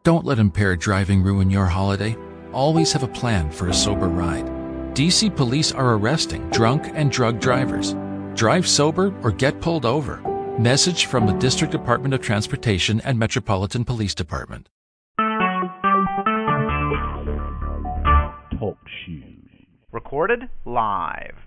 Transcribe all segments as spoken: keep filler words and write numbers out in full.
Don't let impaired driving ruin your holiday. Always have a plan for a sober ride. D C police are arresting drunk and drug drivers. Drive sober or get pulled over. Message from the District Department of Transportation and Metropolitan Police Department. Talk shoes. Recorded live.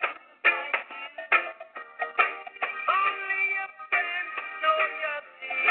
Only your friends know your secret.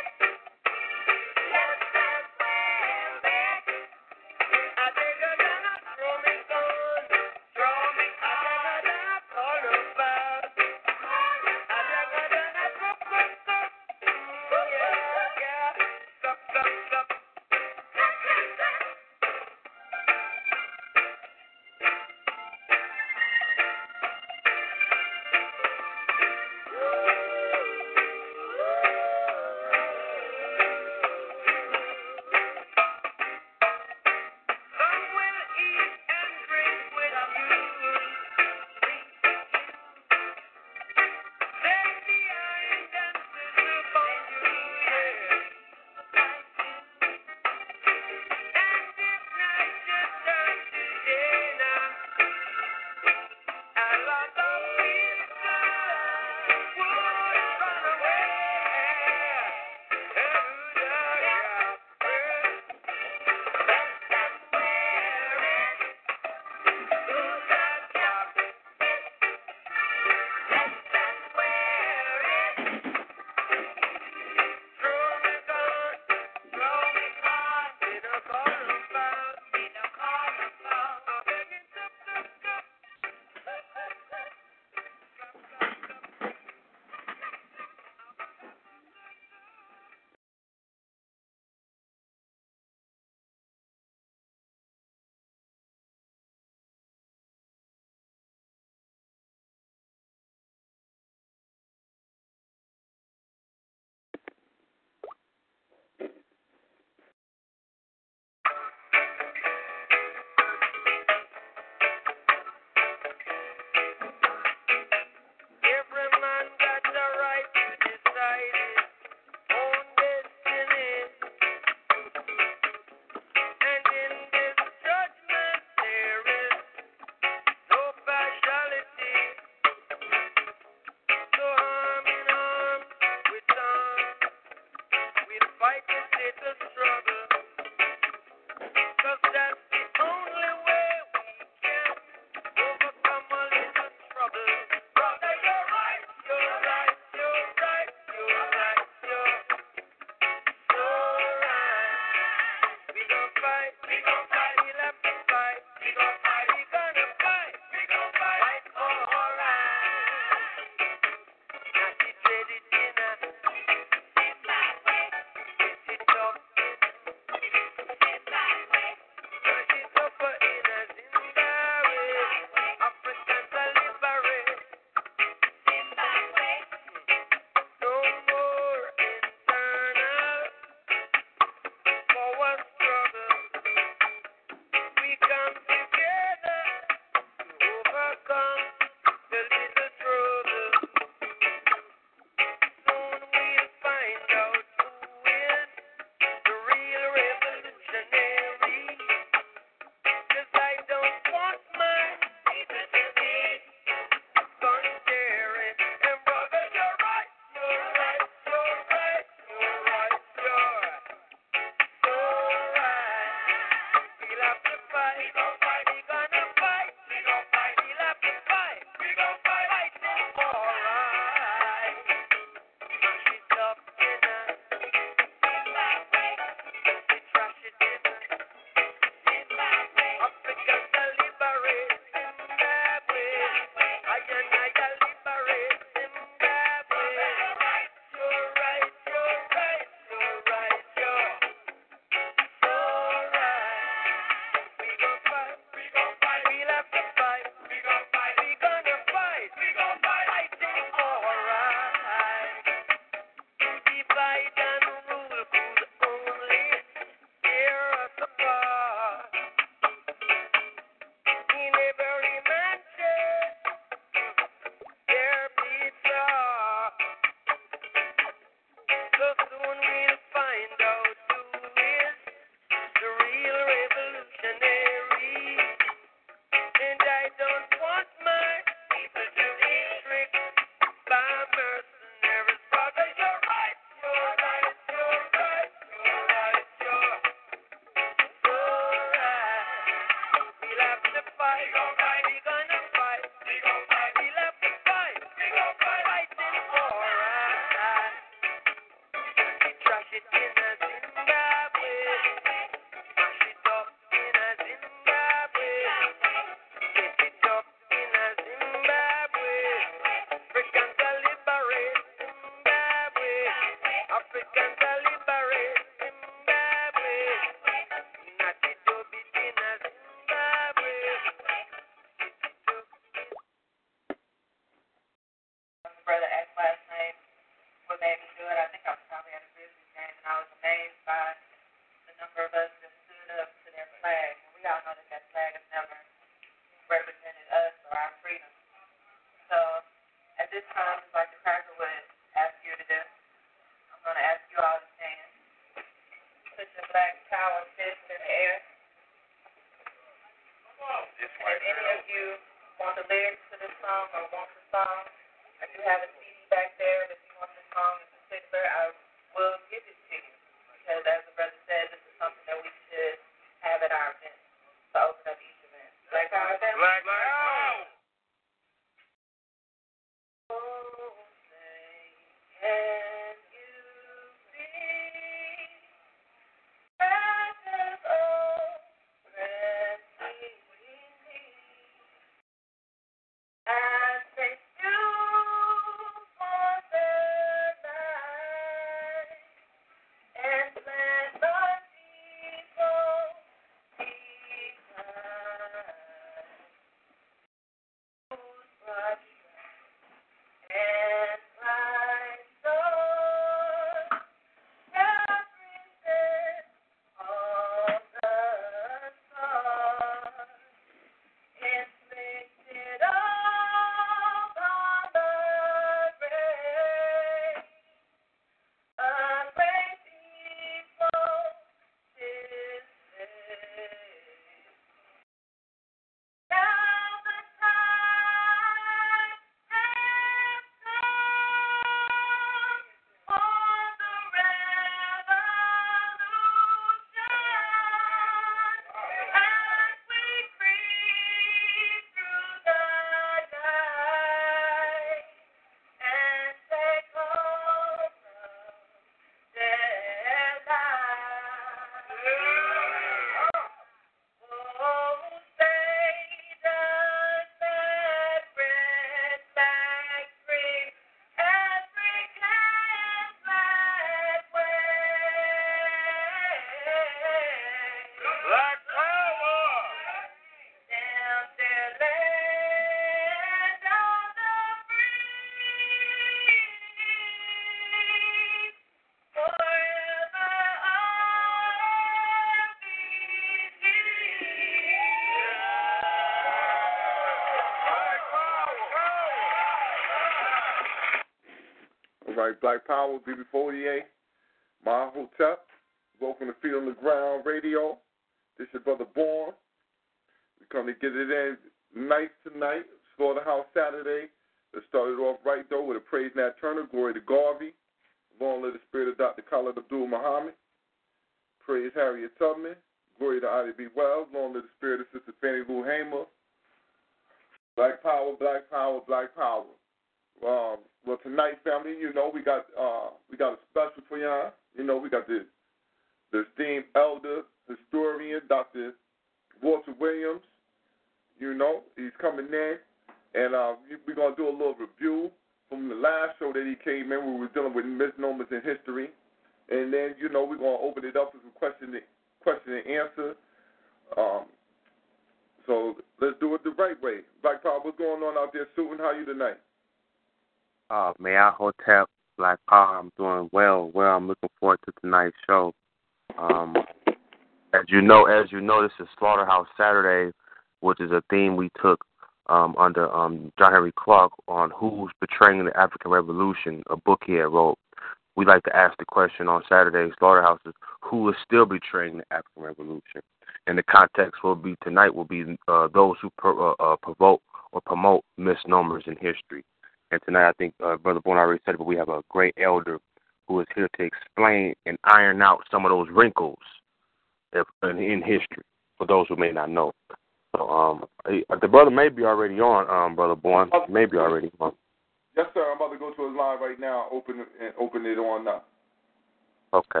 right, Black Power, B B forty-eight, Ma Hotep. Welcome to Feet on the Ground Radio. This is your brother Born. We come to get it in nice tonight. Slaughterhouse Saturday. Let's start it off right, though, with a praise Nat Turner, glory to Garvey. Long live the spirit of Doctor Khalid Abdul Muhammad. Praise Harriet Tubman. Glory to Ida B. Wells. Long live the spirit of Sister Fannie Lou Hamer. Black Power, Black Power, Black Power. Um, well, tonight, family, you know, we got uh, we got a special for y'all. You know, we got the, the esteemed elder historian, Doctor Walter Williams. You know, he's coming in. And uh, we're going to do a little review from the last show that he came in where we were dealing with misnomers in history. And then, you know, we're going to open it up for some question and, question and answer. Um, so let's do it the right way. Black Power, what's going on out there, Suitin? How are you tonight? Uh, may I Hotep, Black Power, I'm doing well. Well, I'm looking forward to tonight's show. Um, as you know, as you know, this is Slaughterhouse Saturday, which is a theme we took um, under um, John Henry Clark on Who's Betraying the African Revolution, a book he had wrote. We like to ask the question on Saturday Slaughterhouses, who is still betraying the African Revolution? And the context will be tonight will be uh, those who pro, uh, uh, provoke or promote misnomers in history. And tonight, I think uh, Brother Born already said it, but we have a great elder who is here to explain and iron out some of those wrinkles if, in, in history for those who may not know. So um, the brother may be already on, um, Brother Born, may be already on. Yes, sir. I'm about to go to his line right now. Open it and open it on now. Okay.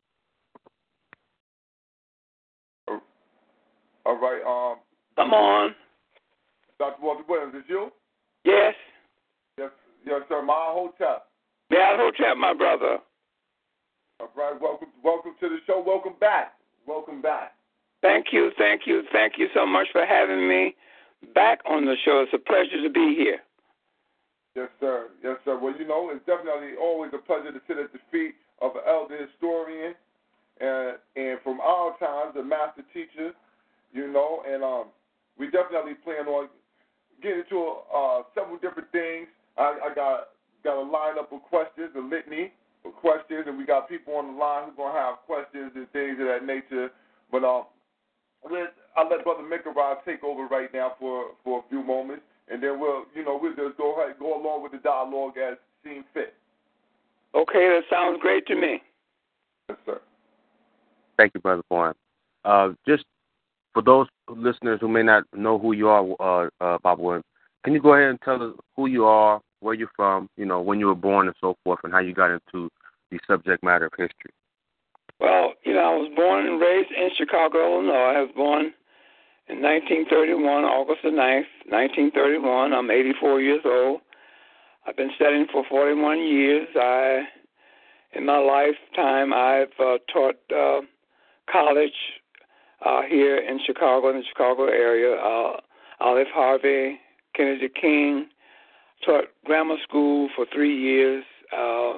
All right. Um. Come on. Doctor Walter Williams, is you? Yes. Yes, yes, sir. Ma Hotep. Yeah, Hotep, my brother. All right. Welcome, welcome to the show. Welcome back. Welcome back. Thank you, thank you, thank you so much for having me back on the show. It's a pleasure to be here. Yes, sir. Yes, sir. Well, you know, it's definitely always a pleasure to sit at the feet of an elder historian, and and from our times, a master teacher. You know, and um, we definitely plan on getting into uh, several different things. I, I got got a lineup of questions, a litany of questions, and we got people on the line who's gonna have questions and things of that nature. But um, let I'll let Brother Mikaraj take over right now for, for a few moments, and then we'll you know we'll just go ahead go along with the dialogue as seems fit. Okay, that sounds great to me. Yes, sir. Thank you, Brother Born. Uh, just for those listeners who may not know who you are, uh, uh, Bob Williams, can you go ahead and tell us who you are, where you're from, you know, when you were born and so forth, and how you got into the subject matter of history? Well, you know, I was born and raised in Chicago, Illinois. I was born in nineteen thirty-one, August the ninth, nineteen thirty-one. I'm eighty-four years old. I've been studying for forty-one years. I, in my lifetime, I've uh, taught uh, college uh, here in Chicago, in the Chicago area, uh, Olive Harvey, Kennedy King, taught grammar school for three years, uh,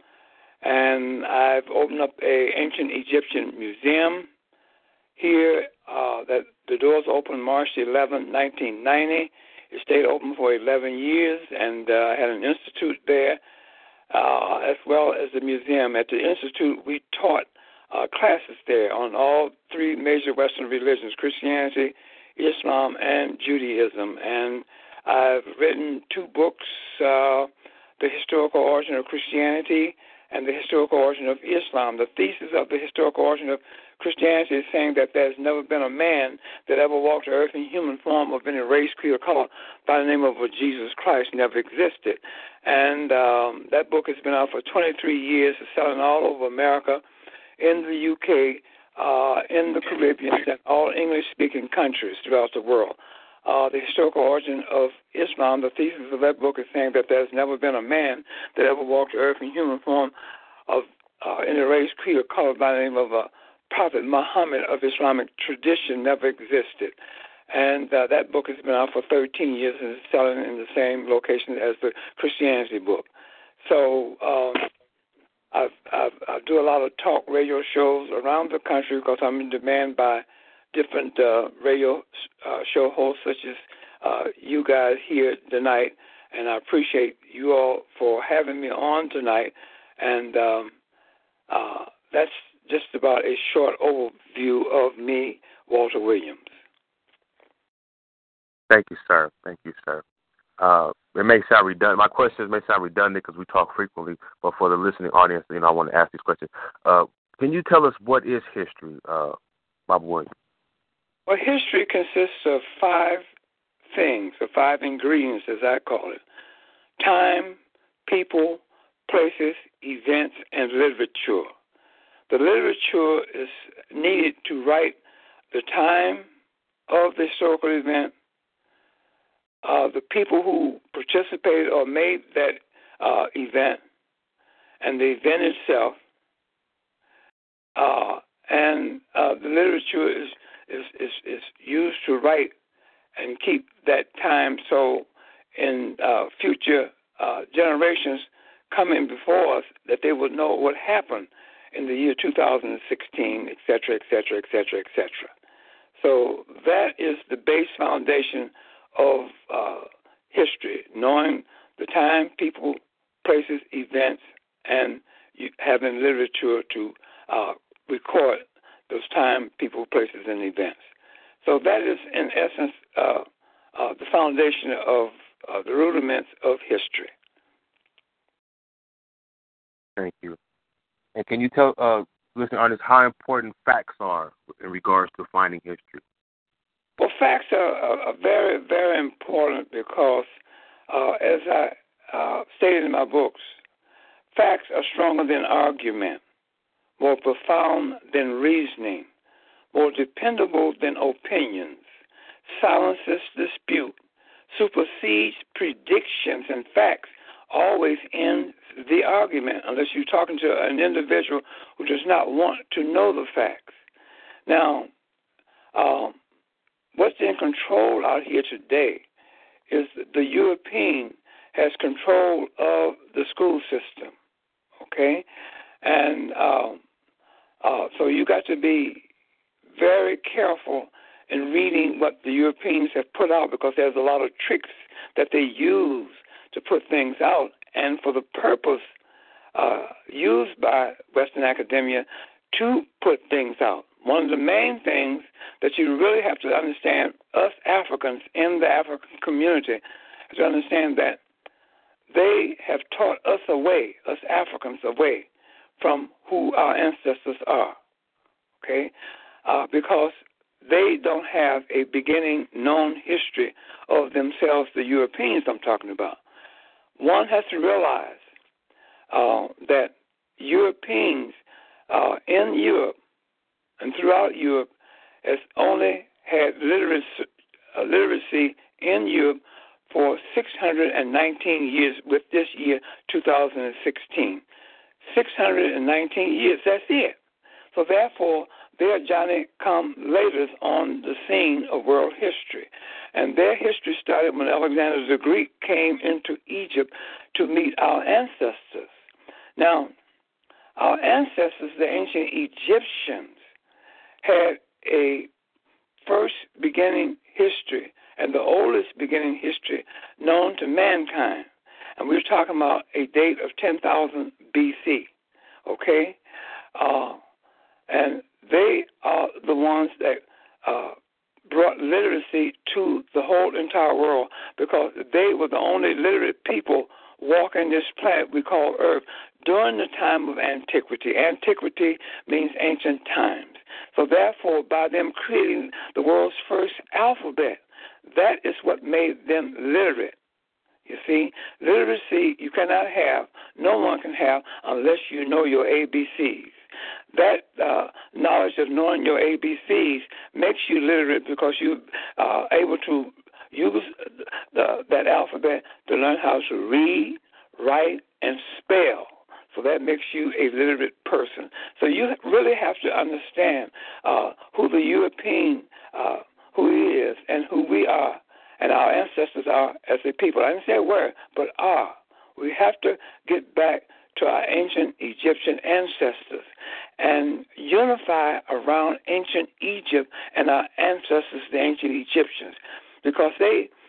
and I've opened up a ancient Egyptian museum here. Uh, that the doors opened March eleventh, nineteen ninety. It stayed open for eleven years, and uh, I had an institute there, uh, as well as a museum. At the institute, we taught uh, classes there on all three major Western religions, Christianity, Islam, and Judaism. And I've written two books, uh, The Historical Origin of Christianity and The Historical Origin of Islam. The thesis of the historical origin of Christianity is saying that there's never been a man that ever walked the earth in human form of any race, creed, or color by the name of Jesus Christ never existed. And um, that book has been out for twenty-three years. It's selling all over America, in the U K, uh, in the Caribbean, and all English-speaking countries throughout the world. Uh, the historical origin of Islam, the thesis of that book is saying that there's never been a man that ever walked the earth in human form of uh, any race, creed, or color by the name of a Prophet Muhammad of Islamic tradition never existed. And uh, that book has been out for thirteen years and is selling in the same location as the Christianity book. So um, I've, I've, I do a lot of talk radio shows around the country because I'm in demand by different uh, radio uh, show hosts such as uh, you guys here tonight. and I appreciate you all for having me on tonight. And um, uh, that's just about a short overview of me, Walter Williams. Thank you, sir. Thank you, sir. Uh, it may sound redundant. My questions may sound redundant because we talk frequently, but for the listening audience, you know, I want to ask these questions. Uh, can you tell us what is history, uh, Bob Williams? Well, history consists of five things, or five ingredients, as I call it: time, people, places, events, and literature. The literature is needed to write the time of the historical event, uh, the people who participated or made that uh, event, and the event itself. Uh, and uh, the literature is, is, is, is used to write and keep that time so in uh, future uh, generations coming before us that they would know what happened in the year two thousand sixteen, et cetera, et cetera, et cetera, et cetera. So that is the base foundation of uh, history, knowing the time, people, places, events, and having literature to uh, record those time, people, places, and events. So that is, in essence, uh, uh, the foundation of uh, the rudiments of history. Thank you. And can you tell uh, listening audience how important facts are in regards to finding history? Well, facts are, are, are very, very important because, uh, as I uh, stated in my books, facts are stronger than argument, more profound than reasoning, more dependable than opinions, silences dispute, supersedes predictions, and facts always end the argument unless you're talking to an individual who does not want to know the facts. Now, um, what's in control out here today is the European has control of the school system, okay? And um, uh, so you got to be very careful in reading what the Europeans have put out because there's a lot of tricks that they use to put things out and for the purpose uh, used by Western academia to put things out. One of the main things that you really have to understand, us Africans in the African community, have to understand that they have taught us away, us Africans away, from who our ancestors are, okay? Uh, because they don't have a beginning known history of themselves, the Europeans I'm talking about. One has to realize uh, that Europeans uh, in Europe and throughout Europe has only had literacy, uh, literacy in Europe for six hundred nineteen years, with this year, two thousand sixteen. six hundred nineteen years, that's it. So therefore, they are Johnny-come-laters on the scene of world history. And their history started when Alexander the Greek came into Egypt to meet our ancestors. Now, our ancestors, the ancient Egyptians, had a first beginning history and the oldest beginning history known to mankind. And we're talking about a date of ten thousand B C, okay? Uh, and they are the ones that uh, brought literacy to the whole entire world because they were the only literate people walking this planet we call Earth during the time of antiquity. Antiquity means ancient times. So therefore, by them creating the world's first alphabet, that is what made them literate. You see, literacy you cannot have, no one can have, unless you know your A B Cs. That uh, knowledge of knowing your A B Cs makes you literate because you are able to use the, that alphabet to learn how to read, write, and spell. So that makes you a literate person. So you really have to understand uh, who the European, uh, who he is, and who we are, and our ancestors are as a people. I didn't say were, but are. We have to get back to our ancient Egyptian ancestors and unify around ancient Egypt and our ancestors, the ancient Egyptians, because they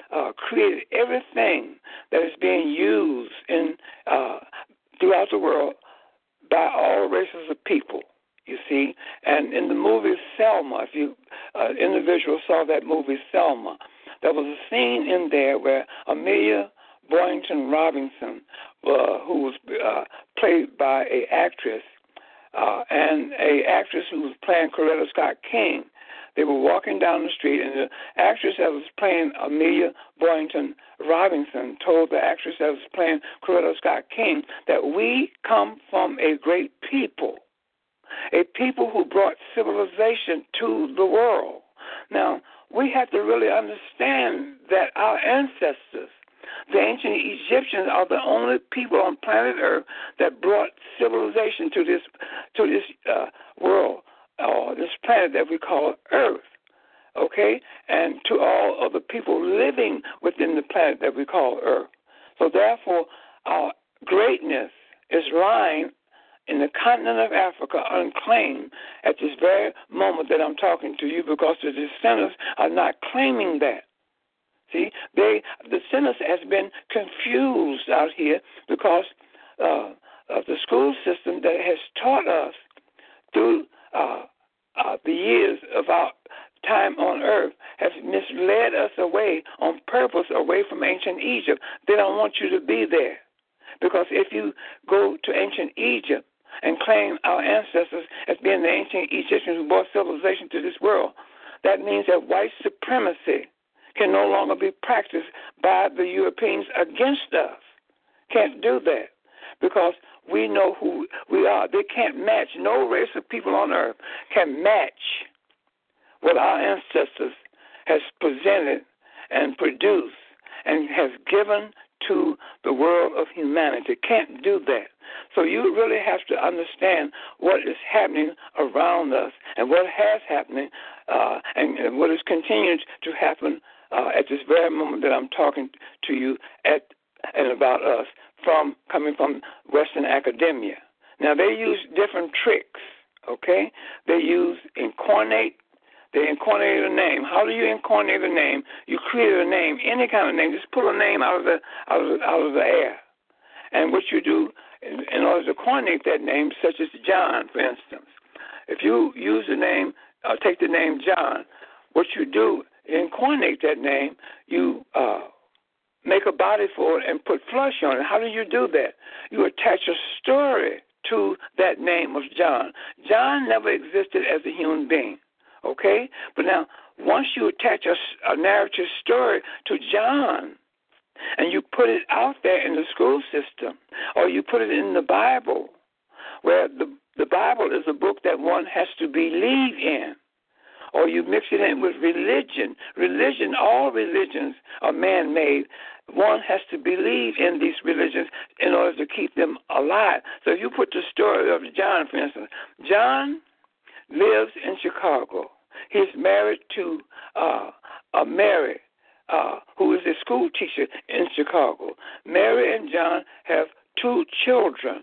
uh, created everything that is being used in uh, throughout the world by all races of people, you see. And in the movie Selma, if you uh, individuals saw that movie Selma, there was a scene in there where Amelia Boynton Robinson, uh, who was uh, played by an actress, uh, and a actress who was playing Coretta Scott King, they were walking down the street, and the actress that was playing Amelia Boynton Robinson told the actress that was playing Coretta Scott King that we come from a great people, a people who brought civilization to the world. Now, we have to really understand that our ancestors, the ancient Egyptians, are the only people on planet Earth that brought civilization to this to this uh, world, or this planet that we call Earth, okay, and to all of the people living within the planet that we call Earth. So therefore, our greatness is lying in the continent of Africa unclaimed at this very moment that I'm talking to you, because the descendants are not claiming that. See, they the descendants has been confused out here because uh, of the school system that has taught us through Uh, uh, the years of our time on earth has misled us away on purpose, away from ancient Egypt. They don't want you to be there. Because if you go to ancient Egypt and claim our ancestors as being the ancient Egyptians who brought civilization to this world, that means that white supremacy can no longer be practiced by the Europeans against us. Can't do that. Because we know who we are. They can't match. No race of people on earth can match what our ancestors has presented and produced and has given to the world of humanity. Can't do that. So you really have to understand what is happening around us and what has happened uh, and, and what is continuing to happen uh, at this very moment that I'm talking to you at and about us, from coming from Western academia. Now, they use different tricks, okay? They use incarnate. They incarnate a name. How do you incarnate a name? You create a name, any kind of name. Just pull a name out of the out of the, out of the air. And what you do in, in order to coordinate that name, such as John, for instance, if you use the name, uh, take the name John, what you do in coordinate that name, you uh, make a body for it and put flesh on it. How do you do that? You attach a story to that name of John. John never existed as a human being, okay? But now, once you attach a, a narrative story to John and you put it out there in the school system, or you put it in the Bible, where the, the Bible is a book that one has to believe in, or you mix it in with religion. Religion, all religions are man-made. One has to believe in these religions in order to keep them alive. So if you put the story of John, for instance, John lives in Chicago. He's married to uh, a Mary, uh, who is a school teacher in Chicago. Mary and John have two children,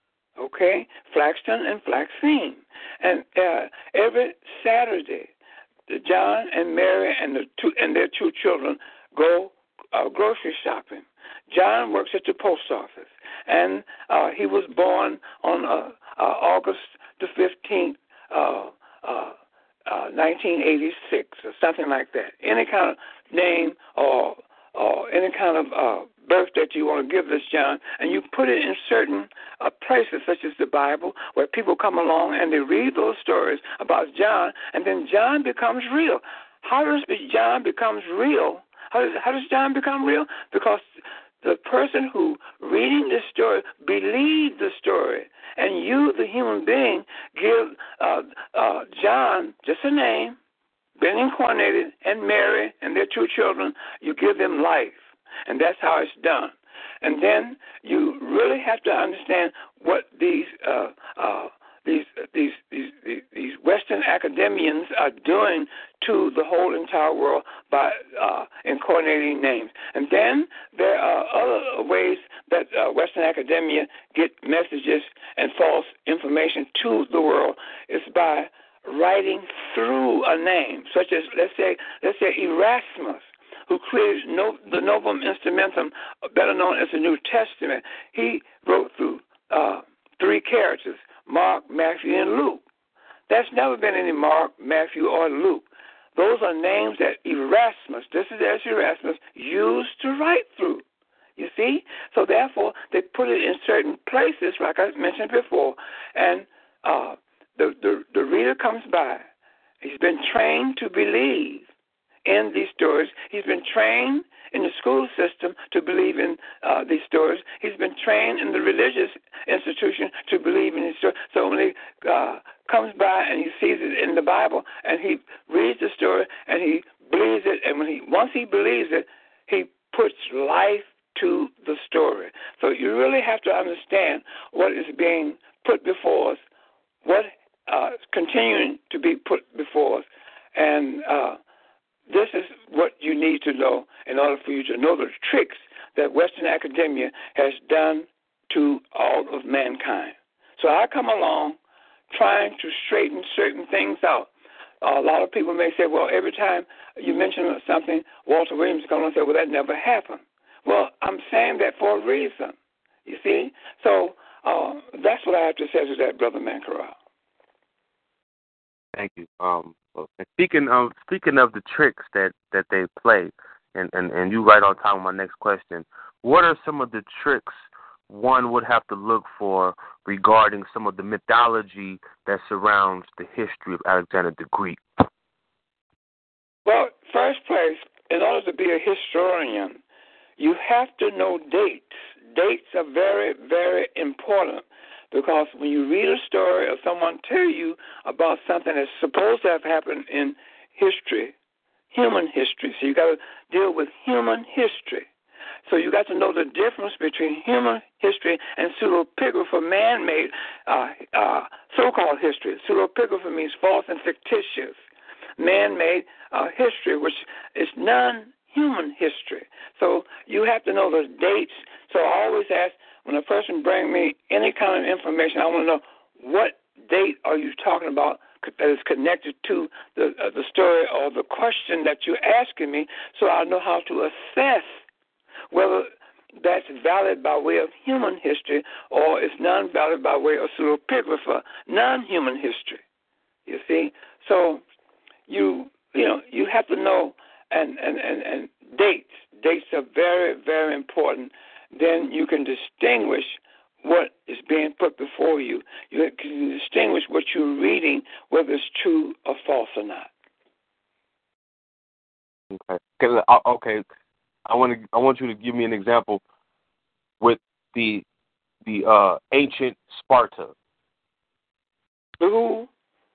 okay, Flaxton and Flaxine. And uh, every Saturday, John and Mary and the two and their two children go uh, grocery shopping. John works at the post office, and uh, he was born on uh, uh, August the fifteenth, uh, uh, uh, nineteen eighty-six, or something like that. Any kind of name or or any kind of uh, birth that you want to give this John, and you put it in certain uh, places, such as the Bible, where people come along and they read those stories about John, and then John becomes real. How does John becomes real? How does, how does John become real? Because the person who reading this story believed the story, and you, the human being, give uh, uh, John just a name, been incarnated, and Mary and their two children, you give them life. And that's how it's done. And then you really have to understand what these uh, uh, these, these these these Western academians are doing to the whole entire world by uh, incarnating names. And then there are other ways that uh, Western academia get messages and false information to the world. It's by writing through a name, such as let's say let's say Erasmus who created no, the Novum Instrumentum, better known as the New Testament, he wrote through uh, three characters, Mark, Matthew, and Luke. There's never been any Mark, Matthew, or Luke. Those are names that Erasmus, this is as Erasmus, used to write through. You see? So therefore, they put it in certain places, like I mentioned before, and uh, the, the, the reader comes by. He's been trained to believe in these stories. He's been trained in the school system to believe in uh, these stories. He's been trained in the religious institution to believe in these stories. So when he uh, comes by and he sees it in the Bible and he reads the story and he believes it, and when he once he believes it, he puts life to the story. So you really have to understand what is being put before us, what uh, is continuing to be put before us, and uh, this is what you need to know in order for you to know the tricks that Western academia has done to all of mankind. So I come along trying to straighten certain things out. Uh, a lot of people may say, well, every time you mention something, Walter Williams is going to say, well, that never happened. Well, I'm saying that for a reason, you see? So uh, that's what I have to say to that, Brother Mankaral. Thank you. Um, and speaking of speaking of the tricks that, that they play, and, and, and you right on time with my next question, what are some of the tricks one would have to look for regarding some of the mythology that surrounds the history of Alexander the Greek? Well, first place, in order to be a historian, you have to know dates. Dates are very, very important, because when you read a story or someone tell you about something that's supposed to have happened in history, human history, so you got to deal with human history. So you got to know the difference between human history and pseudepigrapha, man-made uh, uh, so-called history. Pseudepigrapha means false and fictitious. Man-made uh, history, which is non-human history. So you have to know the dates. So I always ask, when a person brings me any kind of information, I want to know, what date are you talking about that is connected to the uh, the story or the question that you're asking me, so I know how to assess whether that's valid by way of human history or it's non-valid by way of pseudepigrapha, non-human history. You see? So you you know, you have to know and, and, and, and dates. Dates are very, very important. Then you can distinguish what is being put before you. You can distinguish what you're reading, whether it's true or false or not. Okay. Okay. I want to. I want you to give me an example with the the uh, ancient Sparta. Who?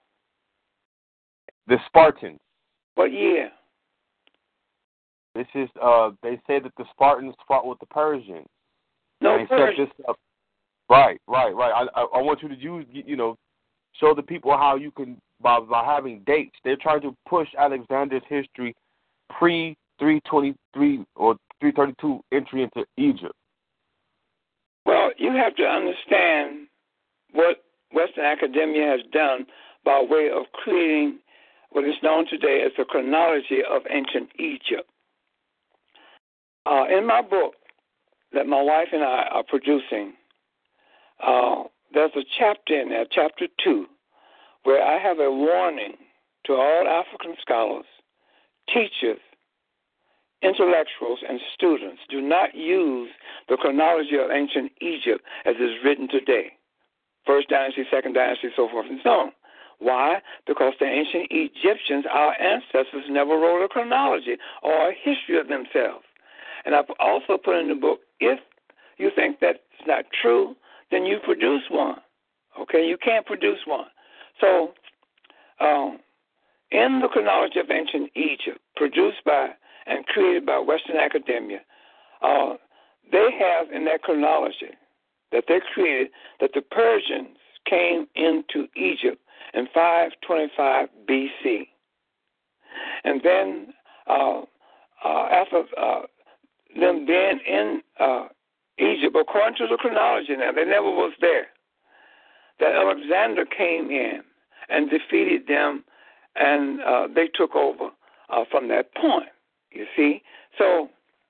The Spartans. What year? This is. Uh, they say that the Spartans fought with the Persians. No, they Persians. set this up. Right, right, right. I, I, I want you to use. You know, show the people how you can by by having dates. They're trying to push Alexander's history pre three twenty-three or three thirty-two entry into Egypt. Well, you have to understand what Western academia has done by way of creating what is known today as the chronology of ancient Egypt. Uh, in my book that my wife and I are producing, uh, there's a chapter in there, chapter two, where I have a warning to all African scholars, teachers, intellectuals, and students. Do not use the chronology of ancient Egypt as is written today. First dynasty, second dynasty, so forth and so on. Why? Because the ancient Egyptians, our ancestors, never wrote a chronology or a history of themselves. And I've also put in the book, if you think that's not true, then you produce one. Okay? You can't produce one. So, um, in the chronology of ancient Egypt, produced by and created by Western academia, uh, they have in that chronology that they created that the Persians came into Egypt in five twenty-five B C. And then uh, uh, after uh, them being in uh, Egypt, according to the chronology now, they never was there, that Alexander came in and defeated them, and uh, they took over uh, from that point. You see? So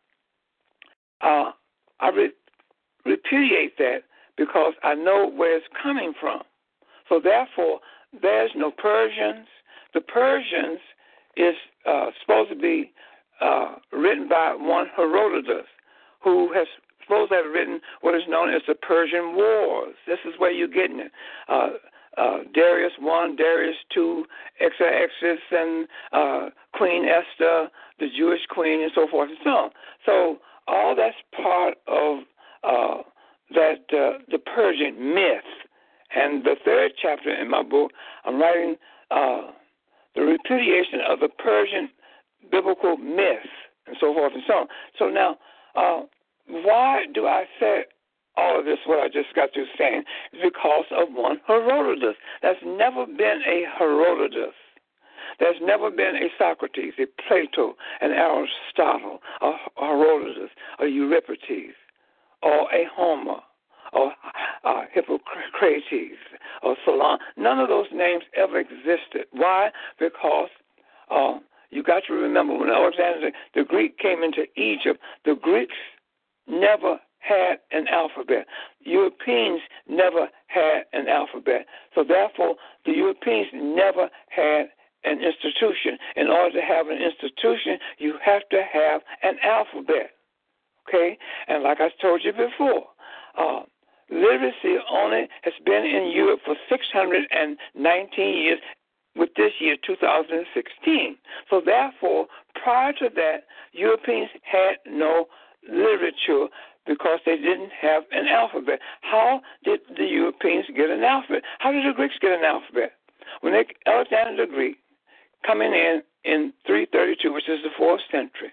uh, I re- repudiate that because I know where it's coming from. So therefore, there's no Persians. The Persians is uh, supposed to be uh, written by one Herodotus, who has supposed to have written what is known as the Persian Wars. This is where you're getting it. Uh, uh, Darius one, Darius two, Xerxes, and uh, Queen Esther, the Jewish queen, and so forth and so on. So all that's part of uh, that uh, the Persian myth. And the third chapter in my book, I'm writing uh, the repudiation of the Persian biblical myth, and so forth and so on. So now, uh, why do I say all of this, what I just got through saying? It's because of one Herodotus. There's never been a Herodotus. There's never been a Socrates, a Plato, an Aristotle, a Herodotus, a Euripides, or a Homer, or uh, Hippocrates, or Solon. None of those names ever existed. Why? Because uh, you got to remember, when Alexander the Greek came into Egypt, the Greeks never had an alphabet. Europeans never had an alphabet. So therefore, the Europeans never had an institution. In order to have an institution, you have to have an alphabet. Okay? And like I told you before, uh, literacy only has been in Europe for six hundred nineteen years, with this year, two thousand sixteen. So therefore, prior to that, Europeans had no literature because they didn't have an alphabet. How did the Europeans get an alphabet? How did the Greeks get an alphabet? When they, Alexander the Greek, coming in in three thirty-two, which is the fourth century,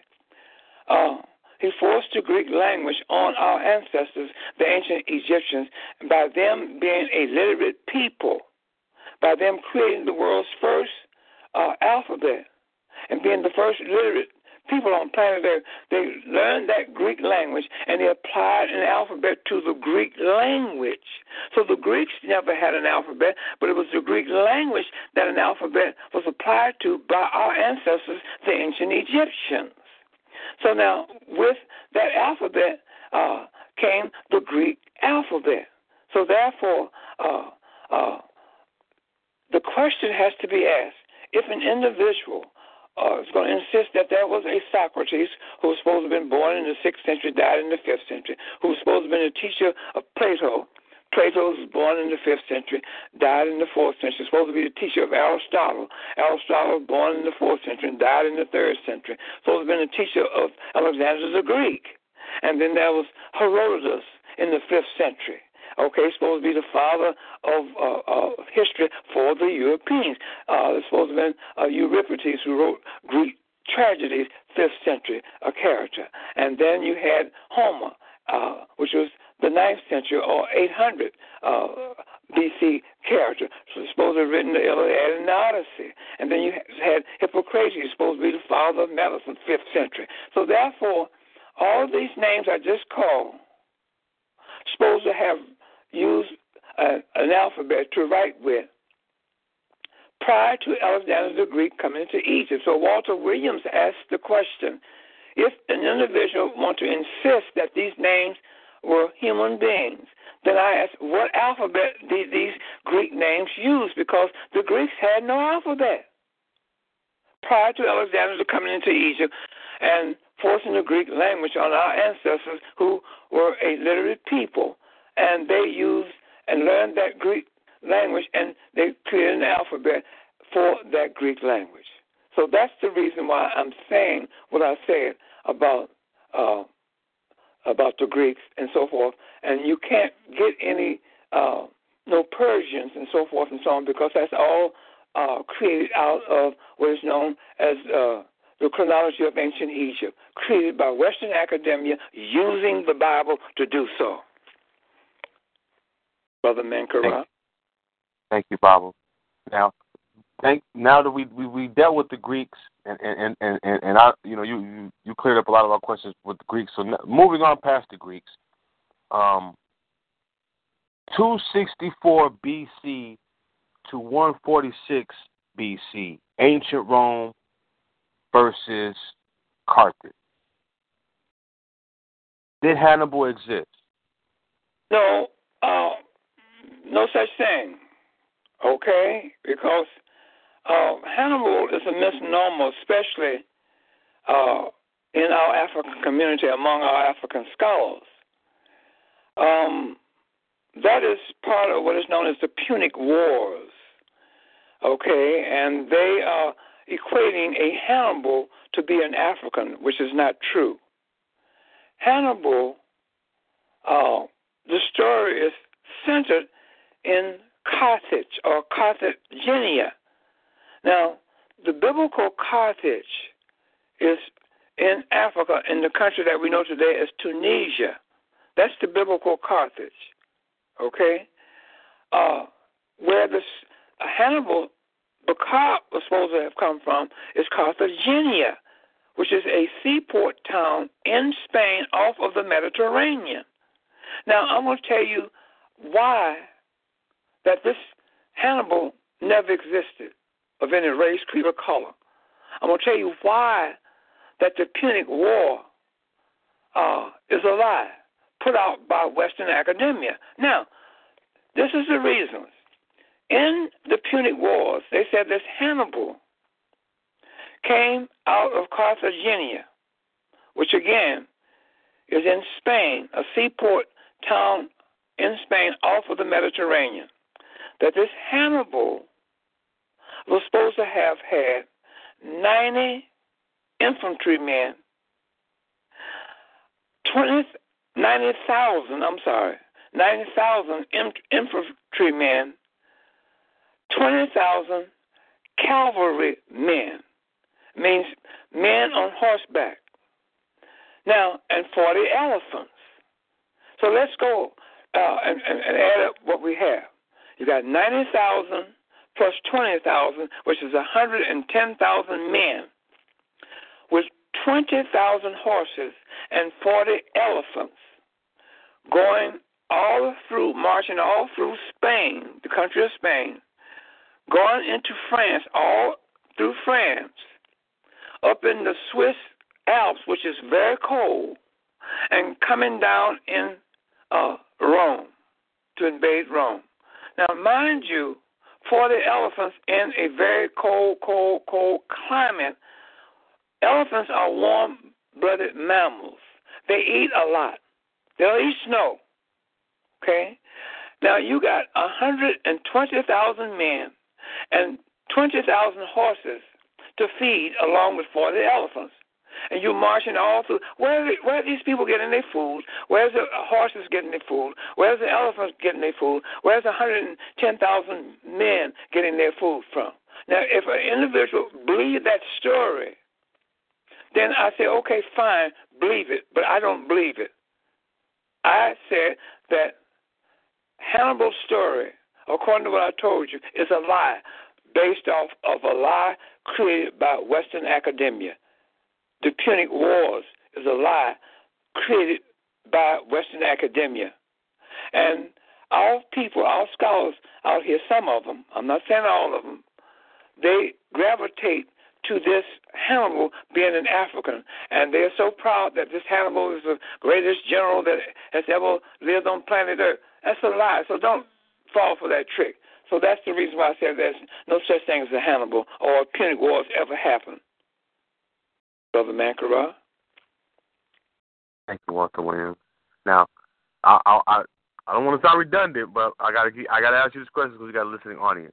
uh, he forced the Greek language on our ancestors, the ancient Egyptians, by them being a literate people, by them creating the world's first uh, alphabet and being the first literate people on planet Earth. They learned that Greek language and they applied an alphabet to the Greek language. So the Greeks never had an alphabet, but it was the Greek language that an alphabet was applied to by our ancestors, the ancient Egyptians. So now, with that alphabet uh, came the Greek alphabet. So therefore, uh, uh, the question has to be asked, if an individual uh, is going to insist that there was a Socrates who was supposed to have been born in the sixth century, died in the fifth century, who was supposed to have been a teacher of Plato. Plato was born in the fifth century, died in the fourth century, supposed to be the teacher of Aristotle. Aristotle was born in the fourth century and died in the third century, supposed to have been a teacher of Alexander the Greek. And then there was Herodotus in the fifth century. Okay, supposed to be the father of uh, uh, history for the Europeans. Uh, supposed to have been uh, Euripides, who wrote Greek tragedies, fifth century, a character. And then you had Homer, uh, which was the ninth century or eight hundred uh, B C character. So it's supposed to have written the Iliad and the Odyssey. And then you had Hippocrates, supposed to be the father of medicine, fifth century. So therefore, all of these names I just called supposed to have used uh, an alphabet to write with prior to Alexander the Greek coming into Egypt. So Walter Williams asked the question, if an individual wants to insist that these names were human beings, then I asked, what alphabet did these Greek names use? Because the Greeks had no alphabet prior to Alexander coming into Egypt and forcing the Greek language on our ancestors who were a literate people. And they used and learned that Greek language, and they created an alphabet for that Greek language. So that's the reason why I'm saying what I said about uh, about the Greeks and so forth. And you can't get any uh, no Persians and so forth and so on, because that's all uh, created out of what is known as uh, the chronology of ancient Egypt, created by Western academia using the Bible to do so. Brother Mankara. Thank, thank you, Bible. Now, thank now that we, we, we dealt with the Greeks, and and, and, and, and I, you know, you, you, you cleared up a lot of our questions with the Greeks. So now, moving on past the Greeks, um, two sixty-four B C to one forty-six B C, ancient Rome versus Carthage. Did Hannibal exist? No, uh, no such thing. Okay, because uh, Hannibal is a misnomer, especially uh, in our African community, among our African scholars. Um, that is part of what is known as the Punic Wars. Okay, and they are equating a Hannibal to be an African, which is not true. Hannibal, uh, the story is centered in Carthage or Carthagenia. Now, the biblical Carthage is in Africa, in the country that we know today as Tunisia. That's the biblical Carthage, okay? Uh, where this uh, Hannibal Bacab was supposed to have come from is Carthagenia, which is a seaport town in Spain off of the Mediterranean. Now, I'm going to tell you why that this Hannibal never existed of any race, creed, or color. I'm going to tell you why that the Punic War uh, is a lie put out by Western academia. Now, this is the reasons. In the Punic Wars, they said this Hannibal came out of Carthagenia, which again is in Spain, a seaport town in Spain off of the Mediterranean. That this Hannibal was supposed to have had ninety infantrymen, twenty, ninety thousand, I'm sorry, ninety thousand infantrymen, twenty thousand cavalry men, means men on horseback. Now, and forty elephants. So let's go uh, and, and, and add up what we have. You got ninety thousand plus twenty thousand, which is one hundred ten thousand men, with twenty thousand horses and forty elephants, going all through, marching all through Spain, the country of Spain, going into France, all through France, up in the Swiss Alps, which is very cold, and coming down in uh, Rome to invade Rome. Now, mind you, forty elephants in a very cold, cold, cold climate. Elephants are warm-blooded mammals. They eat a lot. They'll eat snow. Okay? Now, you got one hundred twenty thousand men and twenty thousand horses to feed along with forty elephants. And you're marching all through. Where are, where are these people getting their food? Where's the horses getting their food? Where's the elephants getting their food? Where's one hundred ten thousand men getting their food from? Now, if an individual believes that story, then I say, okay, fine, believe it, but I don't believe it. I said that Hannibal's story, according to what I told you, is a lie based off of a lie created by Western academia. The Punic Wars is a lie created by Western academia. And our people, our scholars out here, some of them, I'm not saying all of them, they gravitate to this Hannibal being an African. And they're so proud that this Hannibal is the greatest general that has ever lived on planet Earth. That's a lie. So don't fall for that trick. So that's the reason why I said there's no such thing as a Hannibal or a Punic Wars ever happened. Brother Mankara. Thank you, Walter Williams. Now, I I I, I don't want to sound redundant, but I gotta I gotta ask you this question because we got a listening audience.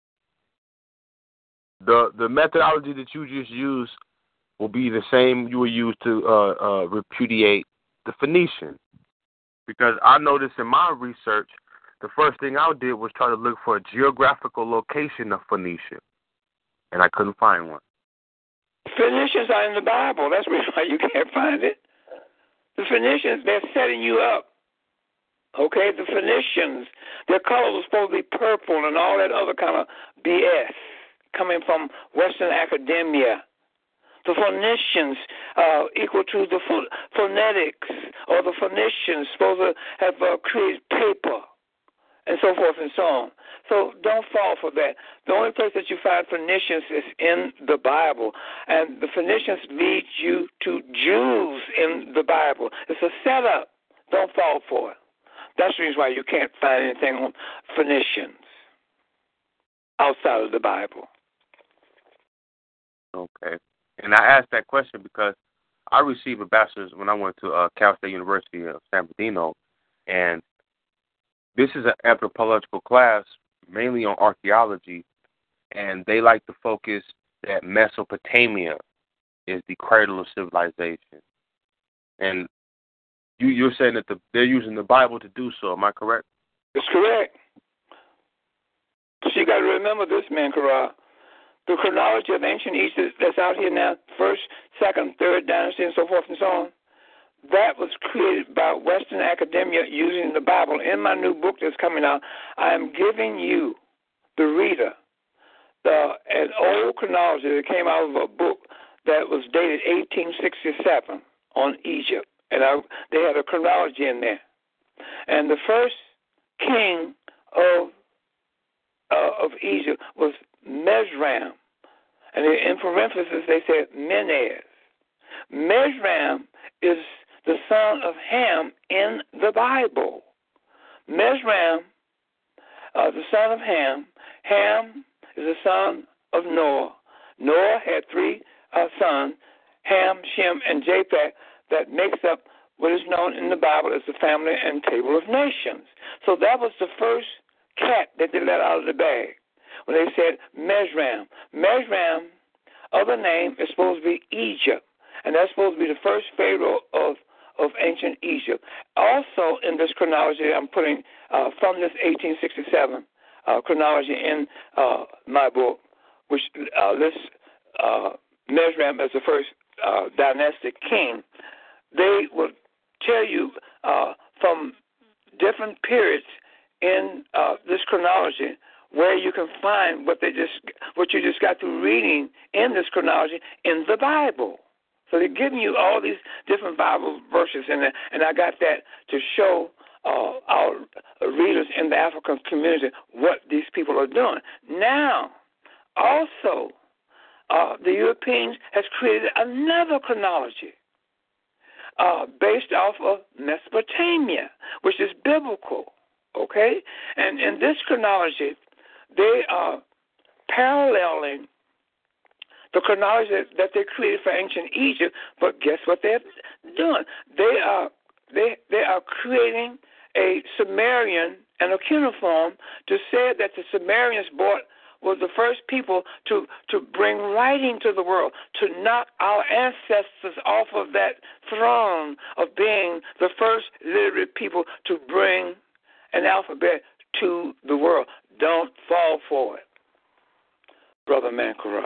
The the methodology that you just used will be the same you will use to uh, uh, repudiate the Phoenician, because I noticed in my research, the first thing I did was try to look for a geographical location of Phoenicia, and I couldn't find one. Phoenicians are in the Bible. That's why you can't find it. The Phoenicians, they're setting you up. Okay, the Phoenicians, their color was supposed to be purple and all that other kind of B S coming from Western academia. The Phoenicians uh, equal to the ph- phonetics, or the Phoenicians supposed to have uh, created paper, and so forth and so on. So don't fall for that. The only place that you find Phoenicians is in the Bible, and the Phoenicians lead you to Jews in the Bible. It's a setup. Don't fall for it. That's the reason why you can't find anything on Phoenicians outside of the Bible. Okay. And I asked that question because I received a bachelor's when I went to uh, Cal State University of San Bernardino, and this is an anthropological class mainly on archaeology, and they like to focus that Mesopotamia is the cradle of civilization. And you, you're saying that the, they're using the Bible to do so. Am I correct? It's correct. So you got to remember this, man, Kara. The chronology of ancient Egypt that's out here now, first, second, third dynasty, and so forth and so on, that was created by Western academia using the Bible. In my new book that's coming out, I am giving you, the reader, the an old chronology that came out of a book that was dated eighteen sixty-seven on Egypt. And I, they had a chronology in there. And the first king of uh, of Egypt was Mesram. And in parentheses, they said Menez. Mesram is the son of Ham in the Bible. Mesram, uh, the son of Ham. Ham is the son of Noah. Noah had three uh, sons, Ham, Shem, and Japheth, that makes up what is known in the Bible as the family and table of nations. So that was the first cat that they let out of the bag when they said Mesram. Mesram, other name, is supposed to be Egypt, and that's supposed to be the first pharaoh of, of ancient Egypt. Also in this chronology I'm putting uh, from this eighteen sixty-seven uh, chronology in uh, my book, which uh, lists uh, Mesram as the first uh, dynastic king. They will tell you uh, from different periods in uh, this chronology where you can find what they just what you just got through reading in this chronology in the Bible. So they're giving you all these different Bible verses in there, and I got that to show uh, our readers in the African community what these people are doing. Now, also, uh, the Europeans has created another chronology uh, based off of Mesopotamia, which is biblical, okay? And in this chronology, they are paralleling the chronology that they created for ancient Egypt, but guess what they're doing? They are they they are creating a Sumerian and a cuneiform to say that the Sumerians brought was the first people to, to bring writing to the world, to knock our ancestors off of that throne of being the first literate people to bring an alphabet to the world. Don't fall for it, Brother Mankara.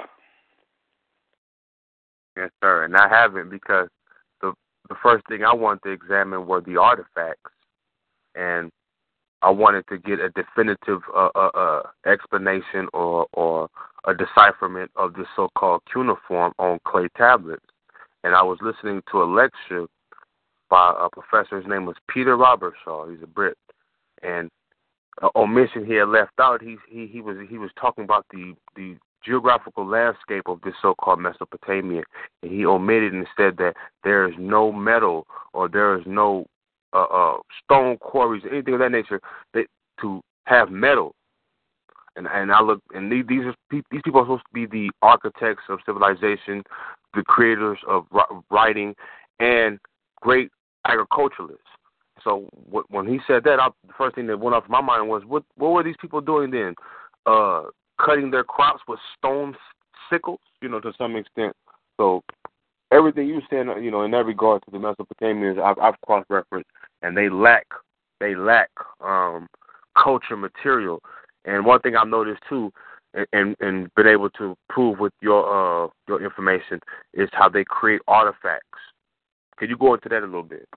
Yes, sir, and I haven't because the the first thing I wanted to examine were the artifacts, and I wanted to get a definitive uh, uh, uh, explanation or, or a decipherment of this so-called cuneiform on clay tablets. And I was listening to a lecture by a professor. His name was Peter Robertshaw. He's a Brit, and uh, omission he had left out. He he he was he was talking about the the geographical landscape of this so-called Mesopotamia, and he omitted and said that there is no metal or there is no uh, uh, stone quarries, anything of that nature, that to have metal. And and I look, and these these, are, these people are supposed to be the architects of civilization, the creators of writing, and great agriculturalists. So what, when he said that, I, the first thing that went off my mind was, what what were these people doing then? Uh, cutting their crops with stone sickles, you know, to some extent. So everything you said, you know, in that regard to the Mesopotamians, I've, I've cross-referenced, and they lack, they lack um, culture material. And one thing I've noticed too, and, and, and been able to prove with your uh, your information, is how they create artifacts. Could you go into that a little bit?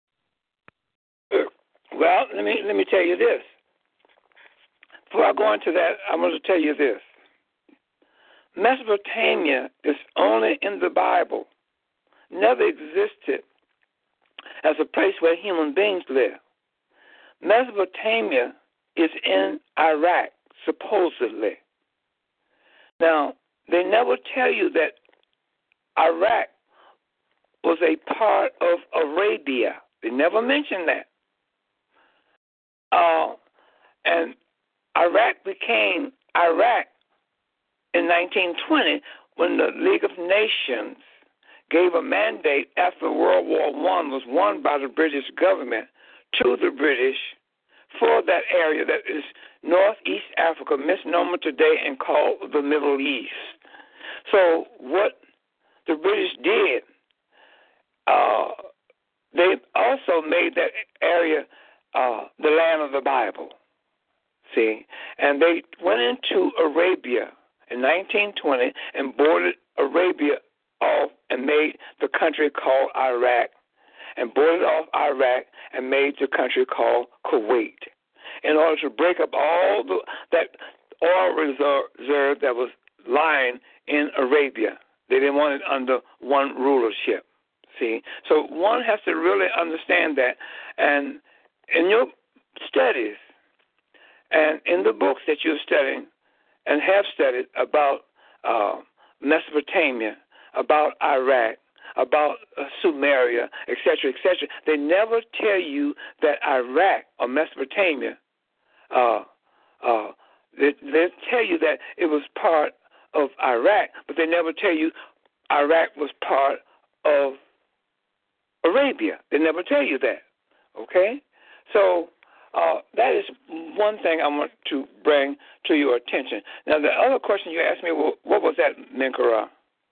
Well, let me let me tell you this. Before I go into that, I'm going to tell you this. Mesopotamia is only in the Bible, never existed as a place where human beings live. Mesopotamia is in Iraq, supposedly. Now, they never tell you that Iraq was a part of Arabia. They never mentioned that. Uh, and Iraq became Iraq in nineteen twenty when the League of Nations gave a mandate after World War One was won by the British government to the British for that area that is Northeast Africa, misnomer today and called the Middle East. So what the British did, uh, they also made that area uh, the land of the Bible, see? And they went into Arabia in nineteen twenty and boarded Arabia off and made the country called Iraq, and boarded off Iraq and made the country called Kuwait, in order to break up all the, that oil reserve that was lying in Arabia. They didn't want it under one rulership, see? So one has to really understand that. And in your studies and in the books that you're studying and have studied about uh, Mesopotamia, about Iraq, about uh, Sumeria, et cetera, et cetera, they never tell you that Iraq or Mesopotamia, uh, uh, they, they tell you that it was part of Iraq, but they never tell you Iraq was part of Arabia. They never tell you that, okay? So uh, that is one thing I want to bring to your attention. Now, the other question you asked me, well, what was that, Menkara?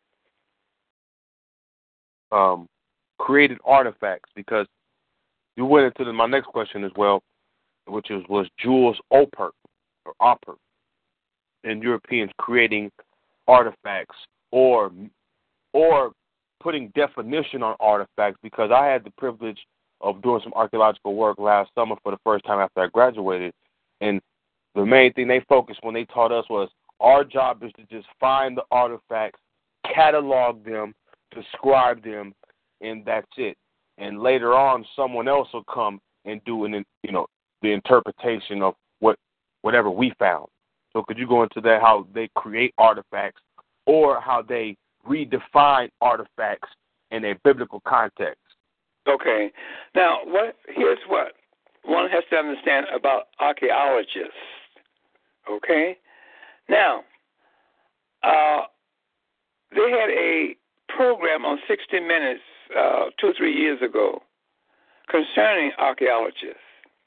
Um, created artifacts, because you went into the, my next question as well, which is, was Jules Oppert, or Oppert, and Europeans creating artifacts or or putting definition on artifacts, because I had the privilege of doing some archaeological work last summer for the first time after I graduated, and the main thing they focused when they taught us was our job is to just find the artifacts, catalog them, describe them, and that's it. And later on, someone else will come and do an, you know, the interpretation of what whatever we found. So could you go into that, how they create artifacts or how they redefine artifacts in a biblical context? Okay. Now, what here's what one has to understand about archaeologists. Okay? Now, uh, they had a program on sixty minutes uh, two or three years ago concerning archaeologists.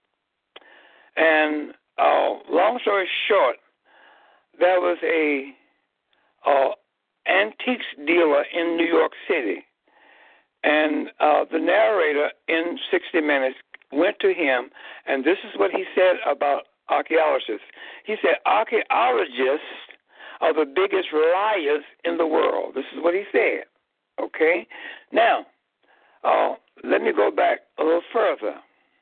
And uh, long story short, there was a uh, antiques dealer in New York City, and uh, the narrator in sixty minutes went to him, and this is what he said about archaeologists. He said, archaeologists are the biggest liars in the world. This is what he said. Okay? Now, uh, let me go back a little further.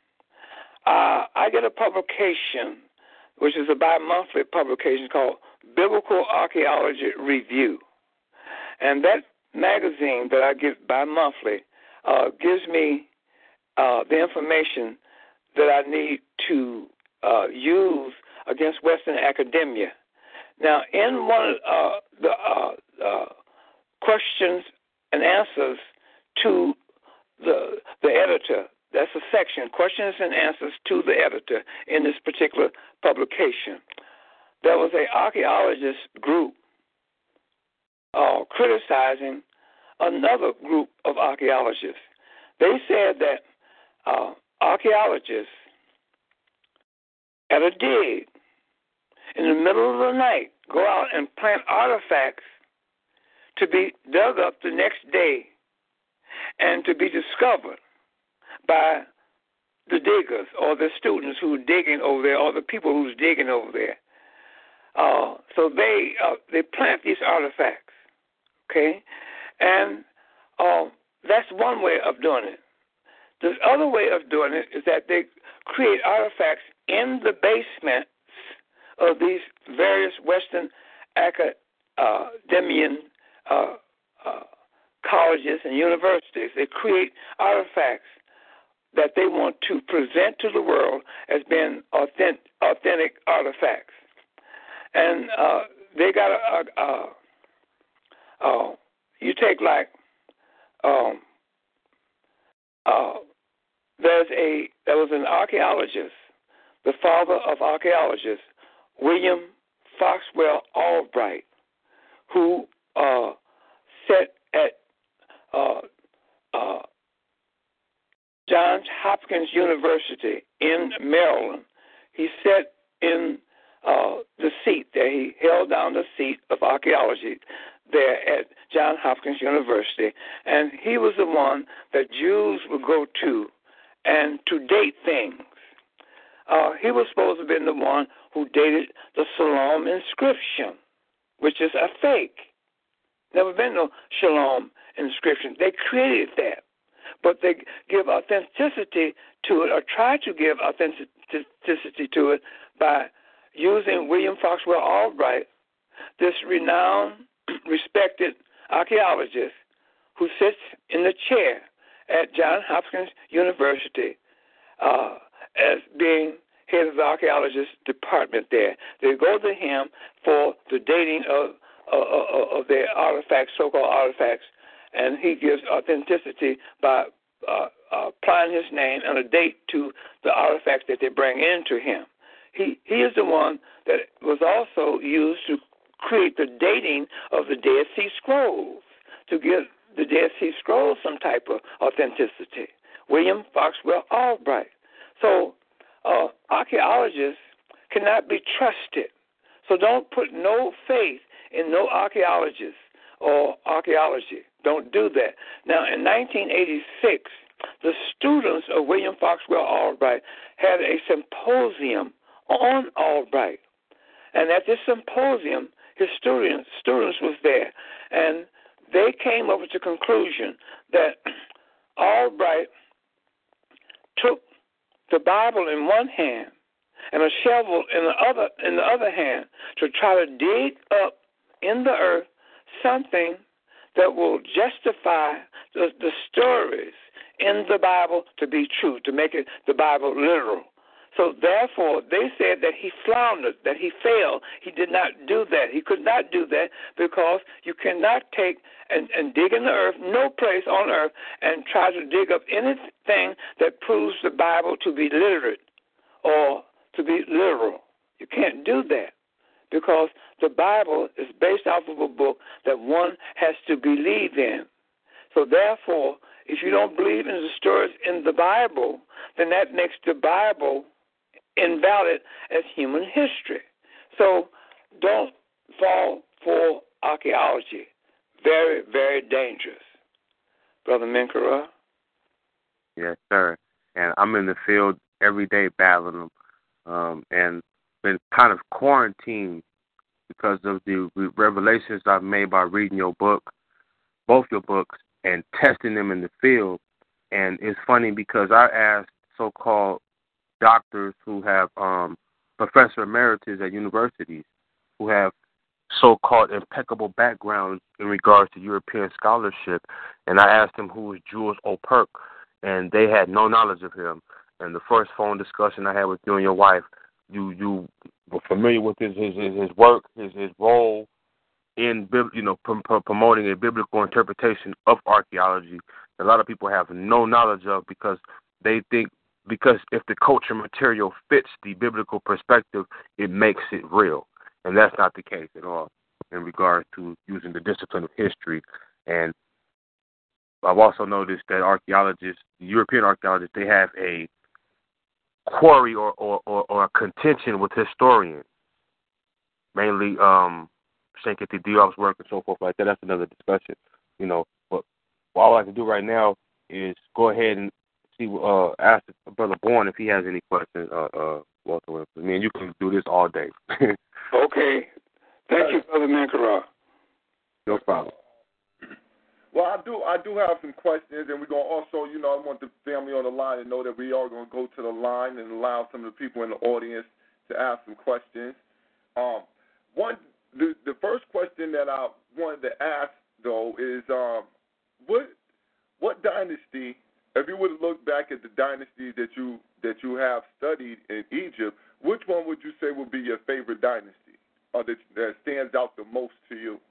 Uh, I get a publication, which is a bi-monthly publication called Biblical Archaeology Review. And that magazine that I get bi-monthly uh, gives me uh, the information that I need to uh, use against Western academia. Now, in one of uh, the uh, uh, questions and answers to the the editor, that's a section, questions and answers to the editor in this particular publication, there was an archaeologist group uh, criticizing another group of archaeologists. They said that uh, archaeologists at a dig in the middle of the night go out and plant artifacts to be dug up the next day and to be discovered by the diggers or the students who are digging over there or the people who's digging over there. Uh, so they uh, they plant these artifacts, okay? And uh, that's one way of doing it. The other way of doing it is that they create artifacts in the basements of these various Western academian uh, uh, colleges and universities. They create artifacts that they want to present to the world as being authentic, authentic artifacts. And uh, they got a, a, a, a, you take like um, was an archaeologist, the father of archaeologists, William Foxwell Albright, who uh, sat at uh, uh, Johns Hopkins University in Maryland. He sat in uh, the seat there. He held down the seat of archaeology there at Johns Hopkins University, and he was the one that Jews would go to and to date things. Uh, he was supposed to have been the one who dated the Shalom inscription, which is a fake. Never been no Shalom inscription. They created that, but they give authenticity to it, or try to give authenticity to it, by using William Foxwell Albright, this renowned, respected archaeologist who sits in the chair at Johns Hopkins University uh, as being head of the archaeologist department there. They go to him for the dating of uh, of their artifacts, so-called artifacts, and he gives authenticity by uh, uh, applying his name and a date to the artifacts that they bring into him. He he is the one that was also used to create the dating of the Dead Sea Scrolls, to give the Dead Sea Scrolls some type of authenticity. William Foxwell Albright. So uh, archaeologists cannot be trusted. So don't put no faith in no archaeologist or archaeology. Don't do that. Now, in nineteen eighty-six, the students of William Foxwell Albright had a symposium on Albright. And at this symposium, his students, students was there, and they came up with the conclusion that Albright took the Bible in one hand and a shovel in the other in the other hand to try to dig up in the earth something that will justify the, the stories in the Bible to be true, to make it the Bible literal. So therefore, they said that he floundered, that he failed. He did not do that. He could not do that because you cannot take and, and dig in the earth, no place on earth, and try to dig up anything that proves the Bible to be literate or to be literal. You can't do that because the Bible is based off of a book that one has to believe in. So therefore, if you don't believe in the stories in the Bible, then that makes the Bible invalid as human history. So don't fall for archaeology. Very, very dangerous. Brother Menkera? Yes, sir. And I'm in the field every day battling them, um, and been kind of quarantined because of the revelations I've made by reading your book, both your books, and testing them in the field. And it's funny because I asked so-called doctors who have um, professor emeritus at universities who have so-called impeccable backgrounds in regards to European scholarship, and I asked them who was Jules Operk, and they had no knowledge of him. And the first phone discussion I had with you and your wife, you you were familiar with his his, his work, his his role in you know pr- pr- promoting a biblical interpretation of archaeology. A lot of people have no knowledge of because they think because if the culture material fits the biblical perspective, it makes it real. And that's not the case at all in regards to using the discipline of history. And I've also noticed that archaeologists, European archaeologists, they have a quarry or, or, or, or a contention with historians, mainly um, Shankar Diop's work and so forth like that. That's another discussion, you know. But what I would like to do right now is go ahead and see, uh, ask Brother Bourne if he has any questions. Uh, uh, Walter, I mean, you can do this all day. Okay. Thank you, Brother Menkera. No problem. Well, I do I do have some questions, and we're going to also, you know, I want the family on the line to know that we are going to go to the line and allow some of the people in the audience to ask some questions. Um, one, the, the first question that I wanted to ask, though, is um, what what dynasty, if you were to look back at the dynasties that you that you have studied in Egypt, which one would you say would be your favorite dynasty, or that, that stands out the most to you?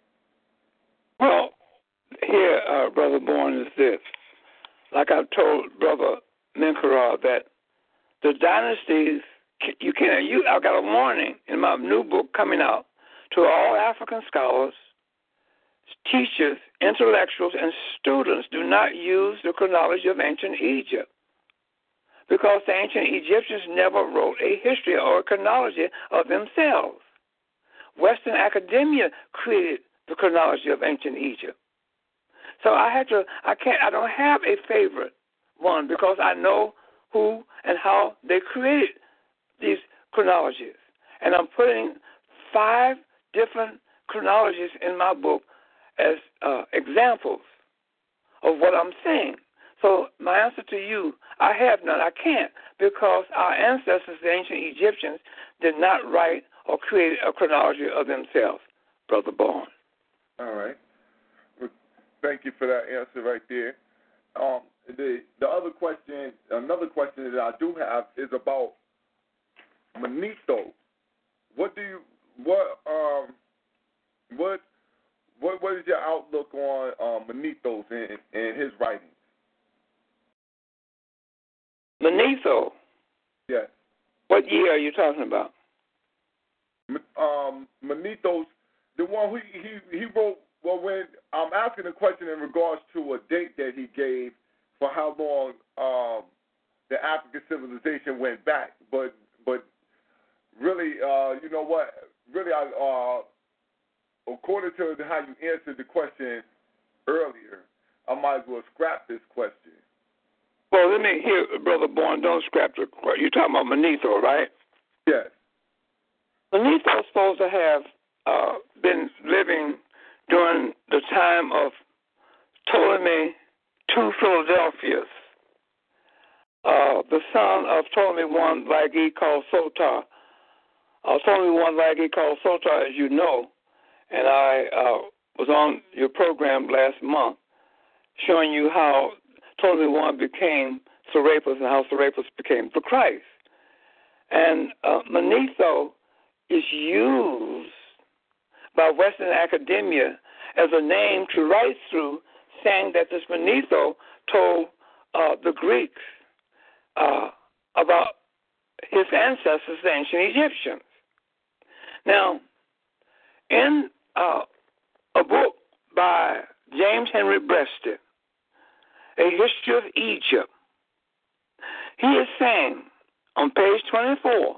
Well, here, uh, Brother Bourne, is this. Like I told Brother Menkera, that the dynasties, you can't, you, I've got a warning in my new book coming out to all African scholars, teachers, intellectuals, and students. Do not use the chronology of ancient Egypt, because the ancient Egyptians never wrote a history or a chronology of themselves. Western academia created the chronology of ancient Egypt. So I had to, I can't, I don't have a favorite one, because I know who and how they created these chronologies. And I'm putting five different chronologies in my book as uh, examples of what I'm saying. So my answer to you, I have none. I can't, because our ancestors, the ancient Egyptians, did not write or create a chronology of themselves, Brother Bourne. All right. Well, thank you for that answer right there. Um, the the other question, another question that I do have is about Manetho. What do you what um what what what is your outlook on um, Manetho and, and his writings? Manetho. Yes. What year are you talking about? Um, Manetho's the one who he he wrote. Well, when I'm asking a question in regards to a date that he gave for how long um, the African civilization went back, but but really, uh, you know what? Really, I, uh, according to how you answered the question earlier, I might as well scrap this question. Well, let me hear, Brother Bourne. Don't scrap the question. You're talking about Manetho, right? Yes. Manetho is supposed to have uh, been living during the time of Ptolemy two Philadelphias, uh, the son of Ptolemy one Lagi called Sotar. Uh, Ptolemy one Lagi called Sotar, as you know, and I uh, was on your program last month showing you how Ptolemy one became Serapis and how Serapis became the Christ. And uh, Manetho is used by Western academia as a name to write through, saying that this Manetho told uh, the Greeks uh, about his ancestors, the ancient Egyptians. Now, in uh, a book by James Henry Breasted, A History of Egypt, he is saying on page twenty-four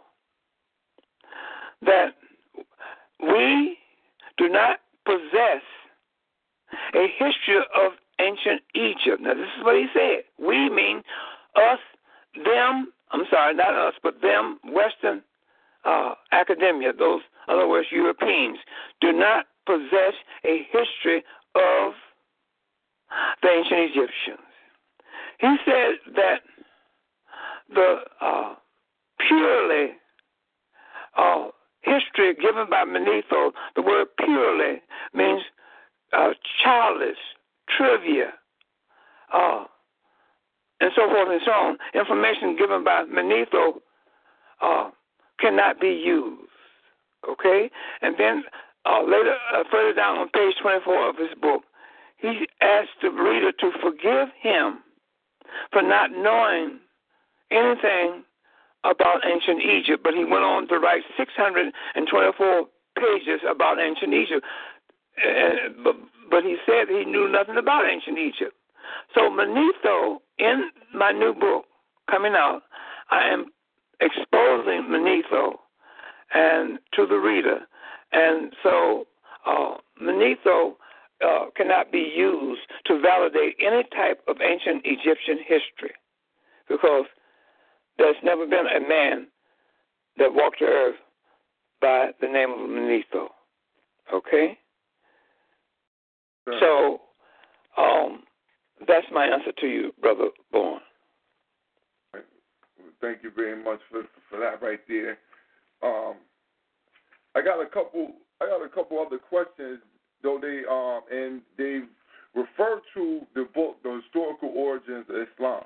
that we do not possess a history of ancient Egypt. Now, this is what he said. We mean us, them, I'm sorry, not us, but them, Western uh, academia, those, in other words, Europeans, do not possess a history of the ancient Egyptians. He said that the uh, purely uh, history given by Manetho, the word purely means uh, childish, trivia, uh, and so forth and so on. Information given by Manetho uh, cannot be used. Okay? And then uh, later, uh, further down on page twenty-four of his book, he asked the reader to forgive him for not knowing anything about ancient Egypt, but he went on to write six hundred twenty-four pages about ancient Egypt. Uh, but, but he said he knew nothing about ancient Egypt. So Manetho, in my new book coming out, I am exposing Manetho and to the reader. And so uh, Manetho uh, cannot be used to validate any type of ancient Egyptian history, because there's never been a man that walked the earth by the name of Manetho. Okay? So um, that's my answer to you, Brother Bourne. Thank you very much for for that right there. Um, I got a couple. I got a couple other questions, though they um and they refer to the book, The Historical Origins of Islam,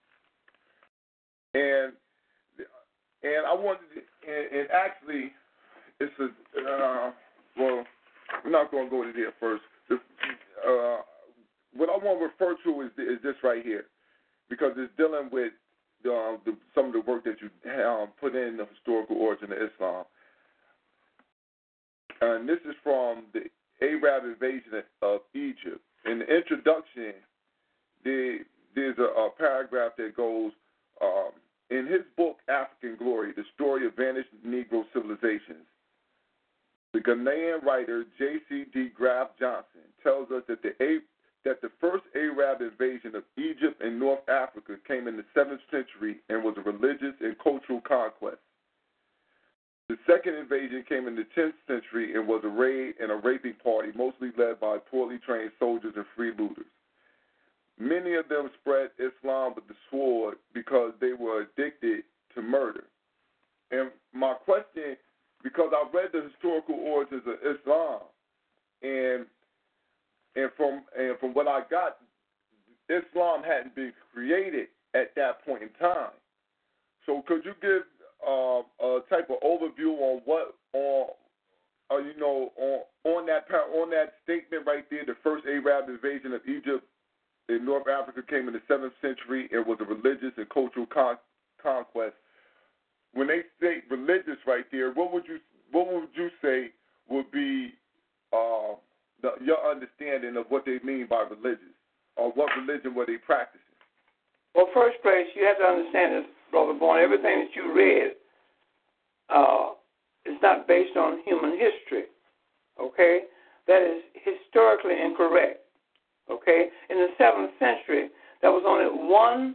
and and I wanted to, and, and actually it's a uh, well we're not going to go to there first. The, uh, what I want to refer to is is this right here, because it's dealing with uh, the, some of the work that you um, put in the historical origin of Islam. And this is from the Arab invasion of Egypt. In the introduction, there, there's a, a paragraph that goes, um, in his book, African Glory, the story of vanished Negro civilizations, the Ghanaian writer J C D Graff Johnson tells us that the that the first Arab invasion of Egypt and North Africa came in the seventh century and was a religious and cultural conquest. The second invasion came in the tenth century and was a raid and a raping party, mostly led by poorly trained soldiers and freebooters. Many of them spread Islam with the sword because they were addicted to murder. And my question, because I read the historical origins of Islam, and and from and from what I got, Islam hadn't been created at that point in time. So could you give uh, a type of overview on what on uh, you know on on that on that statement right there, the first Arab invasion of Egypt in North Africa came in the seventh century and was a religious and cultural con- conquest. When they say religious right there, what would you what would you say would be uh, the, your understanding of what they mean by religious, or what religion were they practicing? Well, first place, you have to understand this, Brother Bourne. Everything that you read uh, is not based on human history, okay? That is historically incorrect, okay? In the seventh century, there was only one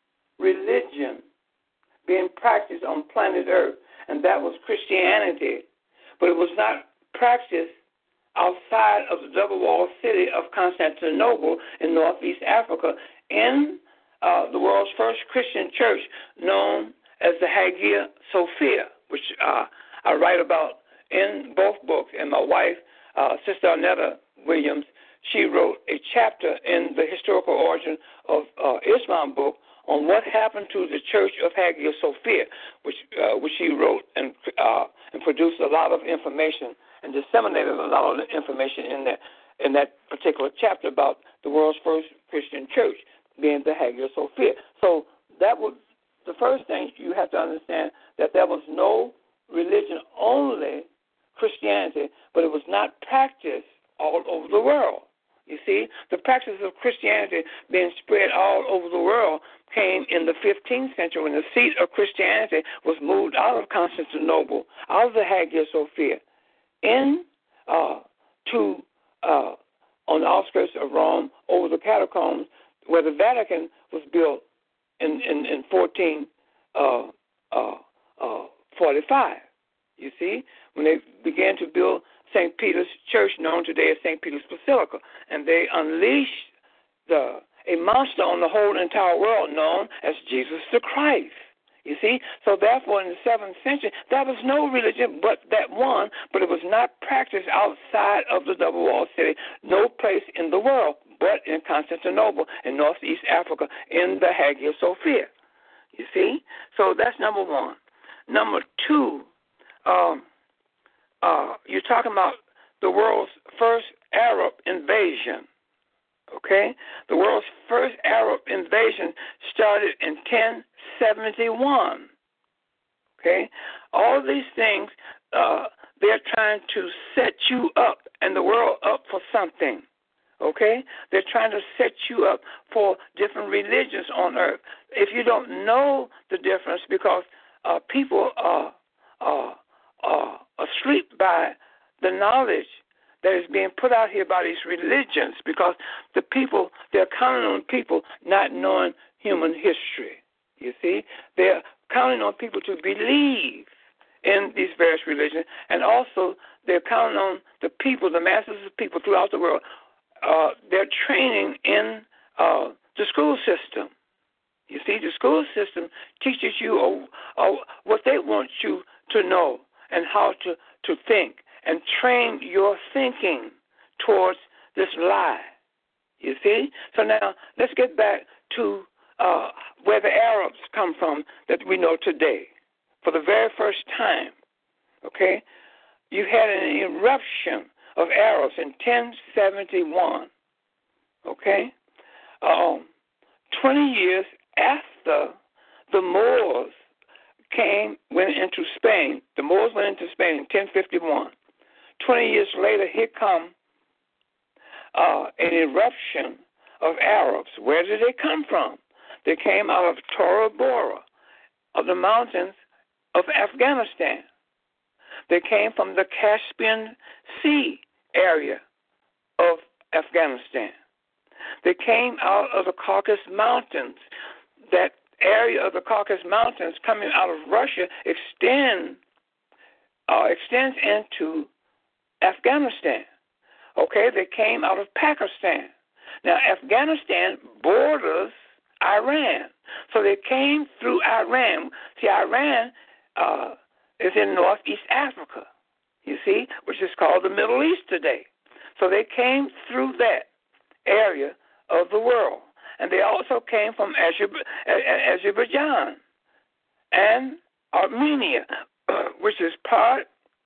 religion being practiced on planet Earth, and that was Christianity. But it was not practiced outside of the double-walled city of Constantinople in northeast Africa in uh, the world's first Christian church known as the Hagia Sophia, which uh, I write about in both books. And my wife, uh, Sister Arnetta Williams, she wrote a chapter in the historical origin of uh, Islam book on what happened to the Church of Hagia Sophia, which uh, which she wrote and uh, and produced a lot of information and disseminated a lot of information in that in that particular chapter about the world's first Christian church being the Hagia Sophia. So that was the first thing you have to understand, that there was no religion, only Christianity, but it was not practiced all over the world. You see, the practice of Christianity being spread all over the world came in the fifteenth century when the seat of Christianity was moved out of Constantinople, out of the Hagia Sophia, in uh, to uh, on the outskirts of Rome, over the catacombs, where the Vatican was built in in, in fourteen forty-five. You see, when they began to build Saint Peter's Church, known today as Saint Peter's Basilica, and they unleashed the a monster on the whole entire world known as Jesus the Christ. You see? So therefore, in the seventh century, there was no religion but that one, but it was not practiced outside of the double-walled city, no place in the world but in Constantinople, in northeast Africa, in the Hagia Sophia. You see? So that's number one. Number two, um, uh, you're talking about the world's first Arab invasion. Okay? The world's first Arab invasion started in ten seventy-one. Okay? All these things, uh, they're trying to set you up and the world up for something. Okay? They're trying to set you up for different religions on earth. If you don't know the difference, because uh, people are, are, are asleep by the knowledge that is being put out here by these religions, because the people, they're counting on people not knowing human history. You see? They're counting on people to believe in these various religions, and also they're counting on the people, the masses of people throughout the world. Uh, they're training in uh, the school system. You see, the school system teaches you uh, uh, what they want you to know and how to, to think, and train your thinking towards this lie. You see? So now let's get back to uh, where the Arabs come from that we know today. For the very first time, okay, you had an eruption of Arabs in ten seventy-one, okay? Um, twenty years after the Moors came, went into Spain. The Moors went into Spain in ten fifty-one. Twenty years later, here come uh, an eruption of Arabs. Where did they come from? They came out of Tora Bora, of the mountains of Afghanistan. They came from the Caspian Sea area of Afghanistan. They came out of the Caucasus Mountains. That area of the Caucasus Mountains coming out of Russia extend, uh, extends into Afghanistan. Okay, they came out of Pakistan. Now, Afghanistan borders Iran. So they came through Iran. See, Iran uh, is in northeast Africa, you see, which is called the Middle East today. So they came through that area of the world. And they also came from Azerbaijan and Armenia, which is part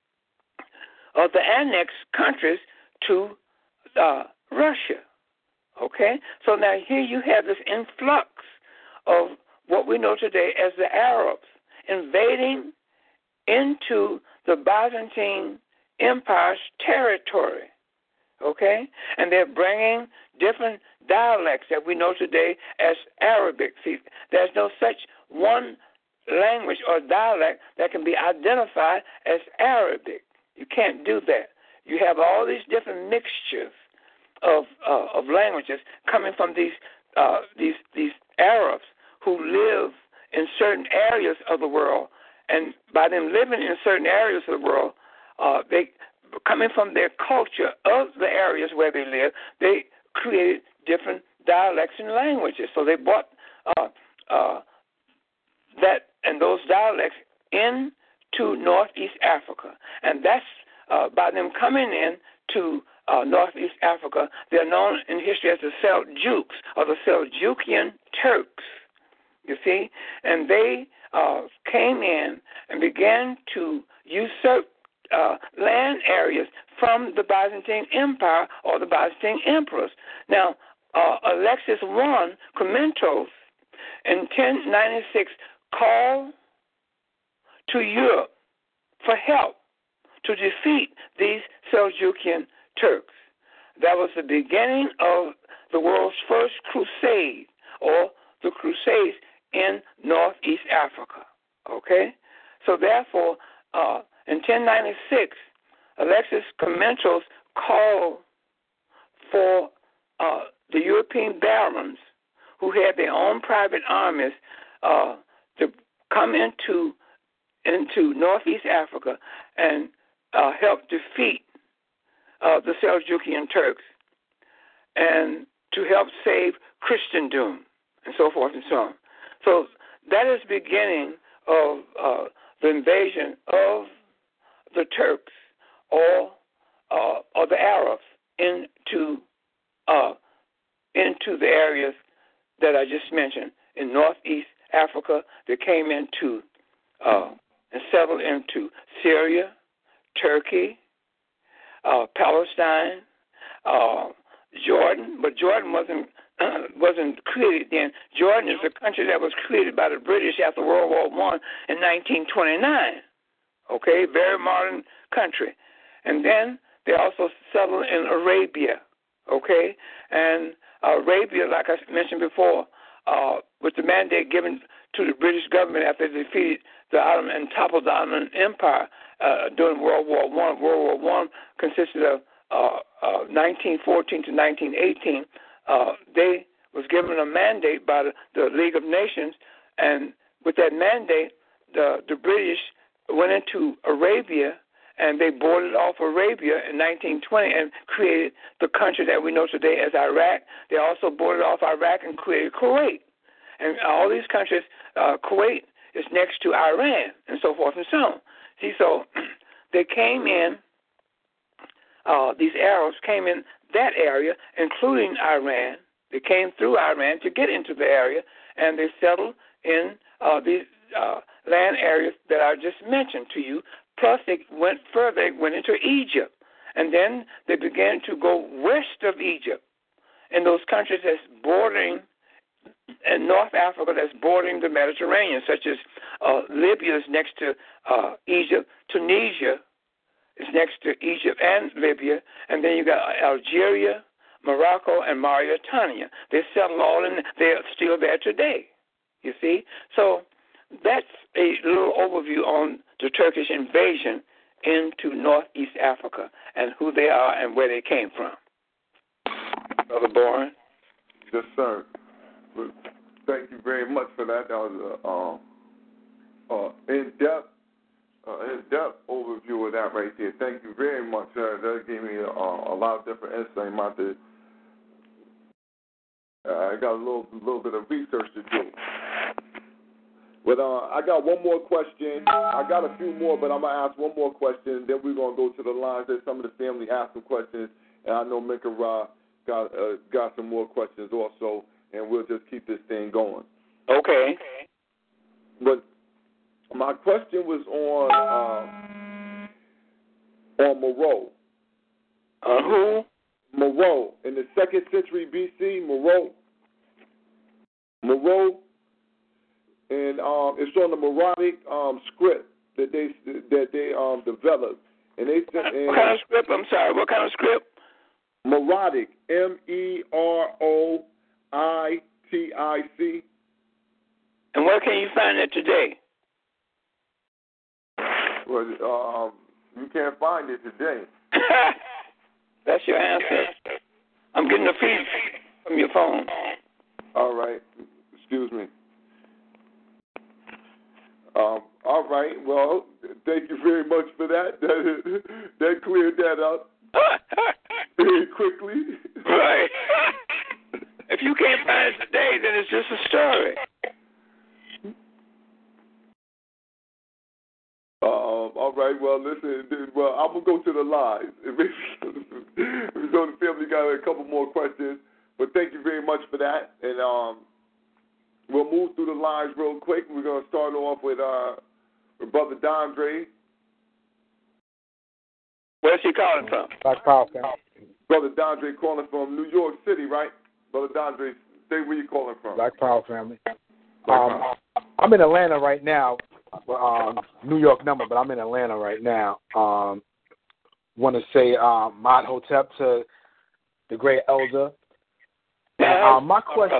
of the annexed countries to uh, Russia. Okay? So now here you have this influx of what we know today as the Arabs invading into the Byzantine Empire's territory. Okay? And they're bringing different dialects that we know today as Arabic. See, there's no such one language or dialect that can be identified as Arabic. You can't do that. You have all these different mixtures of uh, of languages coming from these uh, these these Arabs who live in certain areas of the world, and by them living in certain areas of the world, uh, they coming from their culture of the areas where they live, they created different dialects and languages. So they brought uh, uh, that and those dialects into Northeast Africa, and that's uh, by them coming in to uh, Northeast Africa. They're known in history as the Seljuks or the Seljukian Turks. You see, and they uh, came in and began to usurp uh, land areas from the Byzantine Empire or the Byzantine emperors. Now, uh, Alexis I Klementos in ten ninety-six called to Europe for help to defeat these Seljukian Turks. That was the beginning of the world's first crusade, or the Crusades in Northeast Africa. Okay? So therefore, uh, in ten ninety-six, Alexis Klementos called for uh, the European barons who had their own private armies uh, to come into into Northeast Africa and uh, help defeat uh, the Seljukian Turks and to help save Christendom and so forth and so on. So that is the beginning of uh, the invasion of the Turks or uh, or the Arabs into uh, into the areas that I just mentioned in Northeast Africa. They came into uh, and settled into Syria, Turkey, uh, Palestine, uh, Jordan, but Jordan wasn't uh, wasn't created then. Jordan is a country that was created by the British after World War One in nineteen twenty-nine. Okay, very modern country. And then they also settled in Arabia. Okay, and uh, Arabia, like I mentioned before, uh, with the mandate given to the British government after they defeated the Ottoman and toppled the Ottoman Empire uh, during World War One. World War One consisted of uh, uh, nineteen fourteen to nineteen eighteen. Uh, they was given a mandate by the, the League of Nations, and with that mandate, the the British went into Arabia and they boarded off Arabia in nineteen twenty and created the country that we know today as Iraq. They also boarded off Iraq and created Kuwait. And all these countries, uh, Kuwait is next to Iran, and so forth and so on. See, so they came in, uh, these Arabs came in that area, including Iran. They came through Iran to get into the area, and they settled in uh, these uh, land areas that I just mentioned to you. Plus, they went further, they went into Egypt, and then they began to go west of Egypt in those countries that's bordering in North Africa that's bordering the Mediterranean, such as uh, Libya is next to uh, Egypt, Tunisia is next to Egypt and Libya, and then you got Algeria, Morocco, and Mauritania. They settled all in. They're still there today. You see, so that's a little overview on the Turkish invasion into Northeast Africa and who they are and where they came from. Brother Bourne? Yes, sir. Thank you very much for that. That was an uh, uh, in-depth, uh, in-depth overview of that right there. Thank you very much, sir. That gave me uh, a lot of different insight about this. Uh, I got a little, little bit of research to do. But uh, I got one more question. I got a few more, but I'm going to ask one more question. Then we're going to go to the lines. There's some of the family asked some questions, and I know Minka Ra got, uh, got some more questions also, and we'll just keep this thing going. Okay. But my question was on uh, on Moreau. Uh, who? Moreau. In the second century B C, Moreau. Moreau. And um, it's on the Maronic um, script that they that they um, developed. And they what, and, what kind of script? I'm sorry. What kind of script? Maronic, M E R O I T I C. And where can you find it today? Well, um, you can't find it today. That's your answer. I'm getting a feed from your phone. All right. Excuse me. Um, all right. Well, thank you very much for that. That, that cleared that up very quickly. Right. If you can't find it today, then it's just a story. Um, all right. Well, listen. Well, I'm gonna go to the lines. We know the family got a couple more questions, but thank you very much for that. And um. We'll move through the lines real quick. We're going to start off with, uh, with Brother Dondre. Where's he calling from? Black Power. Brother Dondre calling from New York City, right? Brother Dondre, say where you calling from. Black Power family. Black um, Power. I'm in Atlanta right now. Um, New York number, but I'm in Atlanta right now. Um, want to say um, Mod Hotep to the great elder. And, um, my question...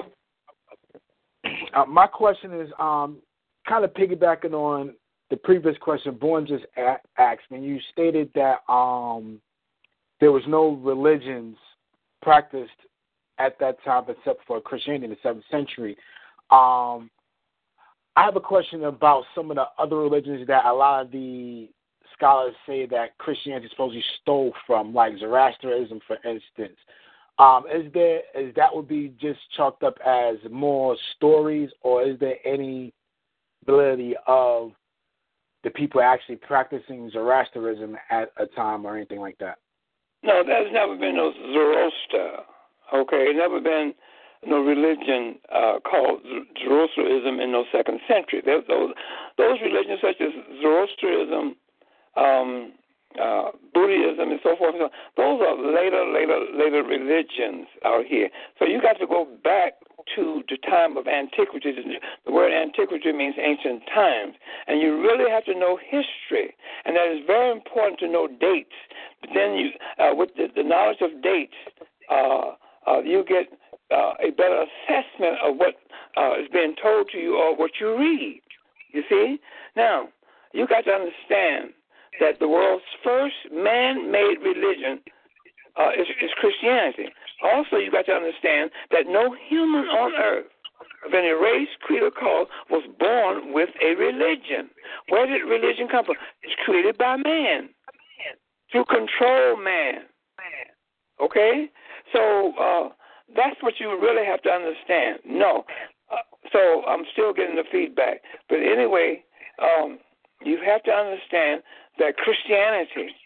Uh, my question is um, kind of piggybacking on the previous question Bourne just a- asked. When you stated that um, there was no religions practiced at that time except for Christianity in the seventh century, um, I have a question about some of the other religions that a lot of the scholars say that Christianity supposedly stole from, like Zoroastrianism, for instance. Um, is there is that would be just chalked up as more stories, or is there any validity of the people actually practicing Zoroastrianism at a time or anything like that? No, there's never been no Zoroaster. Okay, never been no religion uh, called Zoroastrianism in no second century. Those those religions such as Zoroastrianism, um, Uh, Buddhism and so forth. Those are later, later, later religions out here. So you got to go back to the time of antiquity. The word antiquity means ancient times, and you really have to know history, and that is very important to know dates. But then, you, uh, with the, the knowledge of dates, uh, uh, you get uh, a better assessment of what uh, is being told to you or what you read. You see? Now, you got to understand that the world's first man-made religion uh, is, is Christianity. Also, you got to understand that no human on earth of any race, creed, or cause was born with a religion. Where did religion come from? It's created by man to control man. Okay? So uh, that's what you really have to understand. No. Uh, so I'm still getting the feedback. But anyway, um, you have to understand that Christianity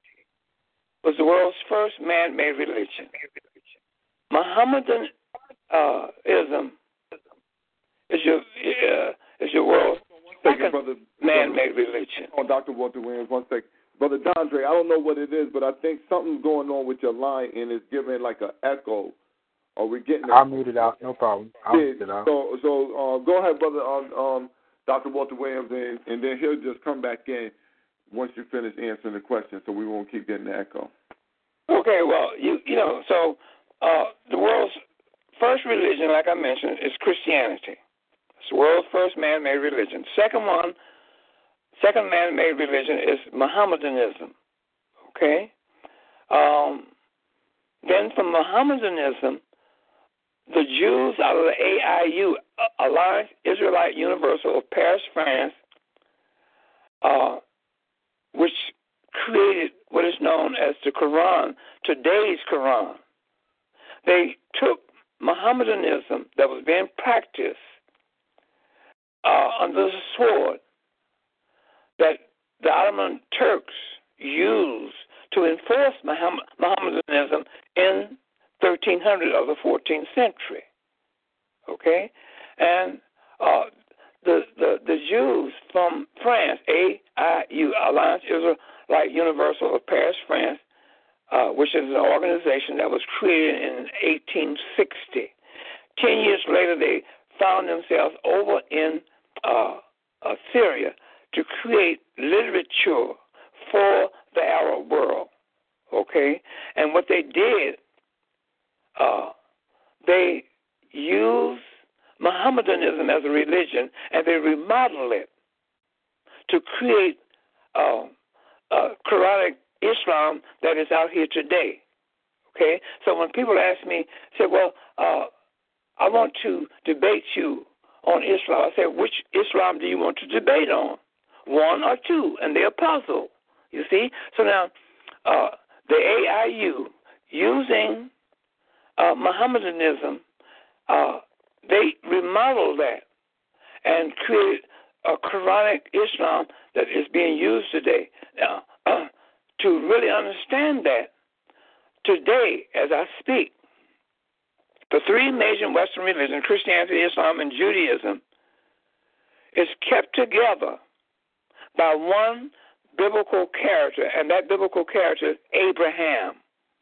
was the world's first man-made religion. Mohammedanism uh, is your uh, is your world's second brother, man-made religion. Oh, Doctor Walter Williams, one second. Brother Dondre, I don't know what it is, but I think something's going on with your line, and it's giving like an echo Are we getting? I'll mute it out. No problem. I'll yeah, mute it out. So, so uh, go ahead, brother. Um, um, Doctor Walter Williams, and, and then he'll just come back in once you finish answering the question, so we won't keep getting the echo. Okay. Well, you you know, so uh, the world's first religion, like I mentioned, is Christianity. It's the world's first man-made religion. Second one, second man-made religion is Mohammedanism. Okay. Um, then from Mohammedanism, the Jews out of the A I U, Alliance Israelite Universal of Paris, France, uh, which created what is known as the Quran, today's Quran. They took Mohammedanism that was being practiced uh, under the sword that the Ottoman Turks used to enforce Mohammedanism in thirteen hundred of the fourteenth century. Okay? And uh, the, the the Jews from France, A I U, Alliance Israelite Universal of Paris, France, uh, which is an organization that was created in eighteen sixty. Ten years later, they found themselves over in uh, uh, Syria to create literature for the Arab world. Okay? And what they did, uh, they used Mohammedanism as a religion, and they remodeled it to create uh, uh, Quranic Islam that is out here today. Okay? So when people ask me, say, well, uh, I want to debate you on Islam, I say, which Islam do you want to debate on? One or two? And they're puzzled. You see? So now, uh, the A I U, using uh, Mohammedanism, uh, they remodeled that and created a Quranic Islam that is being used today. Now, uh, to really understand that, today, as I speak, the three major Western religions, Christianity, Islam, and Judaism, is kept together by one biblical character, and that biblical character is Abraham.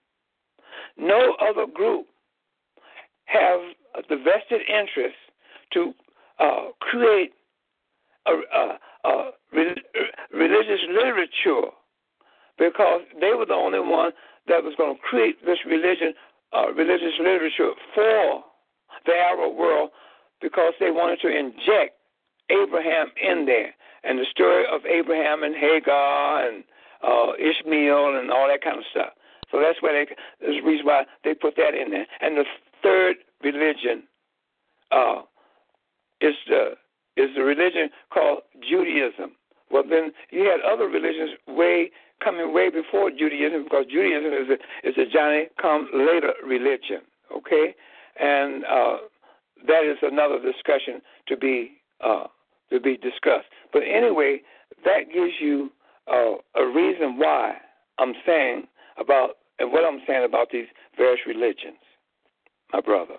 No other group have the vested interest to uh, create a, a, a religious literature, because they were the only one that was going to create this religion, uh, religious literature for the Arab world, because they wanted to inject Abraham in there, and the story of Abraham and Hagar and uh, Ishmael and all that kind of stuff. So that's why they, there's the reason why they put that in there. And the third religion uh, is the is the religion called Judaism. Well, then you had other religions way coming way before Judaism, because Judaism is a is a Johnny come later religion. Okay, and uh, that is another discussion to be uh, to be discussed. But anyway, that gives you uh, a reason why I'm saying about and what I'm saying about these various religions, my brother.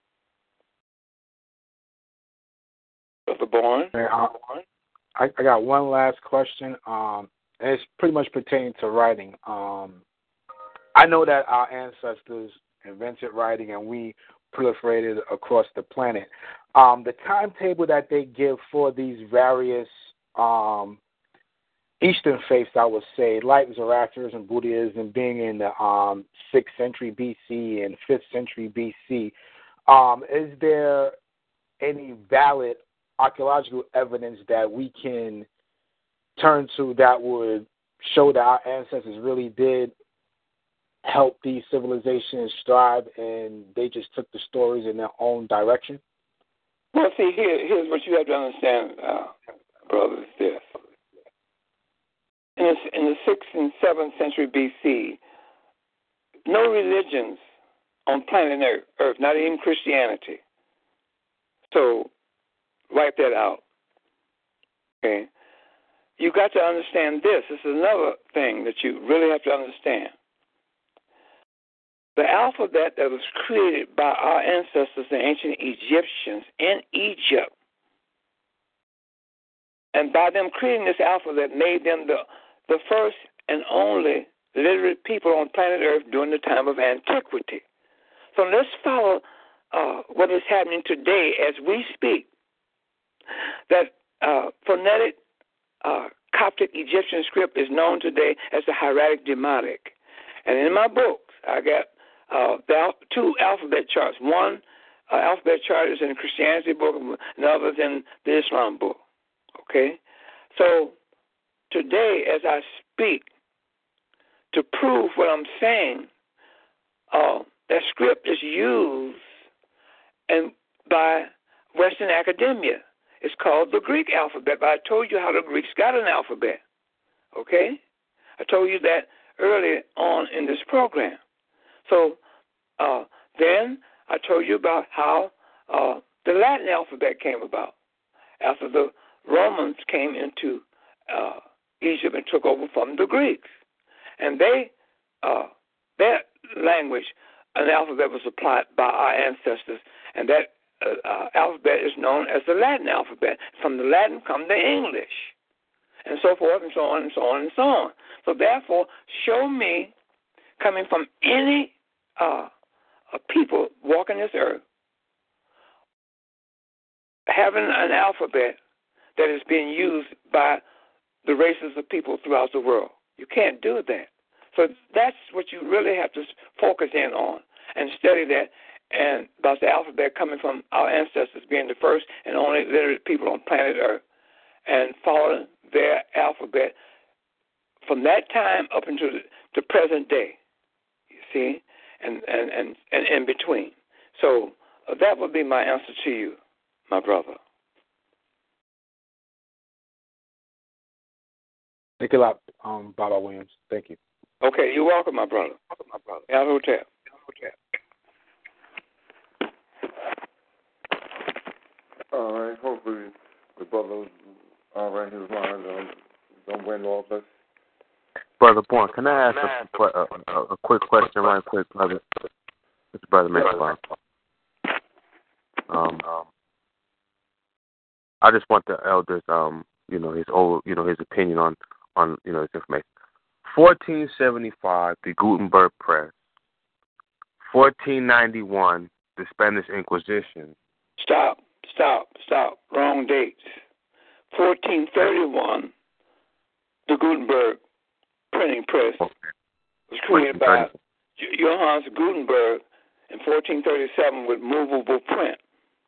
Brother Bourne? I, I got one last question, um, and it's pretty much pertaining to writing. Um, I know that our ancestors invented writing and we proliferated across the planet. Um, the timetable that they give for these various um, Eastern faiths, I would say, like Zoroastrianism, Buddhism, being in the um, sixth century B C and fifth century B C, um, is there any valid archaeological evidence that we can turn to that would show that our ancestors really did help these civilizations strive and they just took the stories in their own direction? Well, see, here, here's what you have to understand, uh, brothers, this. In the, in the sixth and seventh century B C, no religions on planet Earth, not even Christianity. So, wipe that out. Okay? You got to understand this. This is another thing that you really have to understand. The alphabet that was created by our ancestors, the ancient Egyptians in Egypt, and by them creating this alphabet made them the, the first and only literate people on planet Earth during the time of antiquity. So let's follow uh, what is happening today as we speak. That uh, phonetic uh, Coptic Egyptian script is known today as the Hieratic Demotic. And in my books, I got uh, the al- two alphabet charts. One uh, alphabet chart is in the Christianity book, and the other is in the Islam book. Okay? So today, as I speak, to prove what I'm saying, uh, that script is used and by Western academia. It's called the Greek alphabet, but I told you how the Greeks got an alphabet. Okay? I told you that early on in this program. So uh, then I told you about how uh, the Latin alphabet came about after the Romans came into uh, Egypt and took over from the Greeks. And they, uh, their language, an alphabet was applied by our ancestors, and that uh, uh, alphabet is known as the Latin alphabet. From the Latin come the English, and so forth and so on and so on and so on. So therefore, show me, coming from any uh, uh, people walking this earth, having an alphabet that is being used by the races of people throughout the world. You can't do that. So that's what you really have to focus in on and study that, and about the alphabet coming from our ancestors being the first and only literate people on planet Earth, and following their alphabet from that time up into the, the present day, you see, and, and, and, and in between. So uh, that would be my answer to you, my brother. Thank you a lot, um, Baba Williams. Thank you. Okay, you're welcome, my brother. Welcome, my brother. Al Hotel. Hotel. All right. Hopefully the brother all right his mind um, don't win all this. Brother Bourne, can I ask a, a, a, a quick question right quick, brother? It's Brother Mitchell. Um, um, I just want the elders, um, you know, his old, you know, his opinion on, on, you know, his information. fourteen seventy-five, the Gutenberg Press. fourteen ninety-one, the Spanish Inquisition. Stop, stop, stop. Wrong dates. fourteen thirty-one, the Gutenberg printing press Okay. was created by Johannes Gutenberg in fourteen thirty-seven with movable print.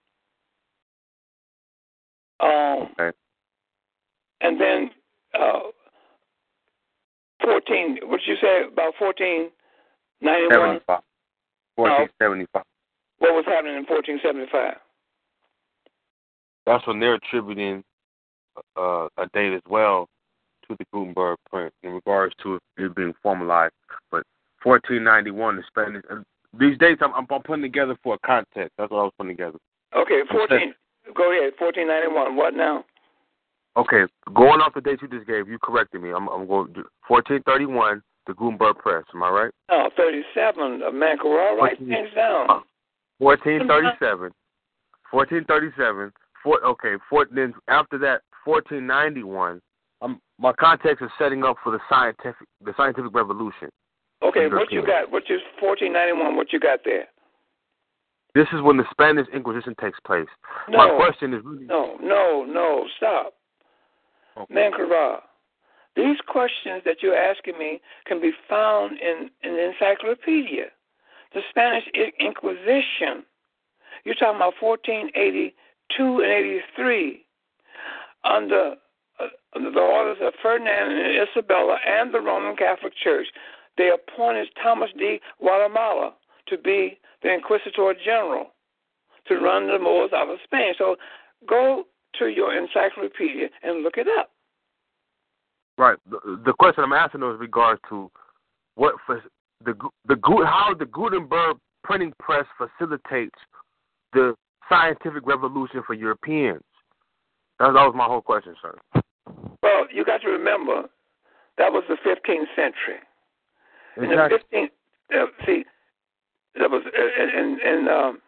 Um, okay. And then uh, fourteen, what did you say about fourteen ninety-one? seventy-five. fourteen seventy-five. What was happening in fourteen seventy-five? That's when they're attributing uh, a date as well to the Gutenberg print in regards to it being formalized. But fourteen ninety-one, the Spanish. Uh, these dates I'm, I'm putting together for a context. That's what I was putting together. Okay, fourteen. Go ahead. fourteen ninety-one. What now? Okay, going off the dates you just gave, you corrected me. I'm, I'm going to fourteen thirty-one, the Gutenberg press. Am I right? No, thirty-seven. Uh, man, write things down. fourteen thirty-seven. fourteen thirty-seven. Four, okay, four, then after that, fourteen ninety-one. Um, my context is setting up for the scientific, the scientific revolution. Okay, what you got? What you fourteen ninety-one? What you got there? This is when the Spanish Inquisition takes place. No, my question is really no, no, no. Stop, okay. Mankara. These questions that you're asking me can be found in, in the encyclopedia. The Spanish Inquisition. You're talking about fourteen eighty-two and eighty-three under, uh, under the orders of Ferdinand and Isabella and the Roman Catholic Church. They appointed Thomas de Guatemala to be the Inquisitor General to run the Moors out of Spain. So go to your encyclopedia and look it up. Right. The, the question I'm asking is in regards to what for the the how the Gutenberg printing press facilitates the scientific revolution for Europeans. That, that was my whole question, sir. Well, you got to remember that was the fifteenth century. Exactly. In the fifteenth, uh, see, that was in in um,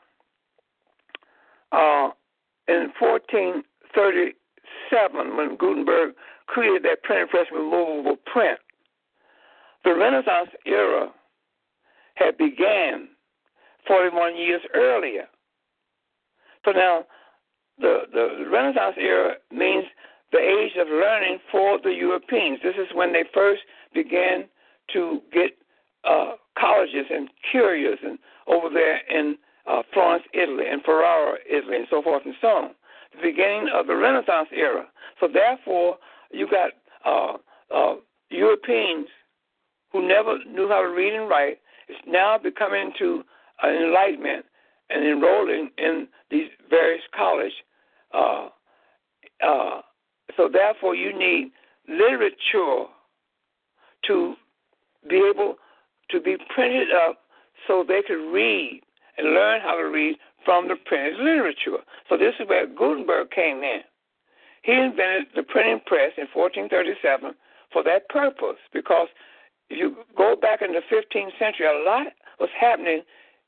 uh, in fourteen thirty-seven when Gutenberg created that printing press with movable print. The Renaissance era had began forty-one years earlier. So now, the, the Renaissance era means the age of learning for the Europeans. This is when they first began to get uh, colleges and curios and over there in uh, Florence, Italy, and Ferrara, Italy, and so forth and so on. The beginning of the Renaissance era. So therefore, you got uh, uh, Europeans who never knew how to read and write. It's now becoming to an enlightenment and enrolling in these various colleges. Uh, uh, so therefore, you need literature to be able to be printed up so they could read and learn how to read from the printed literature. So this is where Gutenberg came in. He invented the printing press in fourteen thirty-seven for that purpose, because if you go back in the fifteenth century, a lot was happening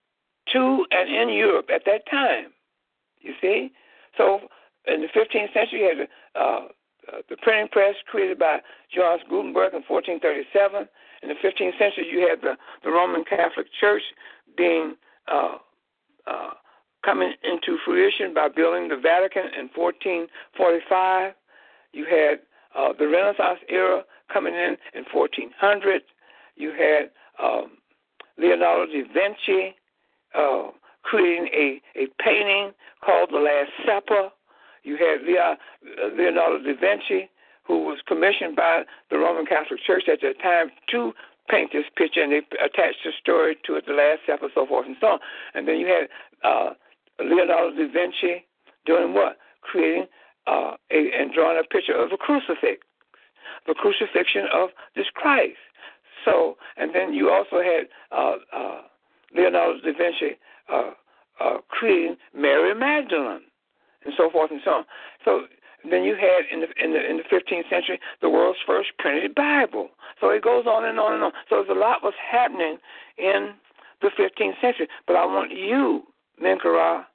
to and in Europe at that time, you see. So in the fifteenth century, you had the, uh, uh, the printing press created by Johannes Gutenberg in fourteen thirty-seven. In the fifteenth century, you had the, the Roman Catholic Church being uh, uh, coming into fruition by building the Vatican in fourteen forty-five. You had uh, the Renaissance era coming in in fourteen hundred. You had um, Leonardo da Vinci uh, creating a, a painting called The Last Supper. You had Leonardo da Vinci, who was commissioned by the Roman Catholic Church at that time to paint this picture, and they attached a story to it, The Last Supper, so forth and so on. And then you had uh, Leonardo da Vinci doing what? Creating uh, a, and drawing a picture of a crucifix, the crucifixion of this Christ. So, and then you also had uh, uh, Leonardo da Vinci uh, uh, creating Mary Magdalene, and so forth and so on. So then you had in the in the in the fifteenth century the world's first printed Bible. So it goes on and on and on. So there's a lot was happening in the fifteenth century. But I want you, Menkera,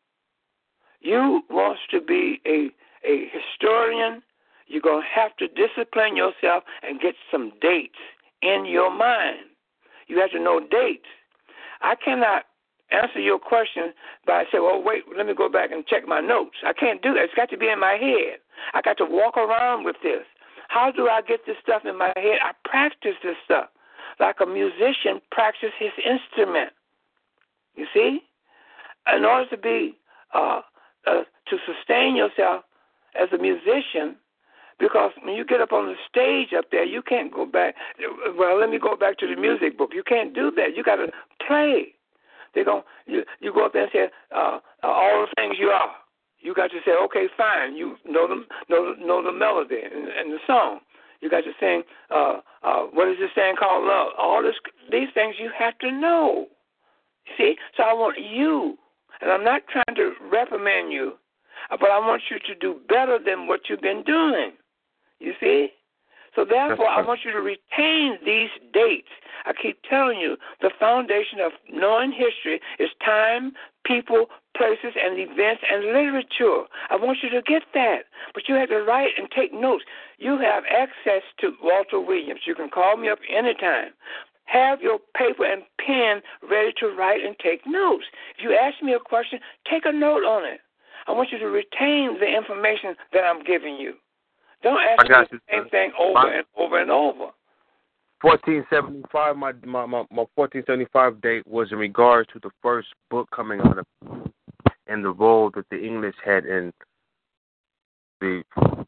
you want to be a a historian. You're gonna have to discipline yourself and get some dates in your mind. You have to know dates. I cannot answer your question by saying, well, wait, let me go back and check my notes. I can't do that. It's got to be in my head. I got to walk around with this. How do I get this stuff in my head? I practice this stuff like a musician practices his instrument. You see? In order to be, uh, uh, to sustain yourself as a musician, because when you get up on the stage up there, you can't go back. Well, let me go back to the music book. You can't do that. You got to play. They're going you you go up there and say uh, all the things you are. You got to say, okay, fine. You know the know know the melody and, and the song. You got to sing. Uh, uh, what is this thing called love? All this these things you have to know. See, so I want you, and I'm not trying to reprimand you, but I want you to do better than what you've been doing. You see? So therefore, I want you to retain these dates. I keep telling you, the foundation of knowing history is time, people, places, and events, and literature. I want you to get that. But you have to write and take notes. You have access to Walter Williams. You can call me up anytime. Have your paper and pen ready to write and take notes. If you ask me a question, take a note on it. I want you to retain the information that I'm giving you. Don't ask me the same thing over my, and over and over. fourteen seventy-five, my, my, my, my fourteen seventy-five date was in regards to the first book coming out of and the role that the English had in the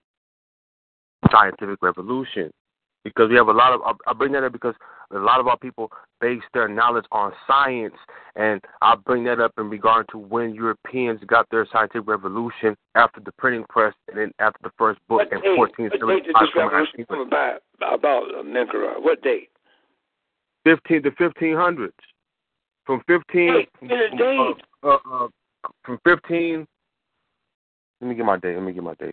scientific revolution. Because we have a lot of, I bring that up because a lot of our people base their knowledge on science, and I bring that up in regard to when Europeans got their scientific revolution after the printing press and then after the first book what in date, fourteen seventy-five. What date did this revolution come about, about uh, Menkera? What date? Fifteen to fifteen hundreds. From fifteen. Hey, from, date. Uh, uh, uh, from fifteen. Let me get my date. Let me get my date.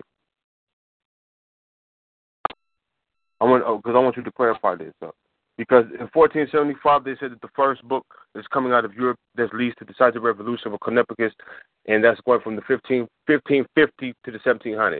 I want because oh, I want you to clarify this. Uh, because in fourteen seventy-five they said that the first book is coming out of Europe that leads to the scientific revolution of Copernicus, and that's going from the fifteen, fifteen fifty to the seventeen hundreds.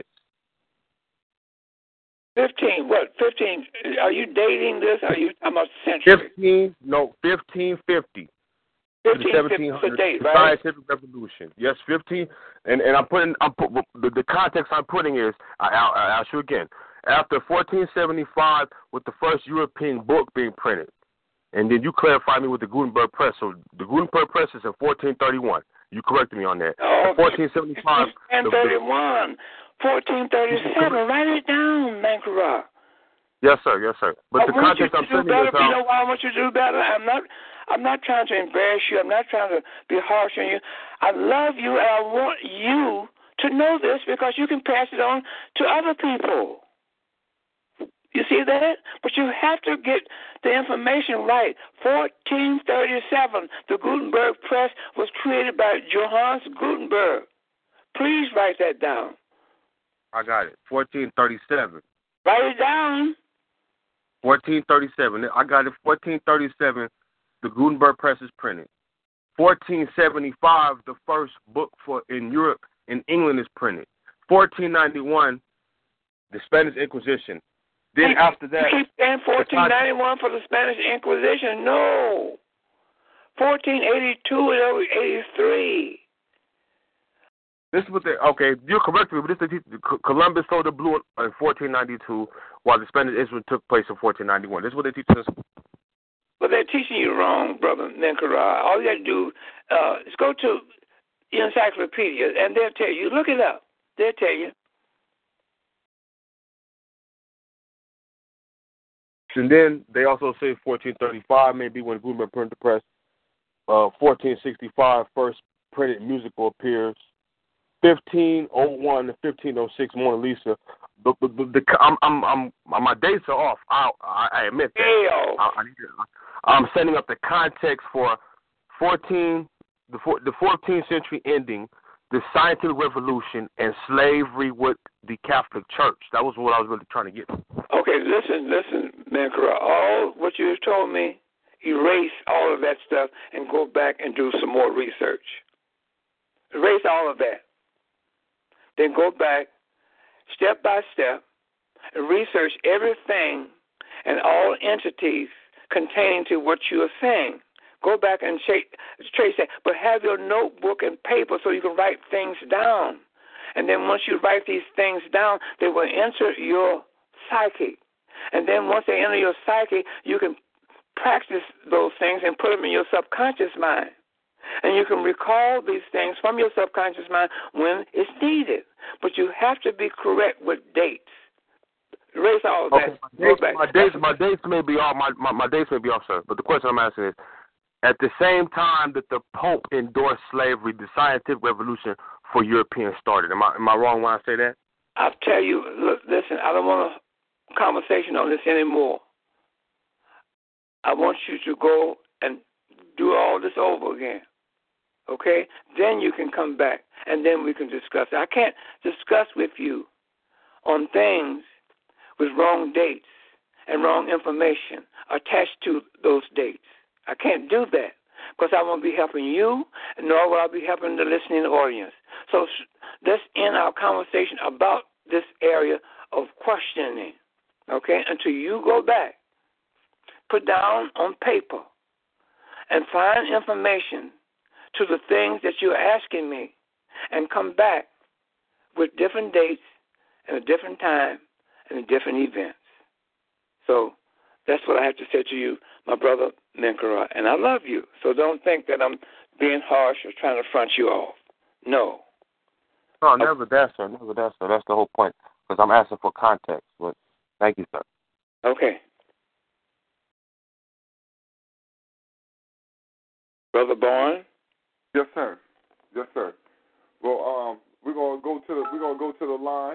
Fifteen what? Fifteen? Are you dating this? Are you talking about century? Fifteen? No, fifteen fifty. fifteen fifty date, the right? scientific revolution. Yes, fifteen. And and I'm putting. I'm put, the, the context I'm putting is. I, I, I'll ask you again. After fourteen seventy-five, with the first European book being printed, and then you clarify me with the Gutenberg Press. So the Gutenberg Press is in fourteen thirty-one. You corrected me on that. Oh, fourteen seventy-five. fourteen thirty-one. fourteen thirty-seven. Write it down, Mankara. Yes, sir. Yes, sir. But I the want context you I'm to do saying better. is, You know why I want you to do better? I'm not. I'm not trying to embarrass you. I'm not trying to be harsh on you. I love you, and I want you to know this because you can pass it on to other people. You see that? But you have to get the information right. fourteen thirty-seven, the Gutenberg Press was created by Johannes Gutenberg. Please write that down. I got it. fourteen thirty-seven. Write it down. fourteen thirty-seven. I got it. fourteen thirty-seven, the Gutenberg Press is printed. fourteen seventy-five, the first book for in Europe and England is printed. fourteen ninety-one, the Spanish Inquisition. Then you, after that, you keep saying fourteen ninety-one for the Spanish Inquisition. No, fourteen eighty-two and eighty-three. This is what they okay. You're correct, but this is the, Columbus sold the blue in fourteen ninety-two, while the Spanish Inquisition took place in fourteen ninety-one. This is what they teach us. Well, they're teaching you wrong, brother Mankara. All you got to do uh, is go to the encyclopedia, and they'll tell you. Look it up. They'll tell you. And then they also say fourteen thirty-five, maybe when Gutenberg printed the press. Uh, fourteen sixty-five, first printed musical appears. fifteen oh one to fifteen oh six, Mona Lisa. The, the, the, the, I'm, I'm, I'm, my dates are off. I, I, I admit that. I, I need to, I'm setting up the context for fourteen, the, the fourteenth century ending, the scientific revolution, and slavery with the Catholic Church. That was what I was really trying to get. Okay, listen, listen, Mankara. All what you told me, erase all of that stuff and go back and do some more research. Erase all of that. Then go back, step by step, and research everything and all entities containing to what you are saying. Go back and trace that, but have your notebook and paper so you can write things down. And then once you write these things down, they will enter your psyche. And then once they enter your psyche, you can practice those things and put them in your subconscious mind. And you can recall these things from your subconscious mind when it's needed. But you have to be correct with dates. Erase all of okay, that. My dates, my dates, my dates may be off. My, my, my dates may be off, sir. But the question I'm asking is, at the same time that the Pope endorsed slavery, the scientific revolution for Europeans started. Am I am I wrong when I say that? I'll tell you. Look, listen. I don't want a conversation on this anymore. I want you to go and do all this over again. Okay? Then you can come back, and then we can discuss it. I can't discuss with you on things with wrong dates and wrong information attached to those dates. I can't do that because I won't be helping you, nor will I be helping the listening audience. So let's end our conversation about this area of questioning, okay, until you go back, put down on paper, and find information to the things that you're asking me, and come back with different dates and a different time and different events. So that's what I have to say to you, my brother Mankara, and I love you. So don't think that I'm being harsh or trying to front you off. No. No, never that, sir. Never that, sir. That's the whole point, because I'm asking for context. But thank you, sir. Okay. Brother Bourne? Yes, sir. Yes, sir. Well, um, we're gonna go to the we're gonna go to the line.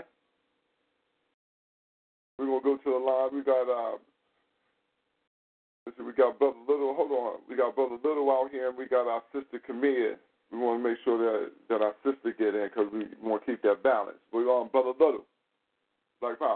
We're gonna go to the line. We got uh, listen, we got Brother Little. Hold on, we got Brother Little out here, and we got our sister Camille. We want to make sure that that our sister get in because we want to keep that balance. We're on Brother Little. Black Power.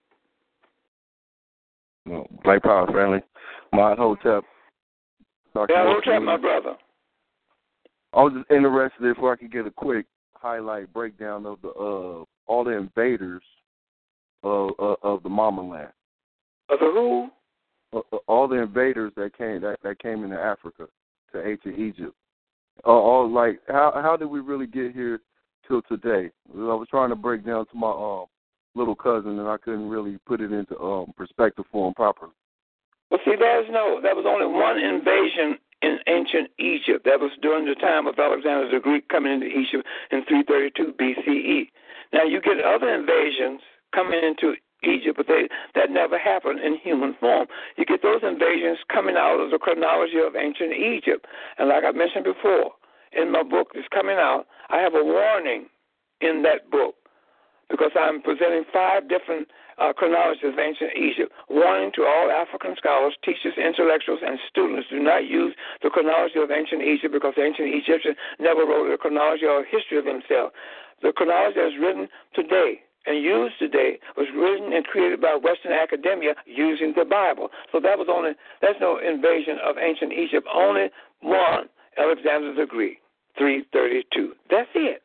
No, Black Power family. Mod Hotep. Yeah, Hotep, my brother. I was just interested if I could get a quick highlight breakdown of the uh all the invaders of uh, of the Mama Land. Of the who? Uh, all the invaders that came that, that came into Africa. to ancient Egypt? Or, or like, how how did we really get here till today? I was trying to break down to my um little cousin, and I couldn't really put it into um perspective for him properly. Well, see, there's no, there was only one invasion in ancient Egypt. That was during the time of Alexander the Greek coming into Egypt in three thirty-two B C E. Now, you get other invasions coming into Egypt, but they, that never happened in human form. You get those invasions coming out of the chronology of ancient Egypt. And like I mentioned before, in my book that's coming out, I have a warning in that book because I'm presenting five different uh, chronologies of ancient Egypt, warning to all African scholars, teachers, intellectuals, and students, do not use the chronology of ancient Egypt because ancient Egyptians never wrote a chronology or a history of themselves. The chronology that is written today and used today was written and created by Western academia using the Bible. So that was only, that's no invasion of ancient Egypt, only one, Alexander the Greek, three thirty-two. That's it.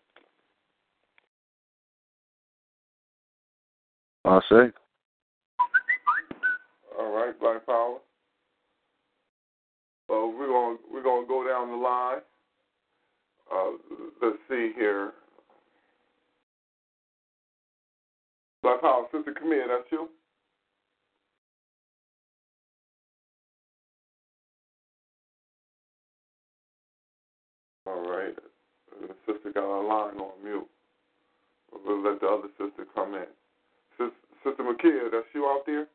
I say. All right, Black Power. So we're gonna we're gonna go down the line. Uh, let's see here. Black Power, Sister Camille, that's you. All right. The sister got a line on mute. We'll let the other sister come in. Sister, sister Makia, that's you out there?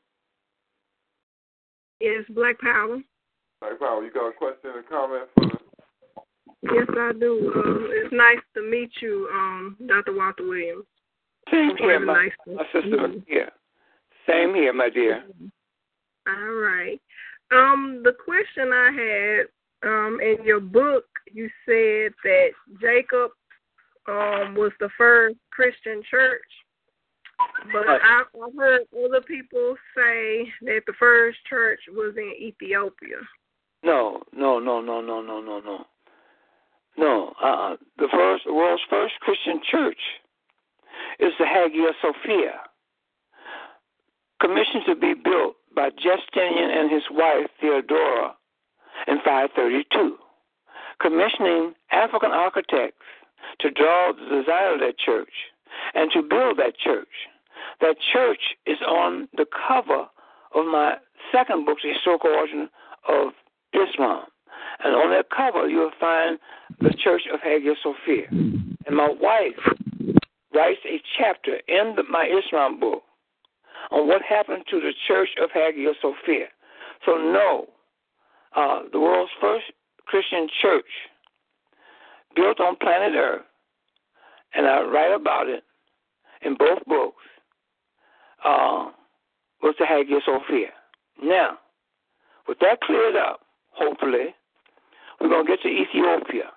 Yes, Black Power. Black Power, you got a question or comment for the... Yes, I do. Um, it's nice to meet you, um, Doctor Walter Williams. Same here, my, nice my sister Makia. Same here, my dear. All right. Um, the question I had, um, in your book, you said that Jacob um, was the first Christian church. But I, I heard other people say that the first church was in Ethiopia. No, no, no, no, no, no, no, no. No, uh, the first, the world's first Christian church is the Hagia Sophia, commissioned to be built by Justinian and his wife Theodora in five thirty-two, commissioning African architects to draw the design of that church and to build that church. That church is on the cover of my second book, The Historical Origin of Islam. And on that cover, you'll find the Church of Hagia Sophia. And my wife writes a chapter in the, my Islam book on what happened to the Church of Hagia Sophia. So no, uh, the world's first Christian church built on planet Earth, and I write about it in both books, uh, was the Hagia Sophia. Now, with that cleared up, hopefully, we're going to get to Ethiopia.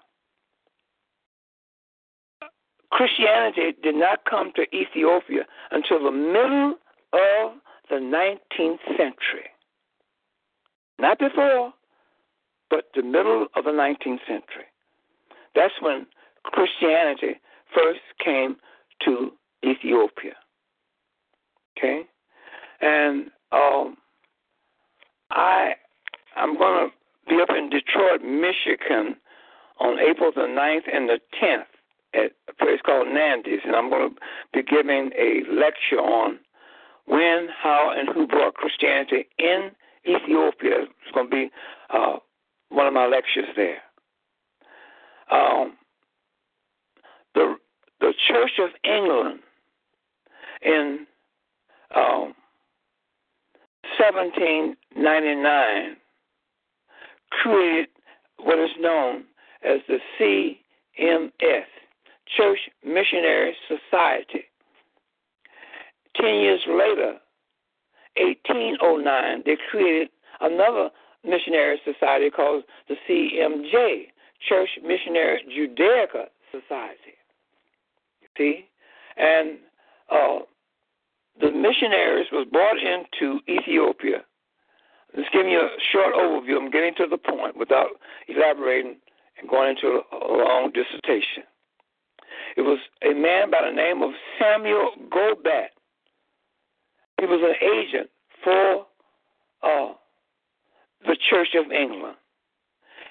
Christianity did not come to Ethiopia until the middle of the nineteenth century. Not before, but the middle of the nineteenth century. That's when Christianity first came to Ethiopia. Okay? And um, I, I'm going to be up in Detroit, Michigan on April the ninth and the tenth at a place called Nandy's, and I'm going to be giving a lecture on when, how, and who brought Christianity in Ethiopia. It's going to be uh, one of my lectures there. Um, the the Church of England in um, seventeen ninety-nine created what is known as the C M S, Church Missionary Society. Ten years later, eighteen oh nine, they created another missionary society called the C M J, Church Missionary Judaica Society. See? And uh, the missionaries was brought into Ethiopia. Just giving you a short overview. I'm getting to the point without elaborating and going into a long dissertation. It was a man by the name of Samuel Gobat. He was an agent for uh, the Church of England.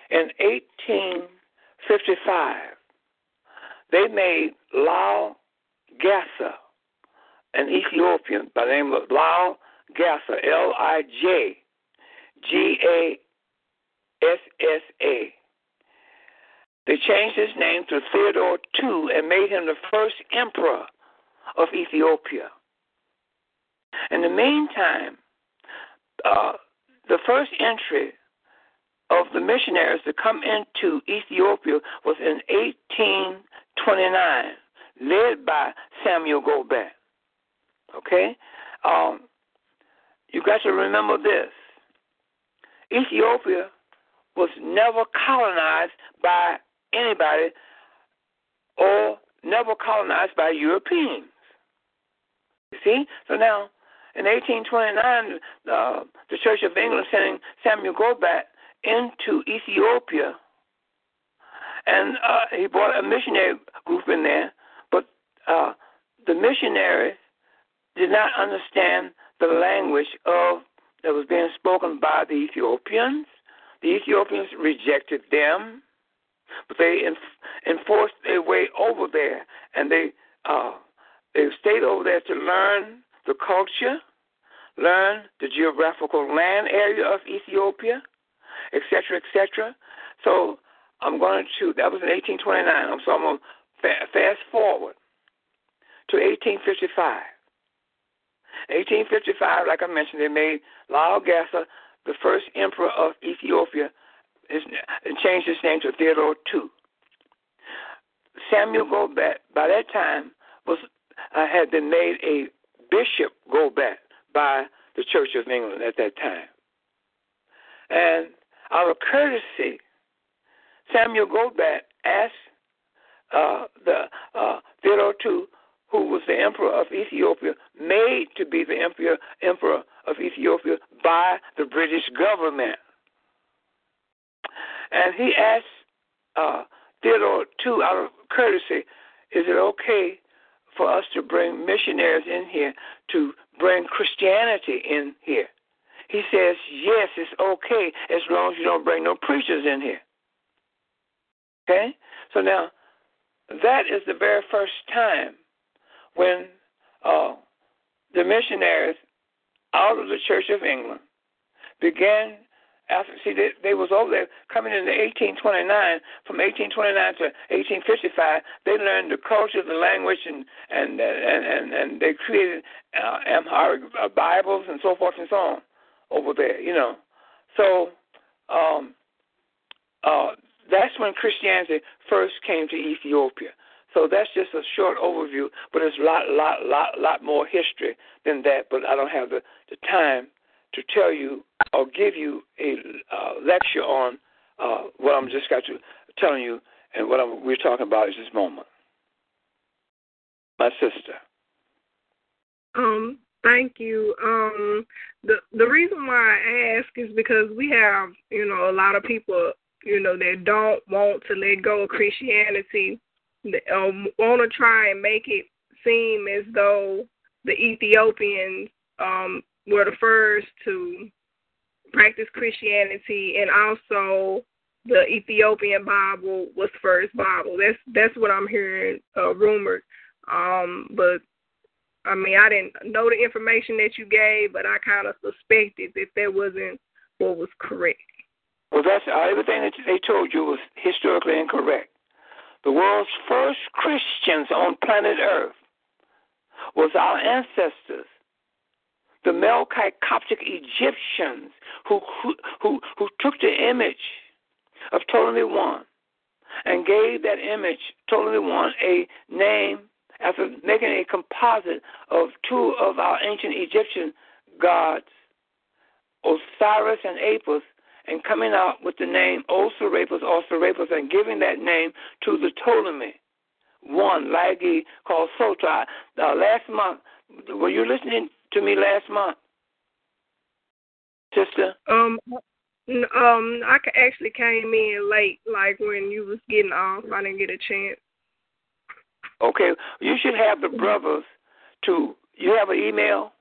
in eighteen fifty-five, they made Lal Gassa, an Ethiopian by the name of Lal Gassa, L I J G A S S A. They changed his name to Theodore the Second and made him the first emperor of Ethiopia. In the meantime, uh, the first entry of the missionaries to come into Ethiopia was in eighteen twenty-nine, led by Samuel Gobet. Okay? Um, you got to remember this. Ethiopia was never colonized by anybody or never colonized by Europeans. You see? So now, in eighteen twenty-nine, uh, the Church of England sending Samuel Gobet into Ethiopia, and uh, he brought a missionary group in there, but uh, the missionaries did not understand the language of that was being spoken by the Ethiopians. The Ethiopians rejected them, but they enf- enforced their way over there, and they uh, they stayed over there to learn the culture, learn the geographical land area of Ethiopia, et cetera, et cetera. So I'm going to, that was in eighteen twenty-nine, so I'm going to fa- fast forward to eighteen fifty-five. eighteen fifty-five, like I mentioned, they made Lal Gassa the first emperor of Ethiopia his, and changed his name to Theodore the Second. Samuel Gobet, by that time, was uh, had been made a Bishop Gobet by the Church of England at that time. And out of courtesy, Samuel Gobet asked uh, the uh, Theodore the Second, who was the emperor of Ethiopia, made to be the emperor, emperor of Ethiopia by the British government. And he asked uh, Theodore the Second, out of courtesy, is it okay for us to bring missionaries in here to bring Christianity in here? He says, yes, it's okay as long as you don't bring no preachers in here. Okay? So now, that is the very first time when uh, the missionaries out of the Church of England began, after, see, they, they was over there coming into eighteen twenty-nine, from eighteen twenty-nine to eighteen fifty-five, they learned the culture, the language, and and and, and, and they created uh, Amharic uh, Bibles and so forth and so on over there, you know. So um, uh, that's when Christianity first came to Ethiopia. So that's just a short overview, but there's a lot, lot, lot, lot more history than that. But I don't have the, the time to tell you or give you a uh, lecture on uh, what I'm just got to telling you and what I'm, we're talking about at this moment. My sister. Um. Thank you. Um. The the reason why I ask is because we have, you know, a lot of people, you know, that don't want to let go of Christianity. Um, want to try and make it seem as though the Ethiopians um, were the first to practice Christianity, and also the Ethiopian Bible was the first Bible. That's that's what I'm hearing uh, rumored. Um, but I mean, I didn't know the information that you gave, but I kind of suspected that that wasn't what was correct. Well, that's uh, everything that they told you was historically incorrect. The world's first Christians on planet Earth was our ancestors, the Melkite Coptic Egyptians, who who who took the image of Ptolemy the First and gave that image, Ptolemy the First, a name after making a composite of two of our ancient Egyptian gods, Osiris and Apis, and coming out with the name Osirapis, Osirapis, and giving that name to the Ptolemy one, Lagi, called Sotai. Uh, last month, were you listening to me last month, sister? Um, um, I actually came in late, like when you was getting off. I didn't get a chance. Okay, you should have the brothers to, you have an email?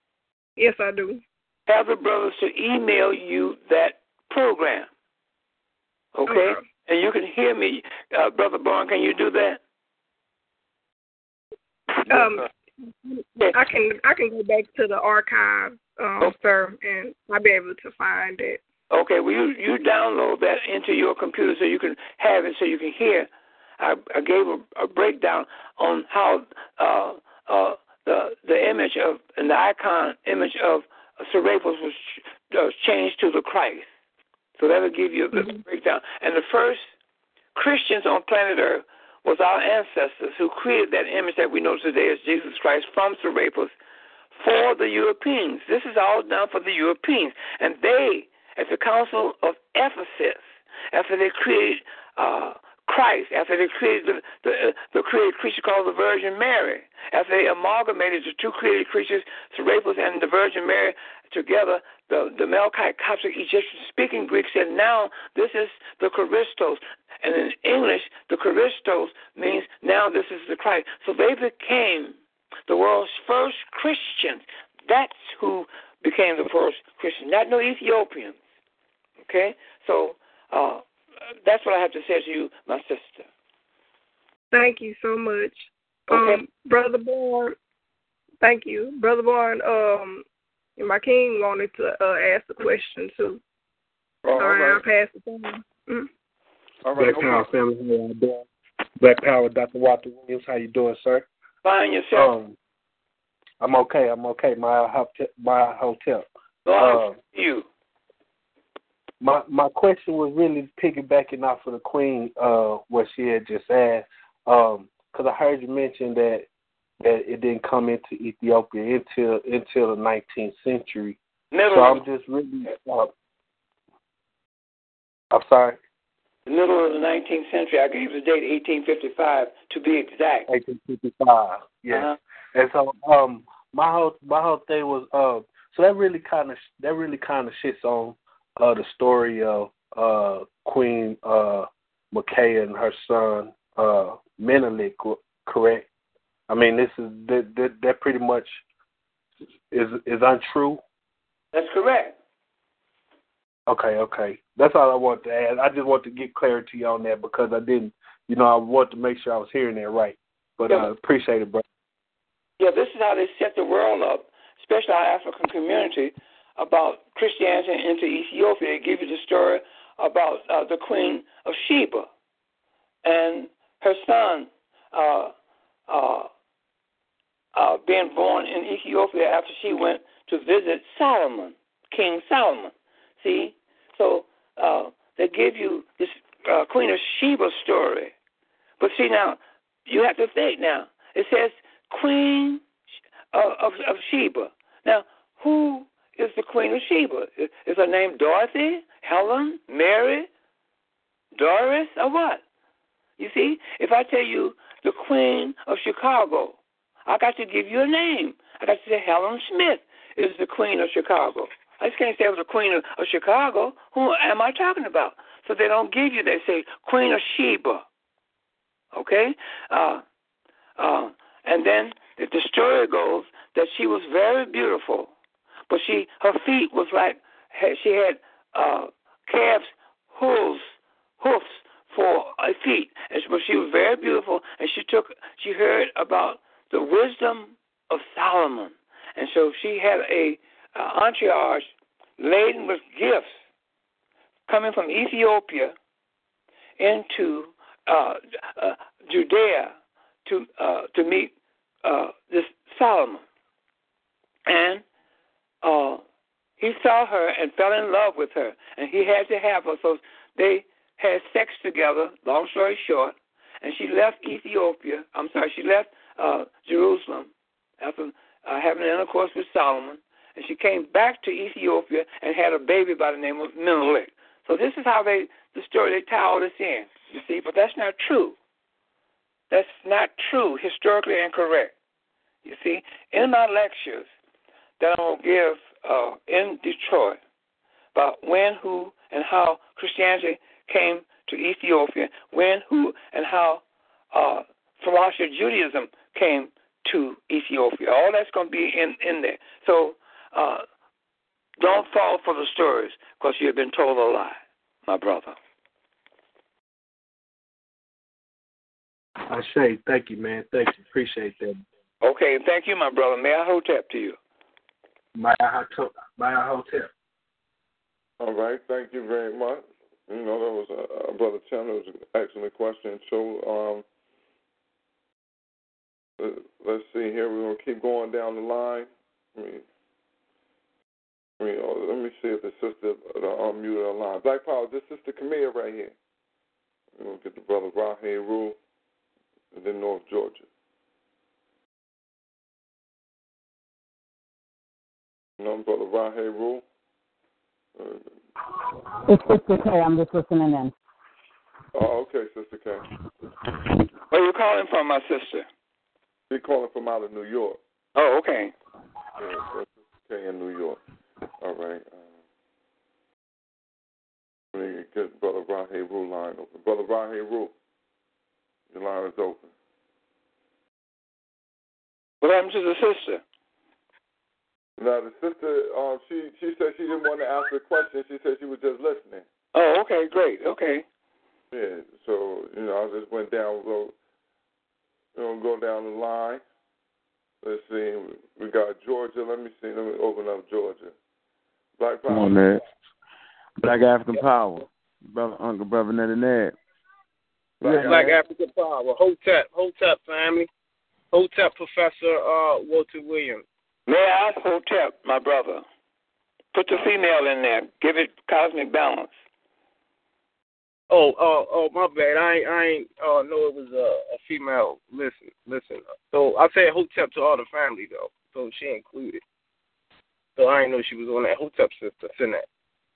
Yes, I do. Have the brothers to email you that program. Okay? Okay. And you can hear me, uh, Brother Barn. Can you do that? Um, I can I can go back to the archive, um, okay. sir, and I'll be able to find it. Okay, well, you, you download that into your computer so you can have it so you can hear. I, I gave a, a breakdown on how uh, uh, the the image of, and the icon image of Serapis was uh, changed to the Christ. So that will give you a mm-hmm. breakdown. And the first Christians on planet Earth was our ancestors who created that image that we know today as Jesus Christ from Serapis for the Europeans. This is all done for the Europeans. And they, at the Council of Ephesus, after they created uh, Christ, after they created the, the, the created creature called the Virgin Mary, after they amalgamated the two created creatures, Serapis and the Virgin Mary, together, the, the Melchite, Coptic, Egyptian-speaking Greek said, now this is the Christos. And in English, the Christos means now this is the Christ. So they became the world's first Christians. That's who became the first Christian, not no Ethiopians. Okay? So uh, that's what I have to say to you, my sister. Thank you so much. Okay. Um, Brother Bourne, thank you. Brother Bourne, um, my king wanted to uh, ask a question too. Oh, all right. I'll pass the phone. Mm-hmm. All right. Black Power family, how y'all doing? Black Power, Doctor Walter Williams, how you doing, sir? Fine, yourself. Um, I'm okay. I'm okay. My hotel. My hotel. Oh, uh, you. My my question was really piggybacking off of the Queen, uh, what she had just asked, um, because I heard you mention that that it didn't come into Ethiopia until until the nineteenth century. Middle so I'm just really. Uh, I'm sorry. The middle of the nineteenth century. I gave the date eighteen fifty-five to be exact. eighteen fifty-five. Yes. Uh-huh. And so um, my whole my whole thing was uh, so that really kind of that really kind of shits on uh, the story of uh, Queen uh, Micaiah and her son uh, Menelik, correct? I mean, this is that, that that pretty much is is untrue. That's correct. Okay, okay. That's all I want to add. I just want to get clarity on that because I didn't, you know, I want to make sure I was hearing that right. But I yeah. uh, appreciate it, bro. Yeah, this is how they set the world up, especially our African community, about Christianity into Ethiopia. They give you the story about uh, the Queen of Sheba and her son uh, uh, uh, being born in Ethiopia after she went to visit Solomon, King Solomon. See? So uh, they give you this uh, Queen of Sheba story. But see now, you have to think now. It says Queen of, of, of Sheba. Now, who is the Queen of Sheba? Is, is her name Dorothy, Helen, Mary, Doris, or what? You see, if I tell you the Queen of Chicago, I got to give you a name. I got to say Helen Smith is the Queen of Chicago. I just can't say I was the Queen of, of Chicago. Who am I talking about? So they don't give you, they say Queen of Sheba. Okay? Uh, uh, and then the, the story goes that she was very beautiful, but she her feet was like, she had uh, calves' hooves, hoofs for her feet. And she, but she was very beautiful, and she took, she heard about the wisdom of Solomon. And so she had a Uh, entourage laden with gifts coming from Ethiopia into uh, uh, Judea to uh, to meet uh, this Solomon, and uh, he saw her and fell in love with her, and he had to have her. So they had sex together. Long story short, and she left Ethiopia. I'm sorry, she left uh, Jerusalem after uh, having intercourse with Solomon. And she came back to Ethiopia and had a baby by the name of Menelik. So this is how they, the story, they tie all this in, you see. But that's not true. That's not true, historically incorrect, you see. In my lectures that I will give uh, in Detroit about when, who, and how Christianity came to Ethiopia, when, who, and how uh, philosophy Judaism came to Ethiopia. All that's going to be in, in there. So Uh, don't fall for the stories because you've been told a lie, my brother. I say, thank you, man. Thank you. Appreciate that. Okay, thank you, my brother. May I hotep to you? Maya Hotep. Maya Hotep. All right, thank you very much. You know, that was uh, Brother Chandler. It was an excellent question. So, um, uh, let's see here. We're going to keep going down the line. I mean, I mean, oh, let me see if the sister uh, unmuted her line. Black Power, this is Sister Camille right here. We're going to get the Brother Rahe Rule and then North Georgia. You know, Brother Rahe Rule. Uh, It's Sister K. I'm just listening in. Oh, okay, Sister K. Where are you calling from, my sister? She's calling from out of New York. Oh, okay. Yeah, that's Sister K in New York. All right. Um, let me get Brother Rahe Rule line open. Brother Rahe Rule, your line is open. What happened to the sister? Now, the sister, uh, she, she said she didn't want to ask a question. She said she was just listening. Oh, okay, great. Okay. Yeah, so, you know, I just went down, go, you know, go down the line. Let's see. We got Georgia. Let me see. Let me open up Georgia. Black Power. Come on, man. Black African Power. Brother, Uncle, Brother Ned and Ned. Black, Black African Power. Hotep. Hotep family. Hotep Professor uh, Walter Williams. May I ask Hotep, my brother? Put the female in there. Give it cosmic balance. Oh, oh, oh, my bad. I ain't, I ain't uh, know it was a, a female. Listen, listen. So I said Hotep to all the family though, so she included. So I didn't know she was on that. Hotep sister. Send that.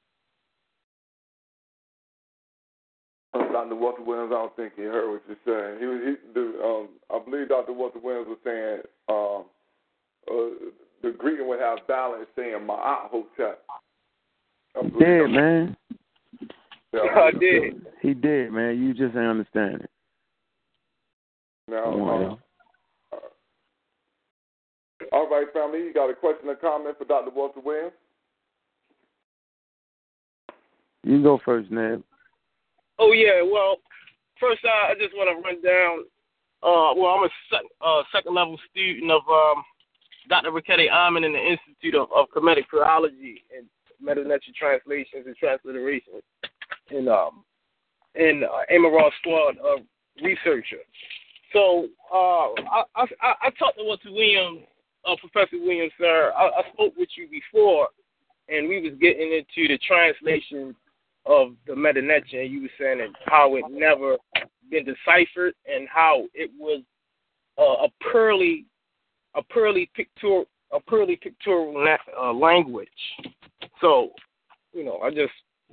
Doctor Walter Williams, I don't think he heard what you said. He was, he, the, um, I believe Doctor Walter Williams was saying um, uh, the greeting would have balance, saying Ma'at Hotep. He did, man. Yeah, I did. He did, man. You just ain't understand it. Now, on, uh, all right, family, you got a question or comment for Doctor Walter Williams? You can go first, Ned. Oh, yeah, well, first uh, I just want to run down, uh, well, I'm a sec- uh, second-level student of um, Doctor Rakete Amin in the Institute of, of Kemetic Philology and Meta-Netra Translations and Transliterations, and um, and uh, Amaral Squad uh, researcher. So uh, I, I, I talked to Walter Williams, uh, Professor Williams, sir. I, I spoke with you before, and we was getting into the translation of the Meta-Netra, and you were saying that how it never been deciphered and how it was uh, a purely a purely pictorial a purely pictorial uh, language. So, you know, I just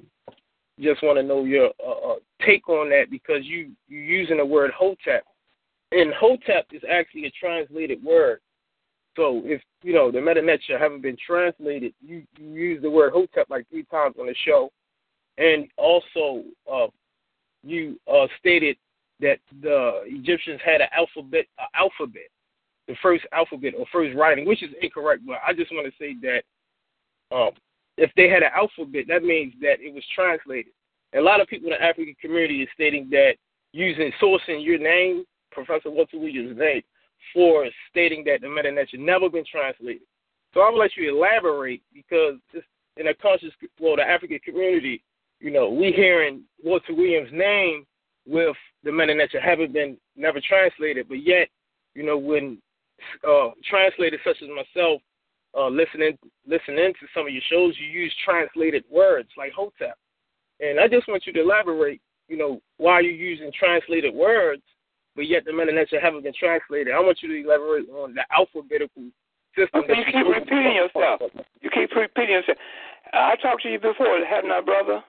just want to know your uh, uh, take on that, because you you're using the word Hotep, and Hotep is actually a translated word. So if you know the Meta-Netra haven't been translated, you, you use the word Hotep like three times on the show. And also, uh, you uh, stated that the Egyptians had an alphabet, uh, alphabet, the first alphabet or first writing, which is incorrect. But I just want to say that um, if they had an alphabet, that means that it was translated. And a lot of people in the African community is stating that using sourcing your name, Professor Walter Williams' name, for stating that the Meta-Netra never been translated. So I would like you to elaborate, because it's in a conscious, well, the African community, you know, we hearing Walter Williams' name with the Meta-Netra haven't been never translated, but yet, you know, when uh, translators such as myself uh, listening listening to some of your shows, you use translated words like Hotep, and I just want you to elaborate, you know, why you're using translated words, but yet the Meta-Netra haven't been translated. I want you to elaborate on the alphabetical system. Okay, you keep repeating yourself. You keep repeating yourself. I talked to you before, haven't I, brother?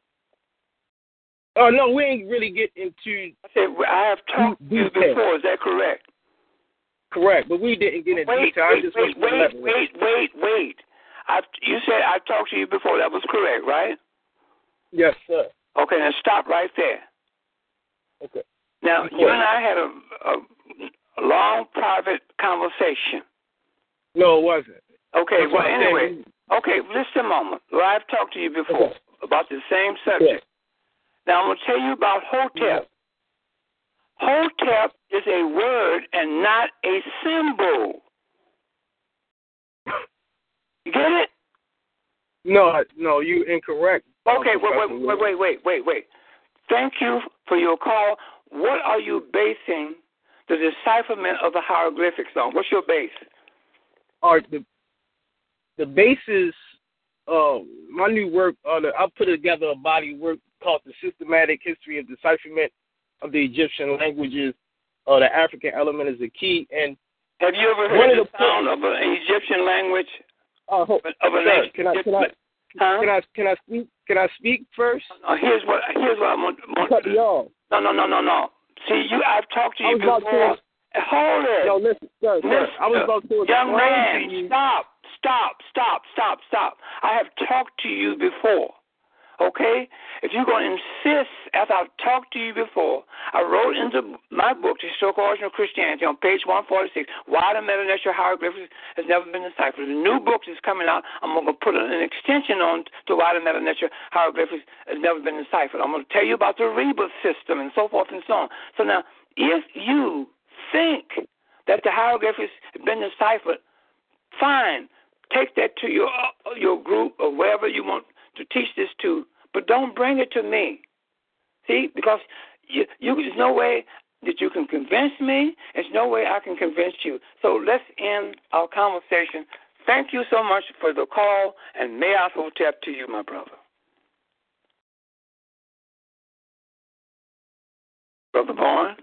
Oh, no, we ain't really get into... I said, I have talked to you before. Is that correct? Correct, but we didn't get into wait, detail. Wait, I just wait, wait, wait, wait, wait. I, you said I talked to you before. That was correct, right? Yes, sir. Okay, now stop right there. Okay. Now, you and I had a, a, a long private conversation. No, it wasn't. Okay, That's well, anyway. Okay, listen a moment. Well, I've talked to you before okay. about the same subject. Okay. Now, I'm going to tell you about Hotep. Hotep is a word and not a symbol. You get it? No, no, you incorrect. Okay, wait, wait, wait, wait, wait, wait, wait. Thank you for your call. What are you basing the decipherment of the hieroglyphics on? What's your base? All right, the the basis. Uh, my new work. Uh, the, I put together a body of work called "The Systematic History of Decipherment of the Egyptian Languages." Uh, the African element is the key. And have you ever heard the sound of an Egyptian language? Uh, hold, of an sir, can I can I, huh? can I can I speak? Can I speak first? No, here's what here's what I want. want to y'all. No, no, no, no, no. See, you. I've talked to you before. To, Hold it. No, listen, sir, sir. Listen, I was about to young man, to you. stop, stop, stop, stop, stop. I have talked to you before. Okay? If you're going to insist, after I've talked to you before, I wrote into my book, The Historical Origin of Christianity, on page one forty-six, Why the Meta-National Hieroglyphics Has Never Been Deciphered. The new book is coming out. I'm going to put an extension on to Why the Meta-National Hieroglyphics Has Never Been Deciphered. I'm going to tell you about the rebus system and so forth and so on. So now, if you think that the hieroglyphics have been deciphered, fine. Take that to your uh, your group or wherever you want to teach this to, but don't bring it to me. See, because you, you, there's no way that you can convince me. There's no way I can convince you. So let's end our conversation. Thank you so much for the call, and may I hotep to you, my brother. Brother Bourne?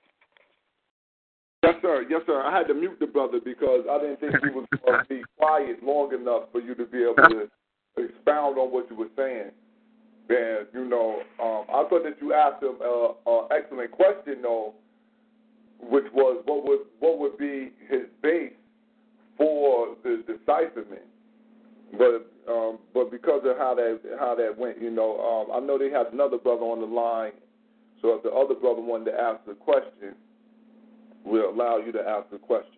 Yes, sir. Yes, sir. I had to mute the brother because I didn't think he was going to be quiet long enough for you to be able to expound on what you were saying. And, you know, um, I thought that you asked him an uh, uh, excellent question, though, which was what would what would be his base for the decipherment. But um, but because of how that how that went, you know, um, I know they had another brother on the line. So if the other brother wanted to ask the question, we'll allow you to ask the question.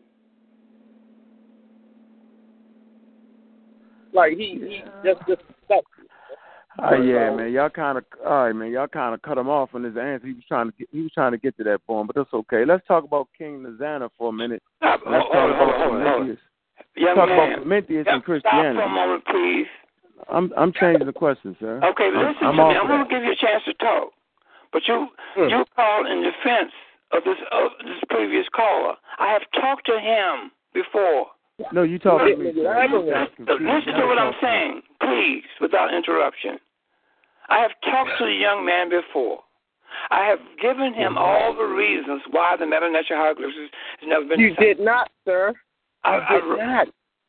Like he, he just just stuck. Oh yeah, man. Y'all kind of, all right, man. Y'all kind of cut him off on his answer. He was trying to, get, he was trying to get to that point, but that's okay. Let's talk about King Nazana for a minute. Stop. Let's hold, talk hold, about hold, Prometheus. Young Let's talk man. about Prometheus Yep, and Christianity. Stop for a moment, please. I'm, I'm changing the question, sir. Okay, I'm, listen I'm to me. off I'm going to give you a chance to talk, but you, mm. you called in defense of this of this previous caller. I have talked to him before. No, you talk to me. Listen to what I'm saying, please, without interruption. I have talked to the young man before. I have given him all the reasons why the meta-nature hieroglyphics has never been. You decided. did not, sir. I, you did I,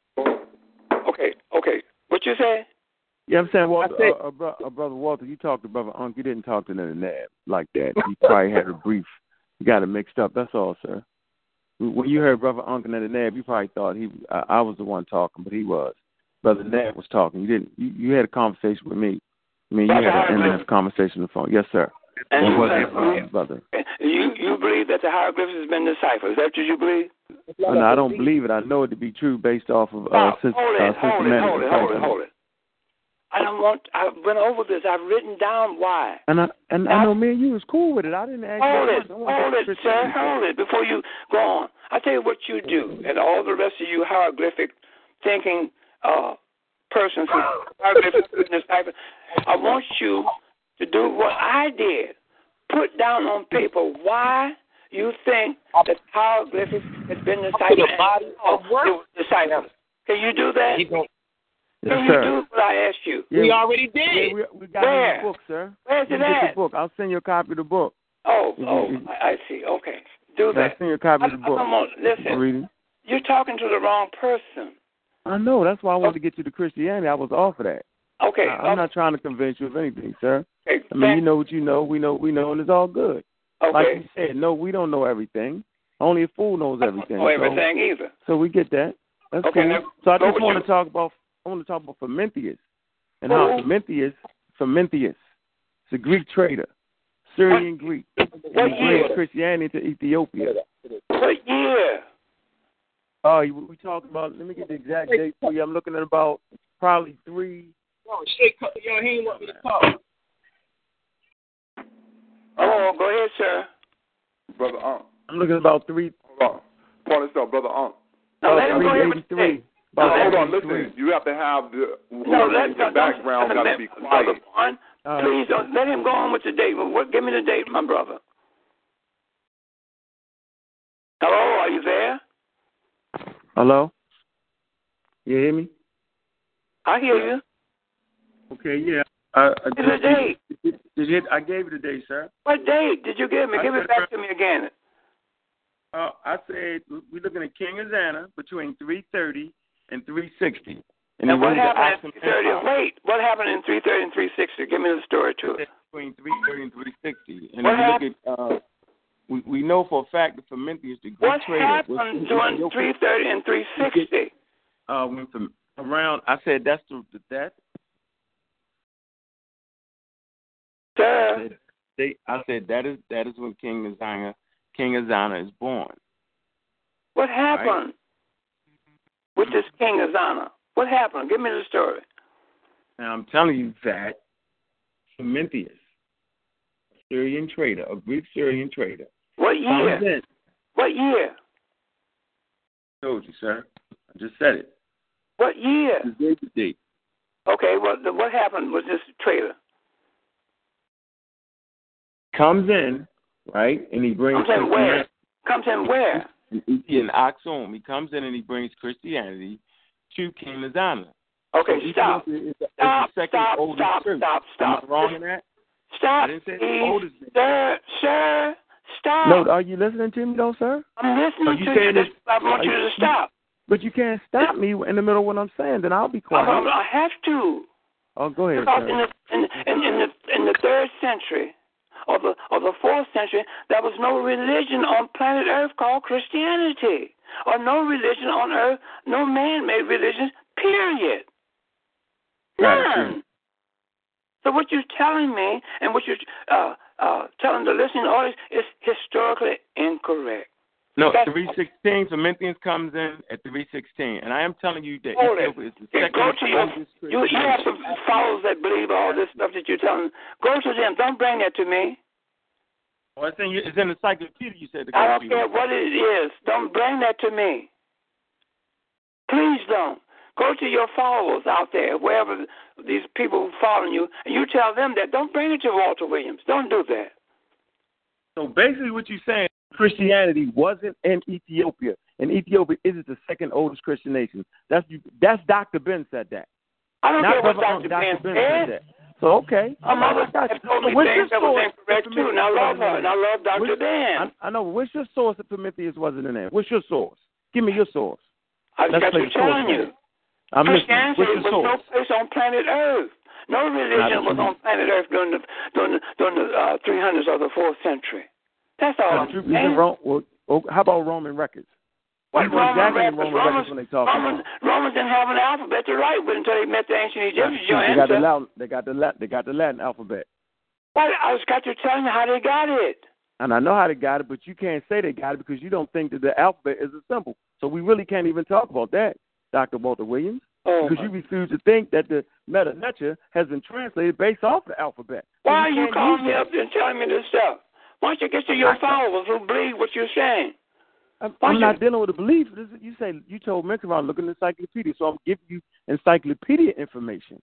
not. Okay, okay. What you say? Yeah, I'm saying, Walter, said, uh, uh, bro, uh, Brother Walter, you talked to Brother Unc. You didn't talk to Ned Nab like that. You probably had a brief. You got it mixed up. That's all, sir. When you heard Brother Unc and Ned Nab, you probably thought he uh, I was the one talking, but he was. Brother Nab was talking. You didn't. You, you had a conversation with me. I mean, you had an in-depth conversation on the phone. Yes, sir. And it you, wasn't uh, uh, brother. You you believe that the hieroglyphics has been deciphered? Is that what you believe? Oh, no, I don't believe it. I know it to be true based off of uh, Stop. since, hold, uh, it, hold it, hold it, hold it, hold it. I don't want. I went over this. I've written down why. And I and Now, I know me and you was cool with it. I didn't ask hold you. it, hold it, sir, hold it before you go on. I tell you what you do, and all the rest of you hieroglyphic thinking uh, persons who hieroglyphic decipher. I want you to do what I did. Put down on paper why you think that hieroglyphics has been deciphered and body of work. It was deciphered. Can you do that? Yes, Can sir. you do what I asked you? Yeah, we already did. Yeah, we, we got Where? it in the book, sir. Where's you it get at? the book. I'll send you a copy of the book. Oh, If oh, you, if, I see. Okay, do I'll that. send you a copy I, of the book. I, I, listen, Read it. you're talking to the wrong person. I know. That's why I wanted to get you to Christianity. I was off of that. Okay. I, I'm okay. not trying to convince you of anything, sir. Okay, I mean, you know what you know. We know we know, and it's all good. Okay. Like you said, no, we don't know everything. Only a fool knows everything. I don't know so, everything either. So we get that. That's okay, cool. now, So I just want you. to talk about I want to talk about Prometheus and Who? how Prometheus, Prometheus, it's a Greek trader, Syrian Greek. What he year? brings Christianity to Ethiopia. What year? Oh, uh, we talked about. Let me get the exact date for you. I'm looking at about probably three. Oh, shit, yo, he ain't want me to talk. Oh, go ahead, sir. Brother Unc. I'm looking at about three. Hold on. Point this out, Brother Unc. No, let him go ahead with the date. No, hold on, listen. You have to have the, no, let, the background got to be quiet. Born, uh, please don't let him go on with the date. What, give me the date, my brother. Hello, are you there? Hello? You hear me? I hear you. Okay, yeah. Uh, uh, Give me the date. Did, did you, I gave you the date, sir. What date did you give me? I Give it back to me again. Uh, I said we're looking at King Azana between three thirty and three sixty. And, and what happened in three thirty? Wait, what happened in three thirty and three sixty? Give me the story too. Between three thirty and three sixty. And what if you happened? look at, uh, we, we know for a fact that Fermentius, the great what trader, happened was during three thirty and three sixty? Uh, went from around. I said that's the, the that. Sir. I said, they, I said that is that is when King Azana King Azana is born. What happened right? with this King Azana? What happened? Give me the story. Now I'm telling you that Fermentius, a Syrian trader, a Greek Syrian trader. What year? What year? I told you, sir. I just said it. What year? The date. Okay, well, the, what happened with this trader? Comes in, right, and he brings... Comes in where? Comes in where? In Aksum. He comes in and he brings Christianity to King Azana. Okay, so stop. Is the, stop, is the stop, stop, church. stop, stop. Am I wrong in that? Stop, I didn't say please. the oldest Sir, sir, stop. No, are you listening to me, though, sir? I'm listening you to you. This, I want you to stop. But you can't stop me in the middle of what I'm saying. Then I'll be quiet. I, I have to. Oh, go ahead, because sir. in the, in, in, in, the, in the third century or the, or the fourth century, there was no religion on planet Earth called Christianity. Or no religion on Earth, no man-made religions, period. None. So what you're telling me and what you're uh, uh, telling the listening audience is historically incorrect. No, three sixteen, Fermentius comes in at three sixteen, and I am telling you that Ethiopia is the yeah, second go to your, oldest you, you have some followers that believe all this stuff that you're telling. Go to them. Don't bring that to me. Well, it's in, it's in the encyclopedia, you said. I don't care what it is. Don't bring that to me. Please don't. Go to your followers out there, wherever these people who follow you, and you tell them that. Don't bring it to Walter Williams. Don't do that. So basically what you're saying, Christianity wasn't in Ethiopia, and Ethiopia isn't the second oldest Christian nation. That's that's Doctor Ben said that. I don't Not care what Doctor Ben, Ben said. said that. So, okay. My mother told me so things that was incorrect, too, and I love her, and I love Doctor Which, Ben. I, I know. What's your source that Prometheus wasn't in there? What's your source? Give me your source. I just got to telling you. I'm Christianity listening. What's your was source? no place on planet Earth. No religion was on planet Earth during the during the, during the uh, three hundreds or the fourth century. That's all I'm saying. Rome, well, how about Roman records? What Roman exactly records? Roman Romans, records when they talk Romans, about. Romans didn't have an alphabet to write with until they met the ancient Egyptians. They got the Latin, they got the Latin, they got the Latin alphabet. Well, I just got to tell you how they got it. And I know how they got it, but you can't say they got it because you don't think that the alphabet is a symbol. So we really can't even talk about that, Doctor Walter Williams, oh, because you refuse to think that the Meta Nature has been translated based off the alphabet. Why so are you calling me that. up and telling me this stuff? Why don't you get to your followers who believe what you're saying? I'm, I'm not dealing with a belief. This is, you say you told Minkaron look in the encyclopedia, so I'm giving you encyclopedia information.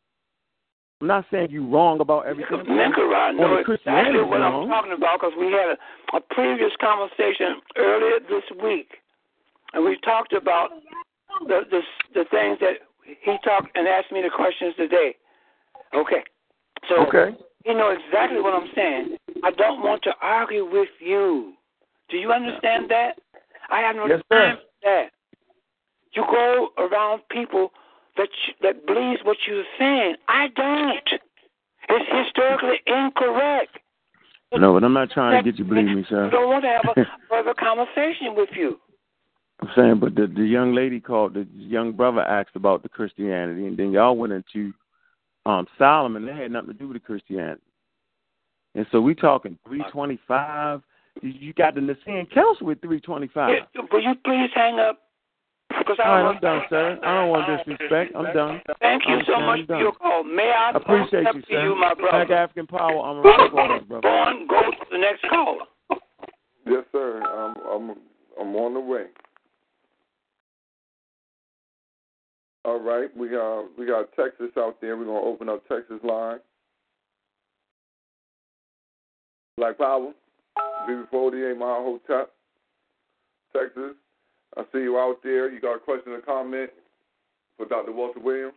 I'm not saying you're wrong about everything. Minkaron knows exactly what I'm talking about because we had a, a previous conversation earlier this week, and we talked about the the, the things that he talked and asked me the questions today. Okay, so okay. He knows exactly what I'm saying. I don't want to argue with you. Do you understand that? I have no yes, time sir. for that. You go around people that you, that believes what you're saying. I don't. It's historically incorrect. No, but I'm not trying to get you to believe me, sir. I don't want to have a further conversation with you. I'm saying, but the, the young lady called, the young brother asked about the Christianity, and then y'all went into um, Solomon. That had nothing to do with the Christianity. And so we talking three twenty-five. You got the Nicene Council with three twenty-five. Yeah, will you please hang up? Because I All right, I'm done, sir. I don't want disrespect. I'm done. Thank you I'm so done. much for your call. May I, I appreciate you, sir. you, my brother. Black African Power. I'm a reporter, brother. Go on, go to the next caller. Yes, sir. I'm I'm I'm on the way. All right, we got we got Texas out there. We're gonna open up Texas line. Black Power, B B forty-eight Mile Hotep, Texas. I see you out there. You got a question or comment for Doctor Walter Williams?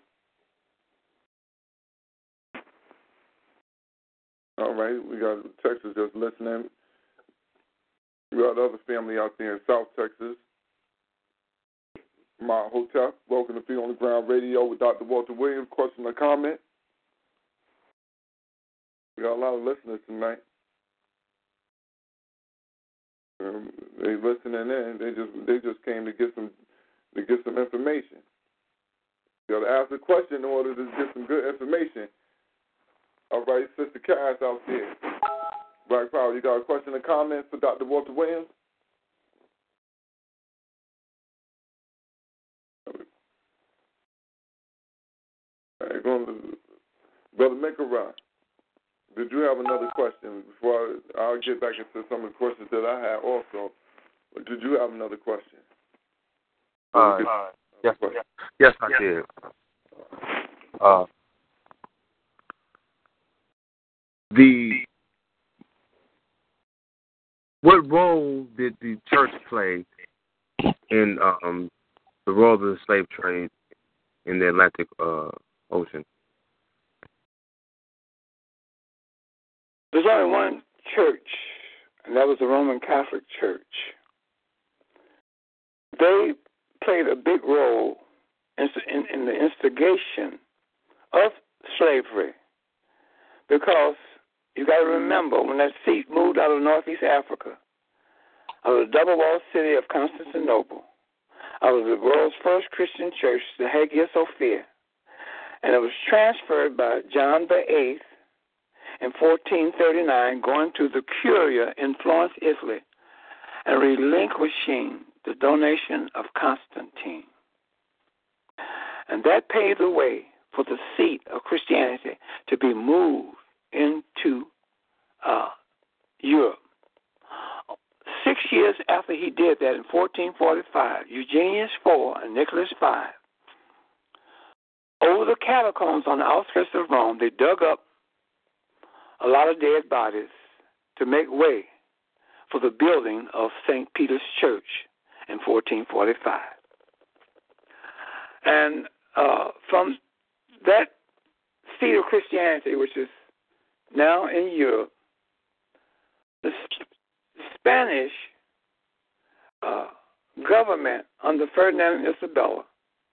All right, we got Texas just listening. We got other family out there in South Texas. My Hotel. Welcome to Feet on the Ground Radio with Doctor Walter Williams. Question or comment? We got a lot of listeners tonight. Um, they listening in. They just they just came to get some to get some information. You got to ask a question in order to get some good information. All right, Sister Cass out there. Black Power, you got a question or comment for Doctor Walter Williams? All right, going to Brother Mikarai. Did you have another question before I, I'll get back into some of the questions that I have also? But did you have another question? Uh, uh, yes, question? yes, I did. Uh, the what role did the church play in um, the role of the slave trade in the Atlantic uh, Ocean? There's only one church, and that was the Roman Catholic Church. They played a big role in, in, in the instigation of slavery because you got to remember when that seat moved out of Northeast Africa, out of the double-walled city of Constantinople, out of the world's first Christian church, the Hagia Sophia, and it was transferred by John the Eighth in fourteen thirty-nine, going to the Curia in Florence, Italy, and relinquishing the donation of Constantine. And that paved the way for the seat of Christianity to be moved into uh, Europe. Six years after he did that, in fourteen forty-five, Eugenius the Fourth and Nicholas the Fifth, over the catacombs on the outskirts of Rome, they dug up a lot of dead bodies to make way for the building of Saint Peter's Church in fourteen forty-five. And uh, from that seat of Christianity, which is now in Europe, the Spanish uh, government under Ferdinand and Isabella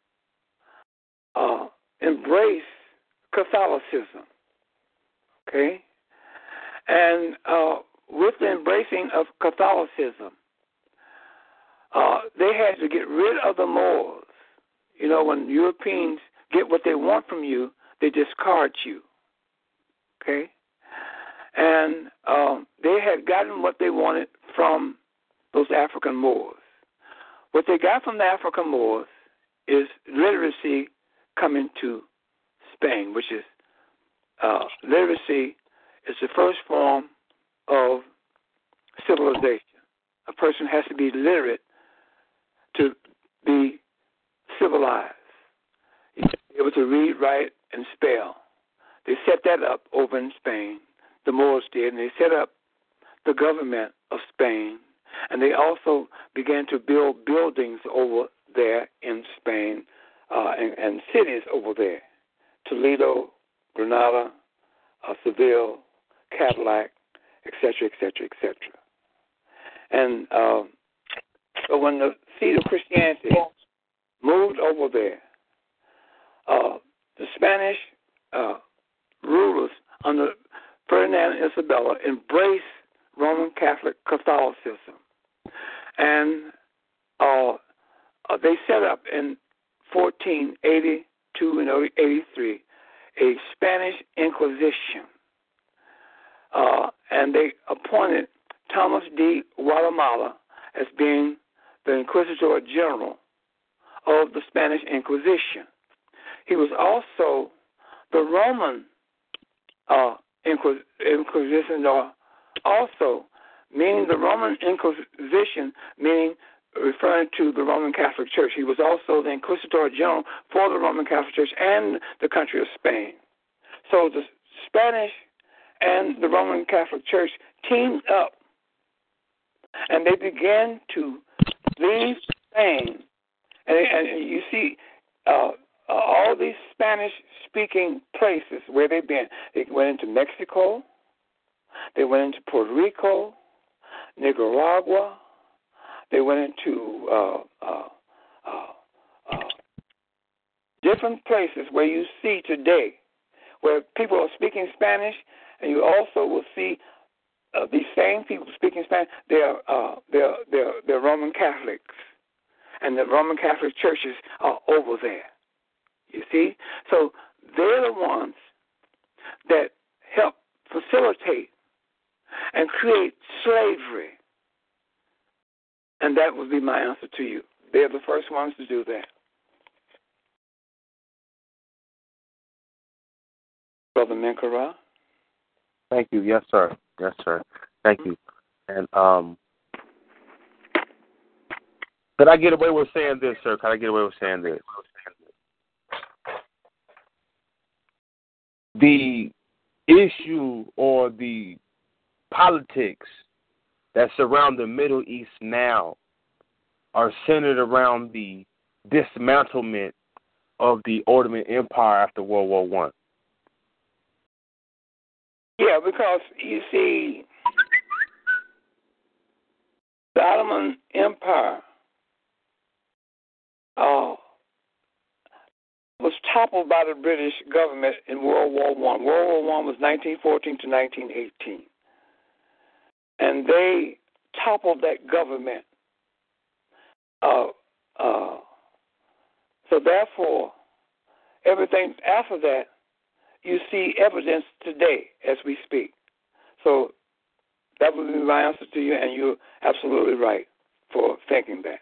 uh, embraced Catholicism. Okay? And uh, with the embracing of Catholicism, uh, they had to get rid of the Moors. You know, when Europeans get what they want from you, they discard you. Okay? And um, they had gotten what they wanted from those African Moors. What they got from the African Moors is literacy coming to Spain, which is uh, literacy is the first form of civilization. A person has to be literate to be civilized. You have to be able to read, write, and spell. They set that up over in Spain. The Moors did, and they set up the government of Spain. And they also began to build buildings over there in Spain uh, and, and cities over there. Toledo, Granada, uh, Seville, Cadillac, et cetera, et cetera, et cetera. And uh, so when the seat of Christianity moved over there, uh, the Spanish uh, rulers under Ferdinand and Isabella embraced Roman Catholic Catholicism. And uh, uh, they set up in fourteen eighty-two and eighty-three a Spanish Inquisition. Uh, and they appointed Thomas de Guatemala as being the Inquisitor General of the Spanish Inquisition. He was also the Roman uh, Inquis- Inquisitor, also meaning the Roman Inquisition, meaning referring to the Roman Catholic Church. He was also the Inquisitor General for the Roman Catholic Church and the country of Spain. So the Spanish and the Roman Catholic Church teamed up, and they began to leave Spain. And, and you see uh, all these Spanish-speaking places where they've been. They went into Mexico. They went into Puerto Rico, Nicaragua. They went into uh, uh, uh, uh, different places where you see today where people are speaking Spanish, and you also will see uh, these same people speaking Spanish. They're, uh, they're, they're, they're Roman Catholics, and the Roman Catholic churches are over there. You see? So they're the ones that help facilitate and create slavery. And that would be my answer to you. They're the first ones to do that. Brother Menkara? Thank you. Yes, sir. Yes, sir. Thank you. And um, could I get away with saying this, sir? Could I get away with saying this? The issue or the politics that surround the Middle East now are centered around the dismantlement of the Ottoman Empire after World War One. Yeah, because you see, the Ottoman Empire uh, was toppled by the British government in World War One. World War One was nineteen fourteen to nineteen eighteen. And they toppled that government. Uh, uh, so therefore, everything after that, you see evidence today as we speak. So that would be my answer to you, and you're absolutely right for thinking that.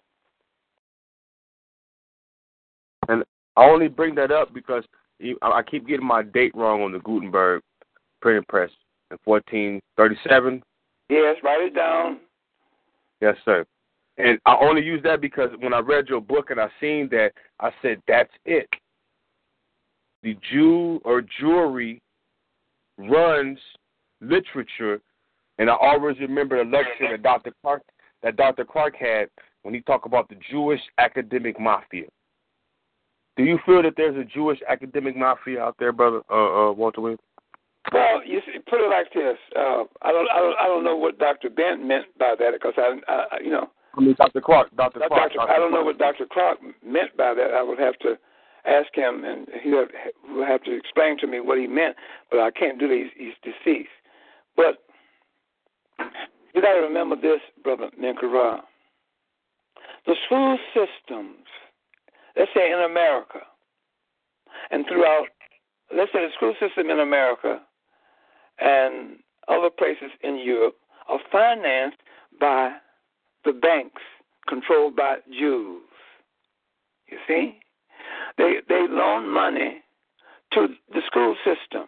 And I only bring that up because I keep getting my date wrong on the Gutenberg printing press in fourteen thirty-seven. Yes, write it down. Yes, sir. And I only use that because when I read your book and I seen that, I said, that's it. The Jew or Jewry runs literature, and I always remember the lecture that Doctor Clark that Doctor Clark had when he talked about the Jewish academic mafia. Do you feel that there's a Jewish academic mafia out there, brother uh, uh, Walter Williams? Well, you see, put it like this. Uh, I don't, I don't, I don't know what Doctor Bent meant by that because I, I, you know. I mean, Doctor Clark. Doctor Clark. Doctor, I don't know what Doctor Clark meant by that. I would have to ask him, and he would have to explain to me what he meant. But I can't do that. He's, he's deceased. But you got to remember this, Brother Menkara. The school systems, let's say in America, and throughout, let's say the school system in America and other places in Europe are financed by the banks controlled by Jews. You see? They they loan money to the school system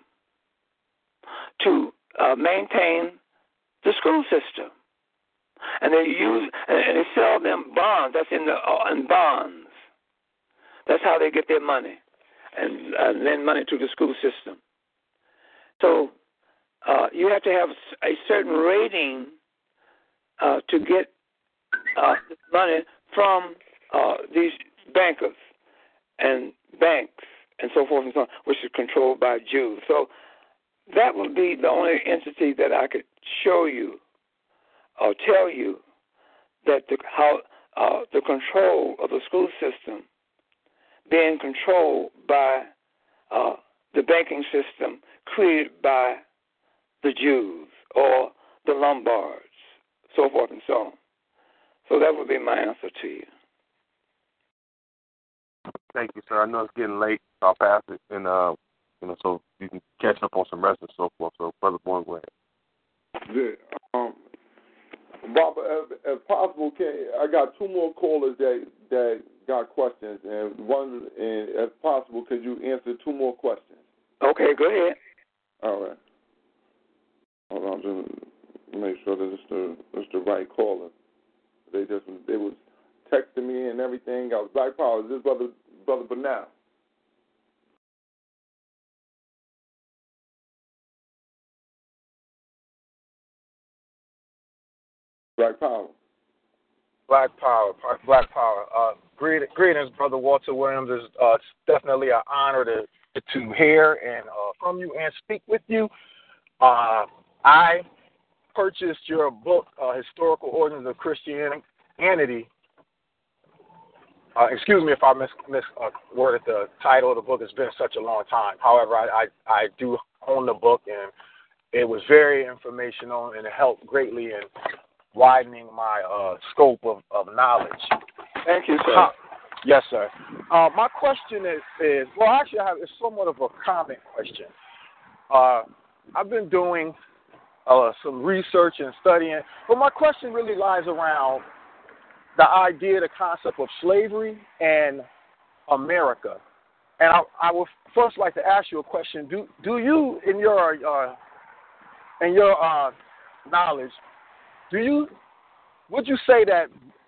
to uh, maintain the school system. And they use and they sell them bonds. That's in the uh, in bonds. That's how they get their money and uh, lend money to the school system. So uh, you have to have a certain rating uh, to get uh, money from uh, these bankers and banks and so forth and so on, which is controlled by Jews. So that would be the only entity that I could show you or tell you that the, how uh, the control of the school system being controlled by uh, the banking system created by the Jews or the Lombards, so forth and so on. So that would be my answer to you. Thank you, sir. I know it's getting late, so I'll pass it, and uh, you know, so you can catch up on some rest and so forth. So, Brother Bourne, go ahead. Yeah, um, Bob, if, if possible, can I got two more callers that that got questions, and one, and if possible, could you answer two more questions? Okay, go ahead. All right. Hold on, just make sure that it's texting me and everything. I was Black Power. Is this brother brother Bernal? Black Power. Black Power. Black Power. Uh, greetings, greetings, Brother Walter Williams. It's uh, definitely an honor to to hear and uh, from you and speak with you. Uh, I purchased your book, uh, Historical Origins of Christianity. Uh, excuse me if I mis, mis uh, worded the title of the book. It's been such a long time. However, I, I, I do own the book, and it was very informational, and it helped greatly in widening my uh, scope of, of knowledge. Thank you, sir. Huh. Yes, sir. Uh, my question is, is, well, actually, I have, it's somewhat of a comment question. Uh, I've been doing uh, some research and studying, but my question really lies around the idea, the concept of slavery and America. And I, I would first like to ask you a question. Do do you, in your uh, in your uh, knowledge, do you would you say that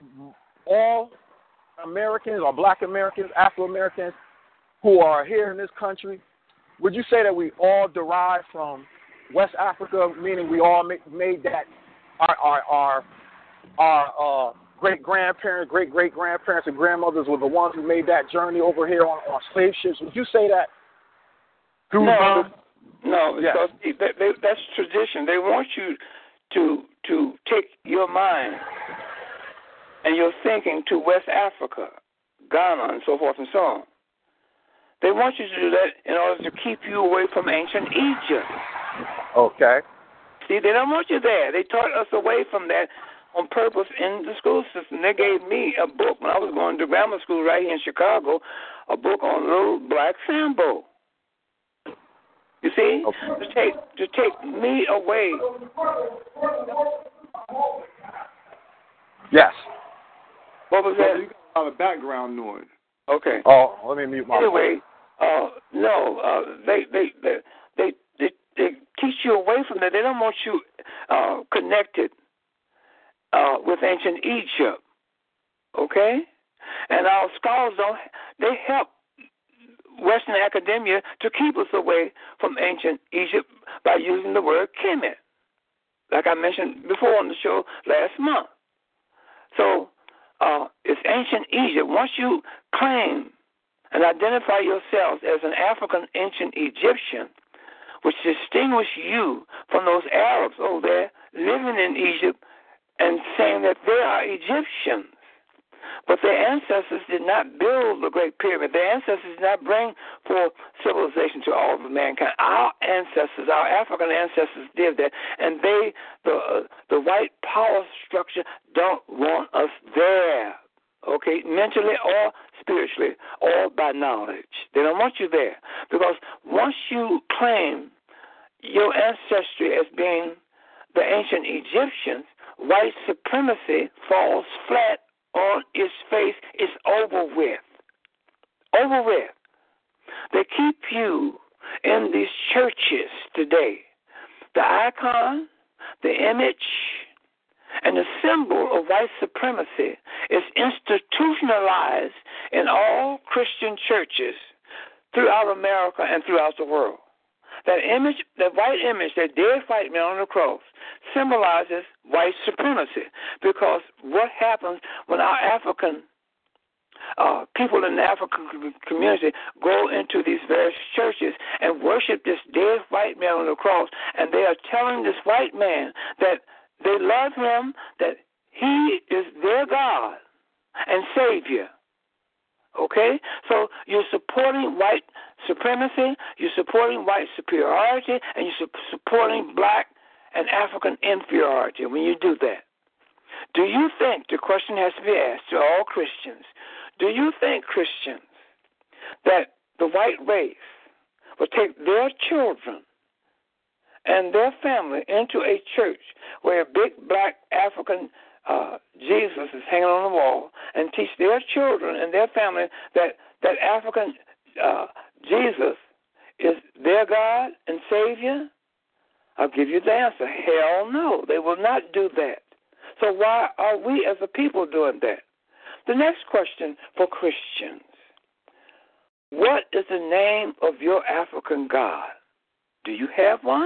all Americans or Black Americans, Afro Americans who are here in this country, would you say that we all derive from West Africa, meaning we all make, made that our our our, our uh, great grandparents, great great grandparents, and grandmothers were the ones who made that journey over here on, on slave ships? Would you say that? No, the, no, yes. because they, they, that's tradition. They want you to to take your mind and your thinking to West Africa, Ghana, and so forth and so on. They want you to do that in order to keep you away from ancient Egypt. Okay. See, they don't want you there. They taught us away from that on purpose in the school system. They gave me a book when I was going to grammar school right here in Chicago, a book on Little Black Sambo. You see, okay. to take to take me away. Yes. What was that? You got a lot of background noise. Okay. Oh, let me mute my. Anyway, uh, no, uh, they, they they they they they teach you away from that. They don't want you uh, connected uh, with ancient Egypt. Okay, and our scholars don't. They help Western academia to keep us away from ancient Egypt by using the word Kemet, like I mentioned before on the show last month. So uh, it's ancient Egypt. Once you claim and identify yourselves as an African ancient Egyptian, which distinguish you from those Arabs over there living in Egypt and saying that they are Egyptians. But their ancestors did not build the Great Pyramid. Their ancestors did not bring forth civilization to all of mankind. Our ancestors, our African ancestors did that, and they, the uh, the white power structure, don't want us there, okay, mentally or spiritually or by knowledge. They don't want you there, because once you claim your ancestry as being the ancient Egyptians, white supremacy falls flat on its face. Is over with. Over with. They keep you in these churches today. The icon, the image, and the symbol of white supremacy is institutionalized in all Christian churches throughout America and throughout the world. That image, that white image, that dead white man on the cross, symbolizes white supremacy, because what happens when our African uh, people in the African community go into these various churches and worship this dead white man on the cross, and they are telling this white man that they love him, that he is their God and Savior. Okay? So you're supporting white supremacy, you're supporting white superiority, and you're su- supporting black and African inferiority when you do that. Do you think, the question has to be asked to all Christians, do you think, Christians, that the white race will take their children and their family into a church where a big black African uh, Jesus is hanging on the wall and teach their children and their family that, that African uh, Jesus is their God and Savior? I'll give you the answer. Hell no. They will not do that. So why are we as a people doing that? the next question for Christians. What is the name of your African God? Do you have one?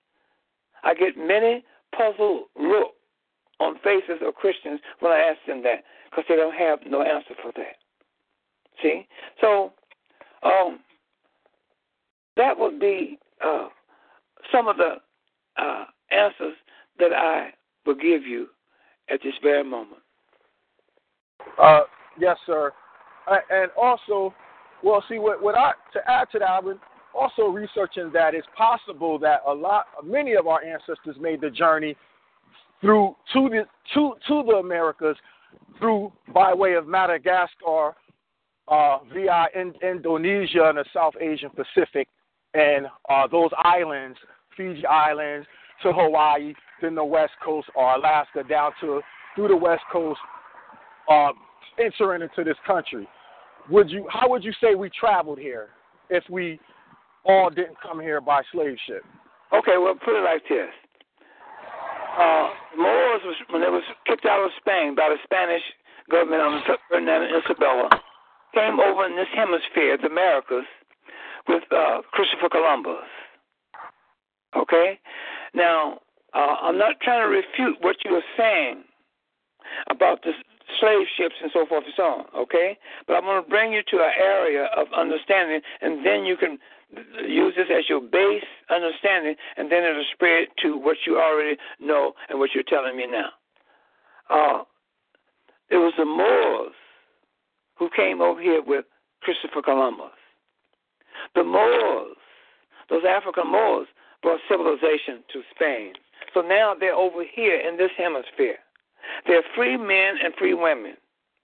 I get many puzzled look on faces of Christians when I ask them that because they don't have no answer for that. See? So um, that would be uh, some of the uh, answers that I will give you at this very moment. Uh, yes, sir. Uh, and also, well, see, what, what I to add to that, I've been also researching that it's possible that a lot, many of our ancestors made the journey through to the to to the Americas through by way of Madagascar, uh, via in, Indonesia and the South Asian Pacific, and uh, those islands, Fiji Islands to Hawaii, then the West Coast or Alaska down to through the West Coast, uh, entering into this country. Would you? How would you say we traveled here if we all didn't come here by slave ship? Okay, well, put it like this. Uh, Moors, was, when they was kicked out of Spain by the Spanish government under Ferdinand and Isabella, came over in this hemisphere, the Americas, with uh, Christopher Columbus. Okay? Now, uh, I'm not trying to refute what you were saying about the slave ships and so forth and so on, okay? But I'm going to bring you to an area of understanding, and then you can use this as your base understanding, and then it'll spread to what you already know and what you're telling me now. Uh, it was the Moors who came over here with Christopher Columbus. The Moors, those African Moors, brought civilization to Spain. So now they're over here in this hemisphere. They're free men and free women.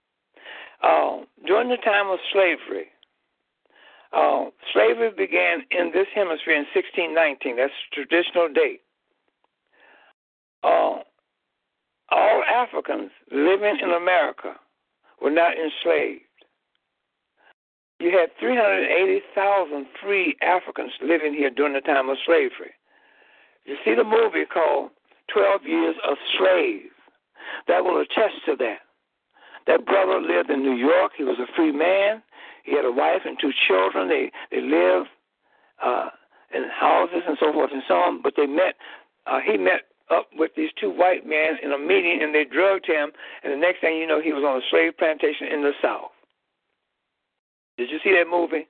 Uh, during the time of slavery, uh, slavery began in this hemisphere in sixteen nineteen. That's the traditional date. Uh, all Africans living in America were not enslaved. You had three hundred eighty thousand free Africans living here during the time of slavery. You see the movie called twelve Years a Slave. That will attest to that. That brother lived in New York. He was a free man. He had a wife and two children. They they lived uh, in houses and so forth and so on. But they met. Uh, he met up with these two white men in a meeting, and they drugged him. And the next thing you know, he was on a slave plantation in the South. Did you see that movie,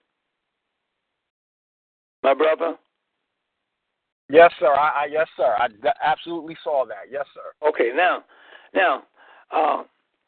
my brother? Yes, sir. I, I yes, sir. I absolutely saw that. Yes, sir. Okay, now, now, uh,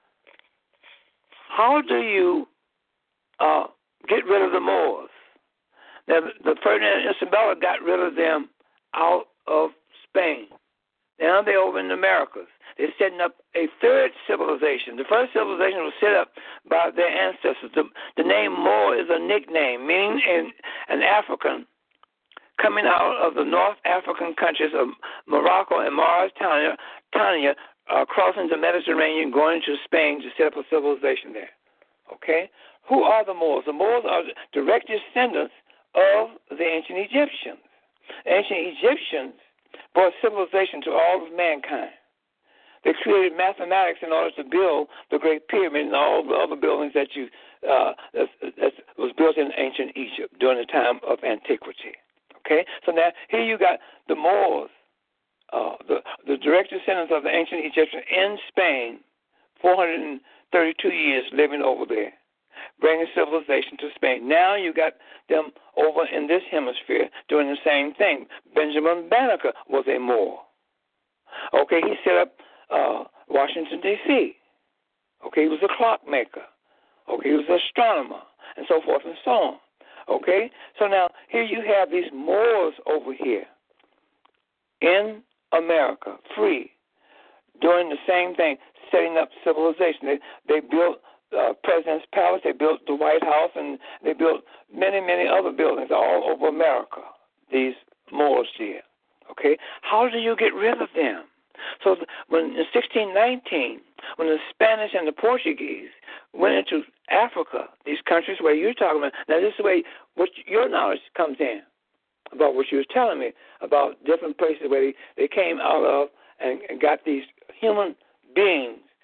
how do you uh, get rid of the Moors? Now, the Ferdinand and Isabella got rid of them out of Spain. Now they're over in the Americas. They're setting up a third civilization. The first civilization was set up by their ancestors. The, the name Moor is a nickname, meaning an, an African coming out of the North African countries of Morocco and Mauritania, Tanya, uh, crossing the Mediterranean, going to Spain to set up a civilization there. Okay? Who are the Moors? The Moors are direct descendants of the ancient Egyptians. The ancient Egyptians brought civilization to all of mankind. They created mathematics in order to build the Great Pyramid and all the other buildings that you uh, that, that was built in ancient Egypt during the time of antiquity. Okay, so now here you got the Moors, uh, the the direct descendants of the ancient Egyptians in Spain, four hundred thirty-two years living over there, bringing civilization to Spain. Now you got them over in this hemisphere doing the same thing. Benjamin Banneker was a Moor. Okay, he set up uh, Washington, D C Okay, he was a clockmaker. Okay, he was an astronomer, and so forth and so on. Okay, so now here you have these Moors over here in America, free, doing the same thing, setting up civilization. They, they built uh, President's Palace, they built the White House, and they built many, many other buildings all over America, these Moors did. Okay, how do you get rid of them? So when in sixteen nineteen, when the Spanish and the Portuguese went into Africa, these countries where you're talking about, now this is the way what your knowledge comes in about what you were telling me about different places where they, they came out of and, and got these human beings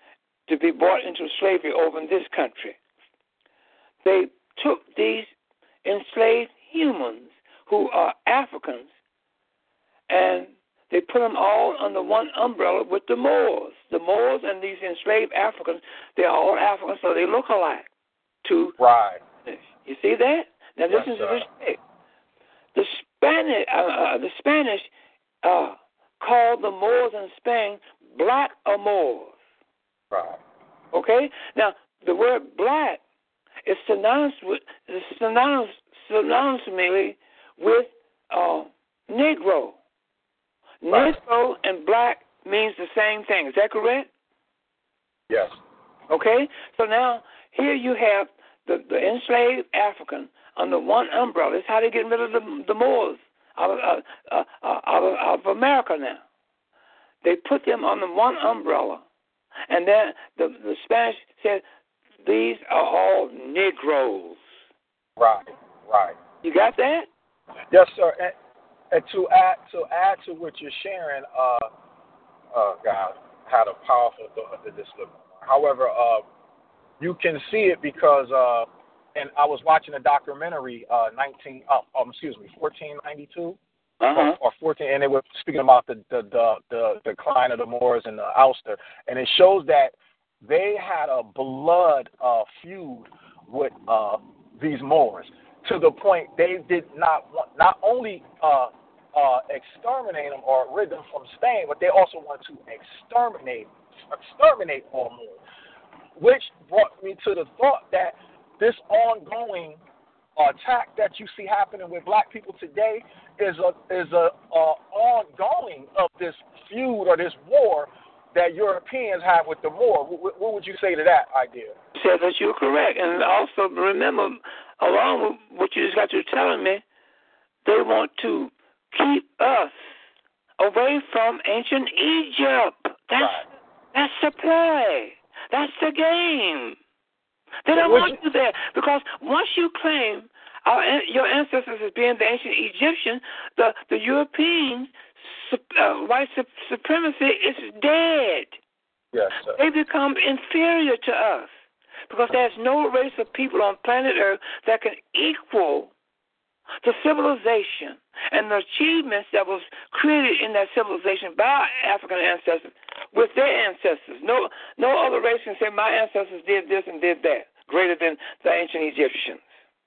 to be brought into slavery over in this country. They took these enslaved humans who are Africans, and they put them all under one umbrella with the Moors. The Moors and these enslaved Africans, they're all Africans, so they look alike. To right. You see that? Now Yes, listen sir. to this. The Spanish, uh, uh, the Spanish uh, called the Moors in Spain black or Moors. Right. Okay? Now, the word black is synonymous with, is synonymous, synonymously with uh, Negro. Right. Negro and black means the same thing. Is that correct? Yes. Okay? So now, here you have the, the enslaved African under one umbrella. That's how they get rid of the, the Moors out of, uh, uh, uh, out, of, out of America now. They put them under one umbrella. And then the, the Spanish said, these are all Negroes. Right, right. You got that? Yes, sir. And, and to add to add to what you're sharing, uh, uh, God had a powerful thought to this. However, uh, you can see it because, uh, and I was watching a documentary, uh, nineteen, uh, um, excuse me, fourteen ninety-two. Uh-huh. Or, or fourteen, and they were speaking about the the, the the the decline of the Moors and the Ulster, and it shows that they had a blood uh, feud with uh, these Moors to the point they did not want not only uh, uh, exterminate them or rid them from Spain, but they also wanted to exterminate exterminate all Moors, which brought me to the thought that this ongoing attack that you see happening with black people today is a is a, a ongoing of this feud or this war that Europeans have with the Moor. What, what would you say to that idea? Said that you're correct, and also remember, along with what you just got through telling me, they want to keep us away from ancient Egypt. That's right. that's the play. That's the game. They don't Would want you, you there because once you claim our, your ancestors as being the ancient Egyptian, the the European uh, white supremacy is dead. Yes, sir. They become inferior to us because there's no race of people on planet Earth that can equal the civilization and the achievements that was created in that civilization by our African ancestors with their ancestors. No no other race can say my ancestors did this and did that greater than the ancient Egyptians.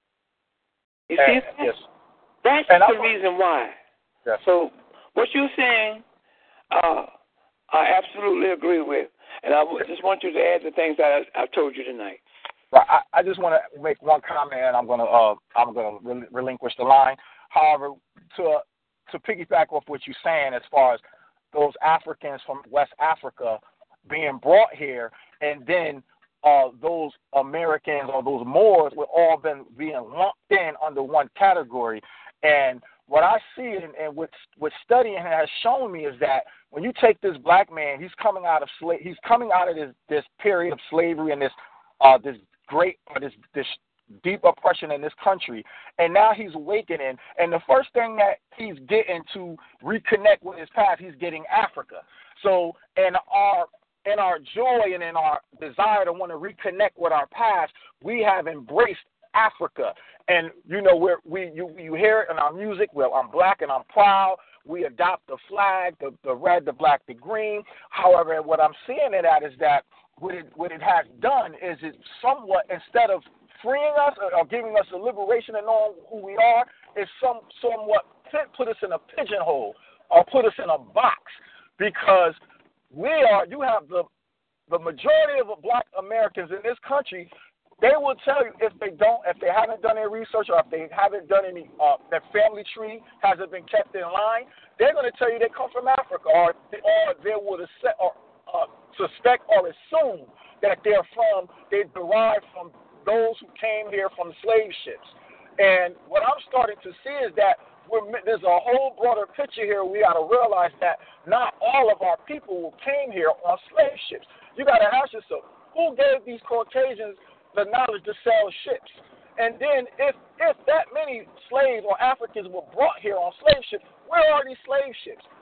You see and, that? Yes. That's and the I'm, reason why. Yes. So what you're saying, uh, I absolutely agree with. And I just want you to add the things that I, I told you tonight. Right. I, I just want to make one comment, and I'm going to uh, I'm going to rel- relinquish the line. However, to to piggyback off what you're saying, as far as those Africans from West Africa being brought here, and then uh, those Americans or those Moors were all been being lumped in under one category. And what I see and, and what what studying has shown me is that when you take this black man, he's coming out of sla- he's coming out of this this period of slavery and this uh, this great or this this deep oppression in this country, and now he's awakening, and the first thing that he's getting to reconnect with his past, he's getting Africa. So in our in our joy and in our desire to want to reconnect with our past, we have embraced Africa. And you know, we're, we you you hear it in our music. Well, I'm black and I'm proud. We adopt the flag, the, the red, the black, the green. However, what I'm seeing in that is that what it what it has done is it somewhat, instead of freeing us or, or giving us a liberation and knowing who we are, is some somewhat put us in a pigeonhole or put us in a box, because we are. You have the the majority of black Americans in this country. They will tell you if they don't, if they haven't done any research, or if they haven't done any, uh, their family tree hasn't been kept in line, they're going to tell you they come from Africa, or, or they would accept, or, uh, suspect or assume that they're from, they derive from those who came here from slave ships. And what I'm starting to see is that we're, there's a whole broader picture here. We got to realize that not all of our people came here on slave ships. You got to ask yourself, who gave these Caucasians the knowledge to sell ships? And then if if that many slaves or Africans were brought here on slave ships, where are these slave ships?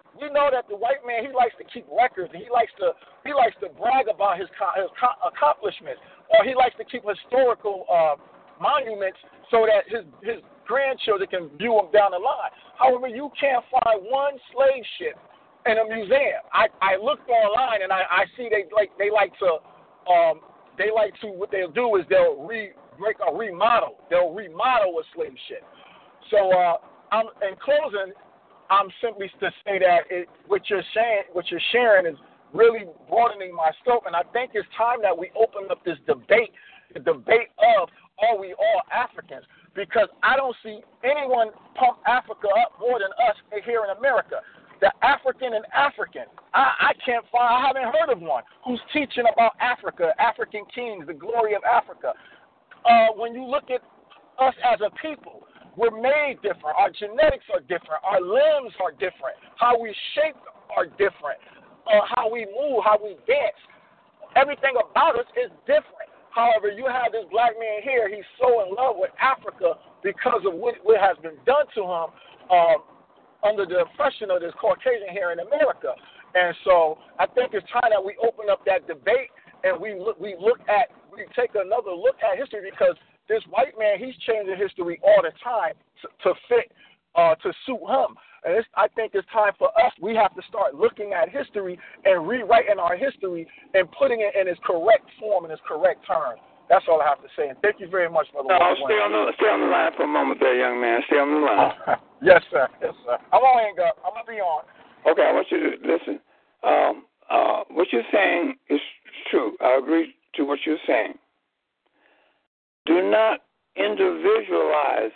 we know that the white man, he likes to keep records, and he likes to he likes to brag about his, his accomplishments, or he likes to keep historical uh, monuments so that his his grandchildren can view them down the line. However, you can't find one slave ship in a museum. I, I looked online and I, I see they like they like to um, they like to what they'll do is they'll re make a remodel. They'll remodel a slave ship. So uh, I'm in closing. I'm simply to say that it, what you're saying, what you're sharing, is really broadening my scope, and I think it's time that we open up this debate, the debate of are we all Africans? Because I don't see anyone pump Africa up more than us here in America. The African and African, I, I can't find, I haven't heard of one who's teaching about Africa, African kings, the glory of Africa. Uh, when you look at us as a people, we're made different. Our genetics are different. Our limbs are different. How we shape are different. Uh, how we move, how we dance. Everything about us is different. However, you have this black man here. He's so in love with Africa because of what, what has been done to him um, under the oppression of this Caucasian here in America. And so I think it's time that we open up that debate and we look, we look at, we take another look at history, because this white man, he's changing history all the time to, to fit, uh, to suit him. And it's, I think it's time for us, we have to start looking at history and rewriting our history and putting it in its correct form, in its correct terms. That's all I have to say. And thank you very much, Brother. No, stay on, the, stay on the line for a moment there, young man. Stay on the line. Yes, sir. Yes, sir. I'm on, hang up. I'm going to be on. Okay, I want you to listen. Um, uh, what you're saying is true. I agree to what you're saying. Do not individualize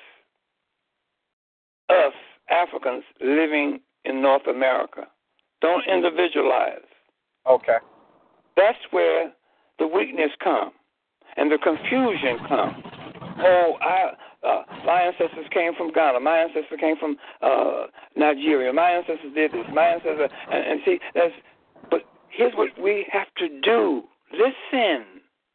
us Africans living in North America. Don't individualize. Okay. That's where the weakness comes and the confusion comes. Oh, I, uh, my ancestors came from Ghana. My ancestors came from uh, Nigeria. My ancestors did this. My ancestors, and, and see, that's. But here's what we have to do. Listen.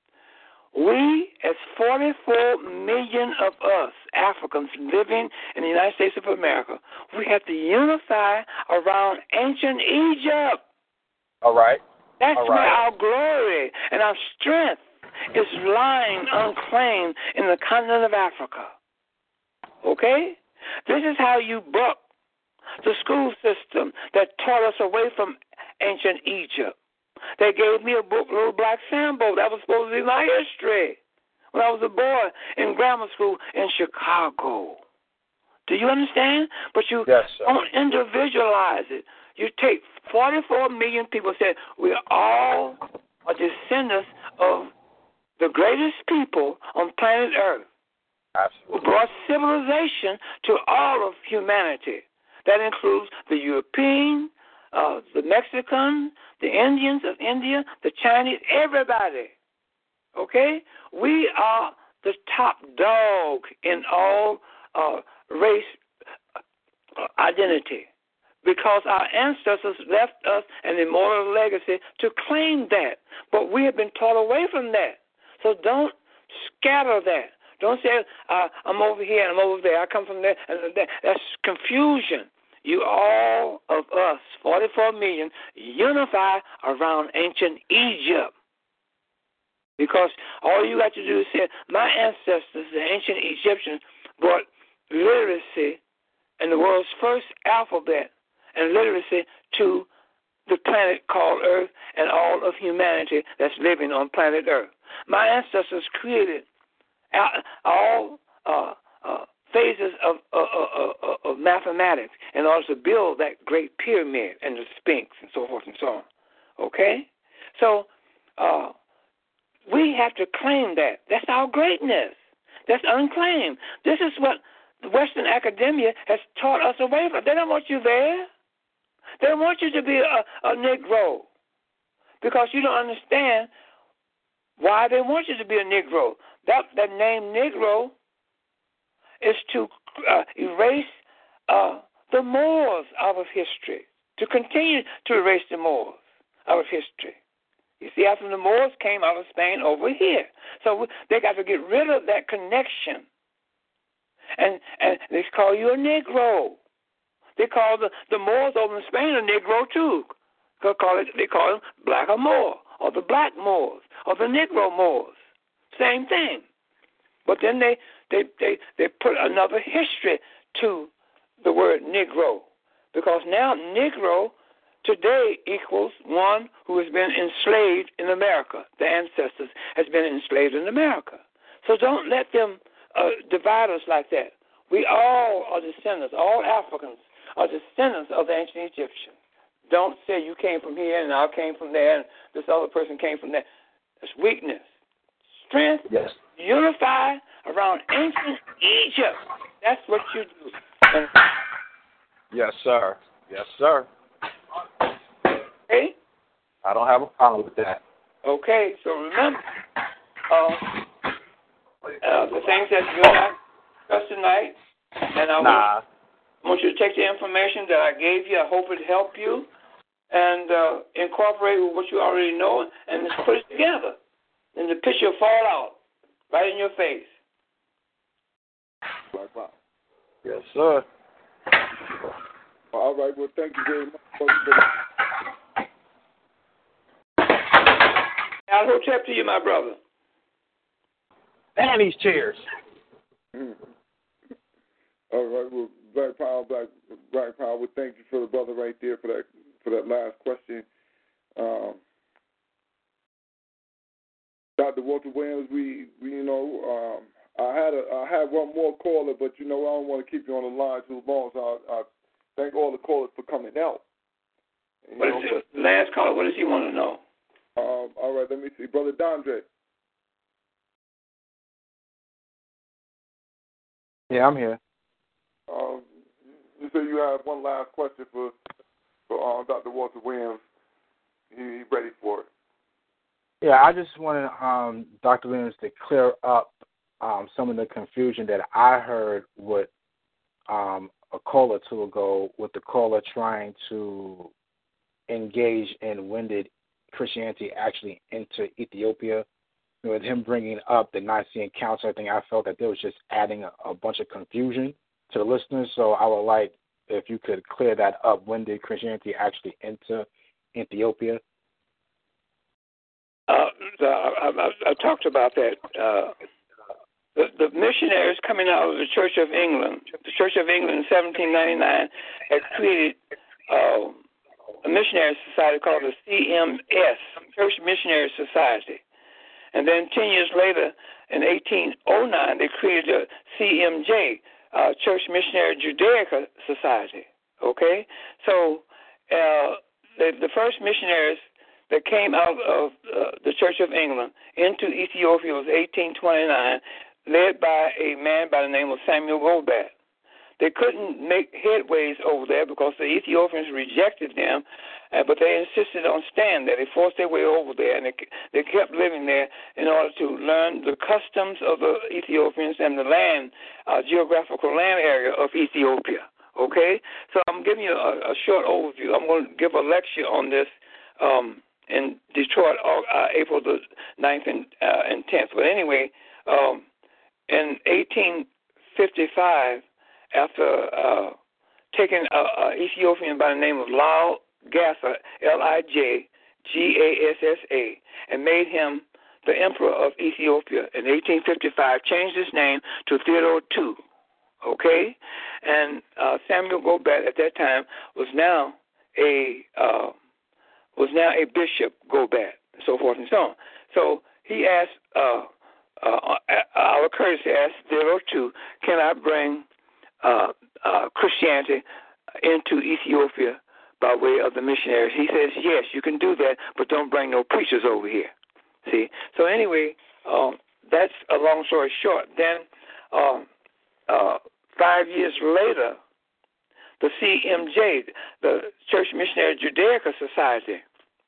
We, as forty-four million of us Africans living in the United States of America, we have to unify around ancient Egypt. All right. That's All right. where our glory and our strength is lying unclaimed in the continent of Africa. Okay? This is how you buck the school system that taught us away from ancient Egypt. They gave me a book, Little Black Sambo. That was supposed to be my history when I was a boy in grammar school in Chicago. Do you understand? But you yes, sir. Don't individualize it. You take forty-four million people say we all are descendants of the greatest people on planet Earth. Absolutely. Who brought civilization to all of humanity. That includes the European, uh, the Mexican, the Indians of India, the Chinese, everybody. Okay? We are the top dog in all uh, race uh, identity because our ancestors left us an immortal legacy to claim that. But we have been taught away from that. So don't scatter that. Don't say, uh, I'm over here and I'm over there. I come from there and there. That's confusion. You all of us, forty-four million, unify around ancient Egypt. Because all you got to do is say, my ancestors, the ancient Egyptians, brought literacy and the world's first alphabet and literacy to the planet called Earth and all of humanity that's living on planet Earth. My ancestors created all uh, uh, phases of, uh, uh, uh, of mathematics in order to build that great pyramid and the Sphinx and so forth and so on. Okay? So uh, we have to claim that. That's our greatness. That's unclaimed. This is what the Western academia has taught us away from. They don't want you there. They don't want you to be a, a Negro because you don't understand why they want you to be a Negro. That, that name Negro is to uh, erase uh, the Moors out of history, to continue to erase the Moors out of history. You see, after the Moors came out of Spain over here. So they got to get rid of that connection. And, and they call you a Negro. They call the, the Moors over in Spain a Negro too. They call, it, they call them Black or Moor, or the Black Moors, or the Negro Moors. Same thing. But then they, they, they, they put another history to the word Negro, because now Negro today equals one who has been enslaved in America. The ancestors has been enslaved in America. So don't let them uh, divide us like that. We all are descendants. All Africans are descendants of the ancient Egyptians. Don't say you came from here and I came from there and this other person came from there. It's weakness. Strength, yes. Unify around ancient Egypt. That's what you do. And yes, sir. Yes, sir. Okay? I don't have a problem with that. Okay, so remember, uh, uh, the things that you and I discussed tonight, and I nah. want, I want you to take the information that I gave you. I hope it helped you, and uh, incorporate with what you already know, and just put it together. And the picture will fall out right in your face. Yes, sir. All right, well, thank you very much. I'll hotep to you, my brother. And these chairs. Mm. All right, well, Black Power, Black Black Power. Well, thank you for the brother right there for that for that last question. Um, Doctor Walter Williams, we, we you know, um, I had a I had one more caller, but you know I don't want to keep you on the line too long, so I, I thank all the callers for coming out. And, what is the last caller? What does he want to know? Um, all right, let me see, Brother Dondre. Yeah, I'm here. Um, you say you have one last question for for uh, Doctor Walter Williams. He, he ready for it. Yeah, I just wanted um, Doctor Williams to clear up um, some of the confusion that I heard with um, a call or two ago with the caller trying to engage in when did Christianity actually enter Ethiopia. With him bringing up the Nicene Council, I think I felt that there was just adding a, a bunch of confusion to the listeners. So I would like if you could clear that up. When did Christianity actually enter Ethiopia? Uh, the, I, I, I talked about that. Uh, the, the missionaries coming out of the Church of England, the Church of England in seventeen ninety-nine, had created uh, a missionary society called the C M S, Church Missionary Society. And then ten years later, in eighteen oh nine, they created a C M J, uh, Church Missionary Judaica Society. Okay? So uh, the, the first missionaries that came out of uh, the Church of England into Ethiopia was eighteen twenty-nine, led by a man by the name of Samuel Gobat. They couldn't make headways over there because the Ethiopians rejected them, uh, but they insisted on staying there. They forced their way over there, and they, they kept living there in order to learn the customs of the Ethiopians and the land, uh, geographical land area of Ethiopia. Okay? So I'm giving you a, a short overview. I'm going to give a lecture on this um, in Detroit, uh, April the ninth and, uh, and tenth. But anyway, um, in eighteen fifty-five, after uh, taking an Ethiopian by the name of Lal Gassa, L I J G A S S A, and made him the emperor of Ethiopia in eighteen fifty-five, changed his name to Theodore the Second. Okay? And uh, Samuel Gobat at that time was now a uh, was now a bishop, Gobat, and so forth and so on. So he asked, uh, uh, our courtesy asked Theodore the Second, can I bring Uh, uh, Christianity into Ethiopia by way of the missionaries? He says, yes, you can do that, but don't bring no preachers over here. See? So anyway, um, that's a long story short. Then um, uh, five years later, the C M J, the Church Missionary Judaica Society,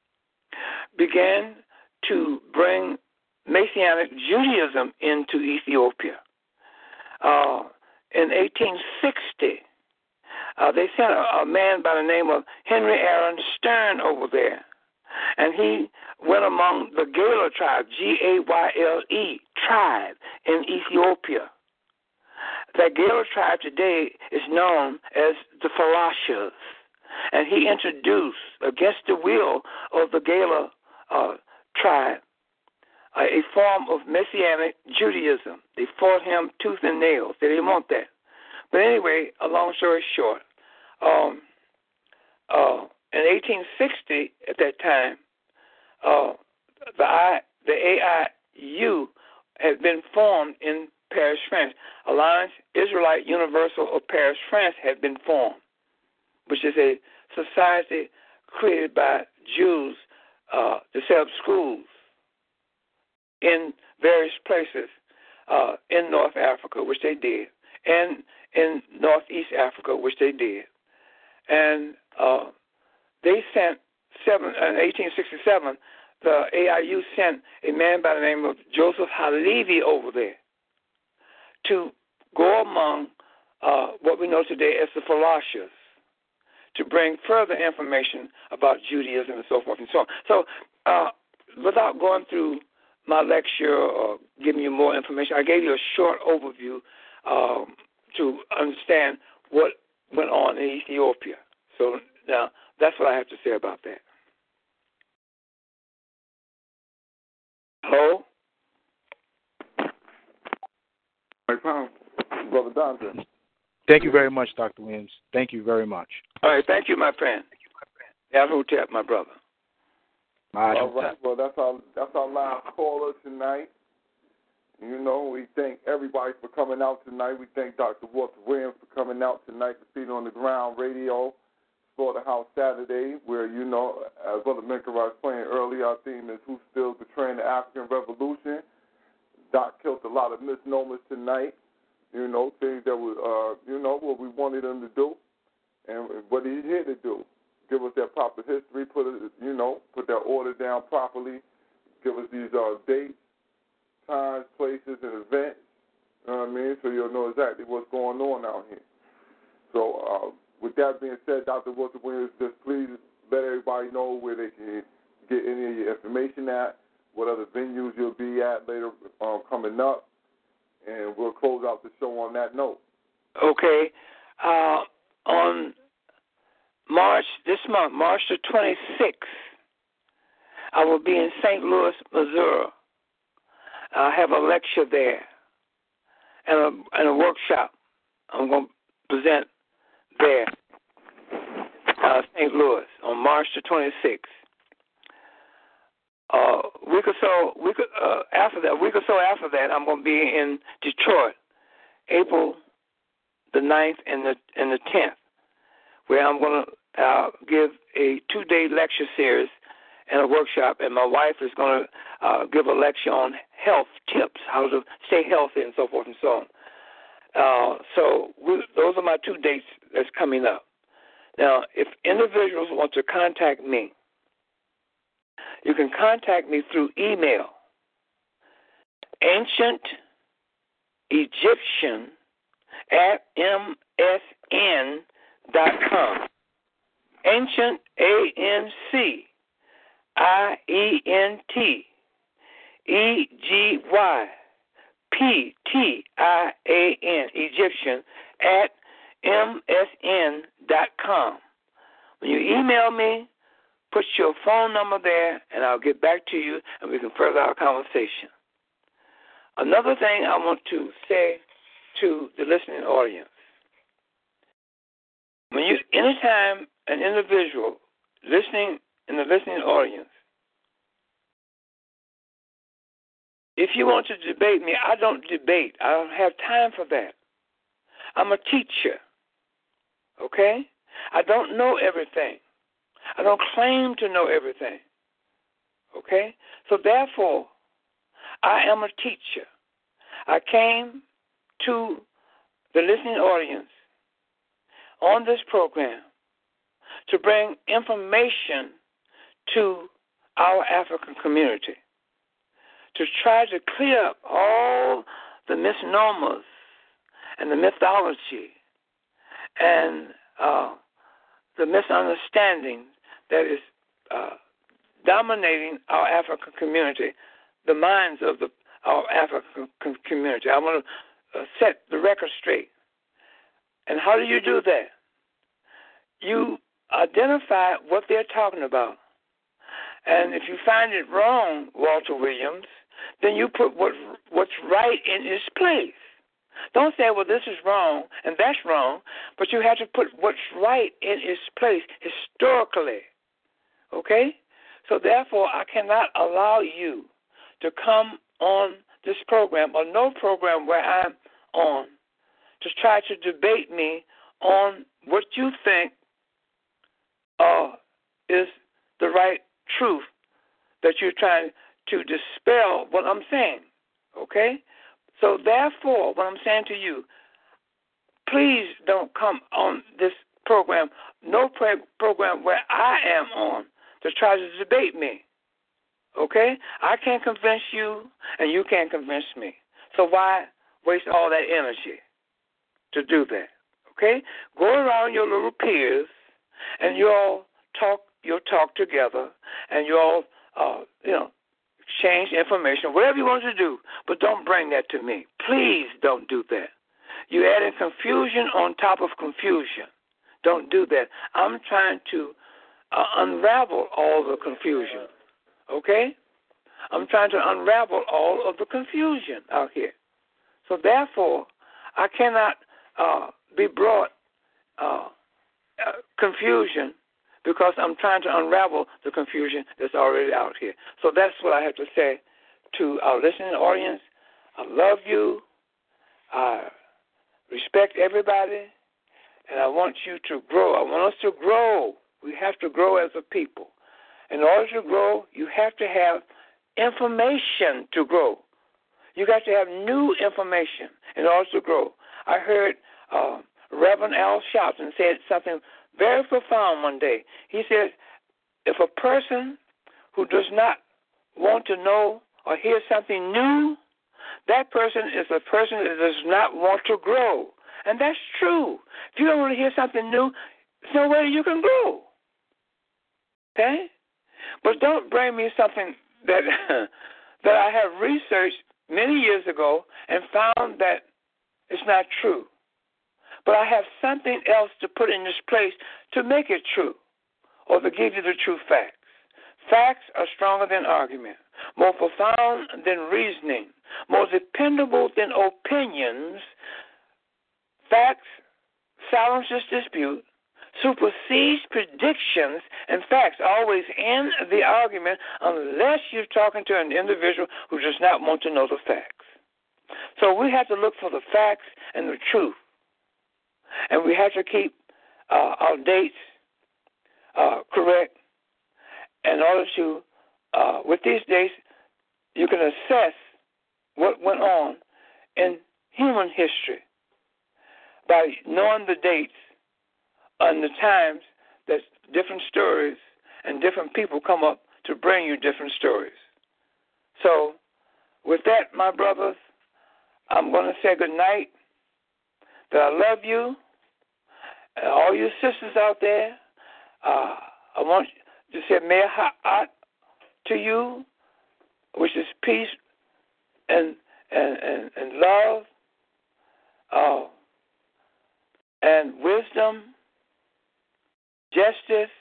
began to bring Messianic Judaism into Ethiopia. Uh, In eighteen sixty, uh, they sent a, a man by the name of Henry Aaron Stern over there, and he went among the Gayler tribe, G A Y L E tribe in Ethiopia. that Gala tribe today is known as the Falashas. And he introduced, against the will of the Gala uh, tribe, uh, a form of Messianic Judaism. They fought him tooth and nail. They didn't want that. But anyway, a long story short, um, uh, in eighteen sixty, at that time, uh, the, I, the A I U had been formed in Paris, France. Alliance Israelite Universal of Paris, France had been formed, which is a society created by Jews uh, to set up schools in various places uh, in North Africa, which they did, and in Northeast Africa, which they did. And uh, they sent, seven, in eighteen sixty-seven, the A I U sent a man by the name of Joseph Halevi over there to go among uh, what we know today as the Falashas, to bring further information about Judaism and so forth and so on. So uh, without going through my lecture or giving you more information, I gave you a short overview um, to understand what went on in Ethiopia. So now that's what I have to say about that. Hello? Brother Dante. Thank you very much, Doctor Williams. Thank you very much. All right, thank you, my friend. Yahoo-Tep, my brother. My All right, well, that's our, that's our live caller tonight. You know, we thank everybody for coming out tonight. We thank Doctor Walter Williams for coming out tonight to Feet on the Ground Radio, Slaughterhouse Saturday, where, you know, as Brother Minka was playing earlier, our theme is Who Still Betraying the African Revolution. Doc killed a lot of misnomers tonight, you know, things that were, uh, you know, what we wanted him to do and what he's here to do. Give us that proper history, put it, you know, put that order down properly, give us these uh, dates, times, places, and events, you know what I mean, so you'll know exactly what's going on out here. So uh, with that being said, Doctor Walter Williams, just please let everybody know where they can get any of your information at, what other venues you'll be at later um, coming up, and we'll close out the show on that note. Okay. Uh, on March, this month, March the twenty-sixth, I will be in Saint Louis, Missouri. I have a lecture there and a, and a workshop I'm going to present there, uh, Saint Louis, on March the twenty-sixth. Uh, a week or so, week uh, after that, a week or so after that, I'm going to be in Detroit, April the ninth and the and the tenth, where I'm going to uh, give a two-day lecture series and a workshop, and my wife is going to uh, give a lecture on health tips, how to stay healthy, and so forth and so on. Uh, so we, those are my two dates that's coming up. Now, if individuals want to contact me, you can contact me through email, ancient Egyptian at M S N dot com. Ancient, A N C I E N T E G Y P T I A N, Egyptian, at M S N dot com. When you email me, put your phone number there, and I'll get back to you, and we can further our conversation. Another thing I want to say to the listening audience, when you, anytime an individual listening in the listening audience, if you want to debate me, I don't debate. I don't have time for that. I'm a teacher, okay? I don't know everything. I don't claim to know everything, okay? So therefore, I am a teacher. I came to the listening audience on this program to bring information to our African community, to try to clear up all the misnomers and the mythology and uh, the misunderstanding that is uh, dominating our African community, the minds of the our African community. I want uh, set the record straight. And how do you do that? You identify what they're talking about. And if you find it wrong, Walter Williams, then you put what what's right in its place. Don't say, well, this is wrong and that's wrong, but you have to put what's right in its place historically. Okay? So therefore, I cannot allow you to come on this program or no program where I'm on to try to debate me on what you think uh, is the right truth that you're trying to dispel what I'm saying. Okay? So therefore, what I'm saying to you, please don't come on this program, no pro- program where I am on, to try to debate me. Okay? I can't convince you, and you can't convince me. So why waste all that energy to do that? Okay? Go around your little peers, and you all talk your talk together, and you all, uh, you know, exchange information, whatever you want to do, but don't bring that to me. Please don't do that. You're adding confusion on top of confusion. Don't do that. I'm trying to uh, unravel all the confusion, okay? I'm trying to unravel all of the confusion out here. So therefore, I cannot uh, be brought uh, uh, confusion because I'm trying to unravel the confusion that's already out here. So that's what I have to say to our listening audience. I love you. I respect everybody. And I want you to grow. I want us to grow. We have to grow as a people. In order to grow, you have to have information to grow. You got to have new information in order to grow. I heard uh, Reverend Al Sharpton said something very profound one day. He said, if a person who does not want to know or hear something new, that person is a person that does not want to grow. And that's true. If you don't want to hear something new, there's no way you can grow. Okay? But don't bring me something that that I have researched many years ago and found that it's not true. But I have something else to put in this place to make it true or to give you the true facts. Facts are stronger than argument, more profound than reasoning, more dependable than opinions. Facts silences dispute, supersedes predictions, and facts always end the argument unless you're talking to an individual who does not want to know the facts. So we have to look for the facts and the truth. And we have to keep uh, our dates uh, correct in order to, uh, with these dates, you can assess what went on in human history by knowing the dates and the times that different stories and different people come up to bring you different stories. So with that, my brothers, I'm going to say good night, that I love you, and all you sisters out there, uh, I want to say Mea Ha'at to you, which is peace and and, and, and love uh, and wisdom, justice.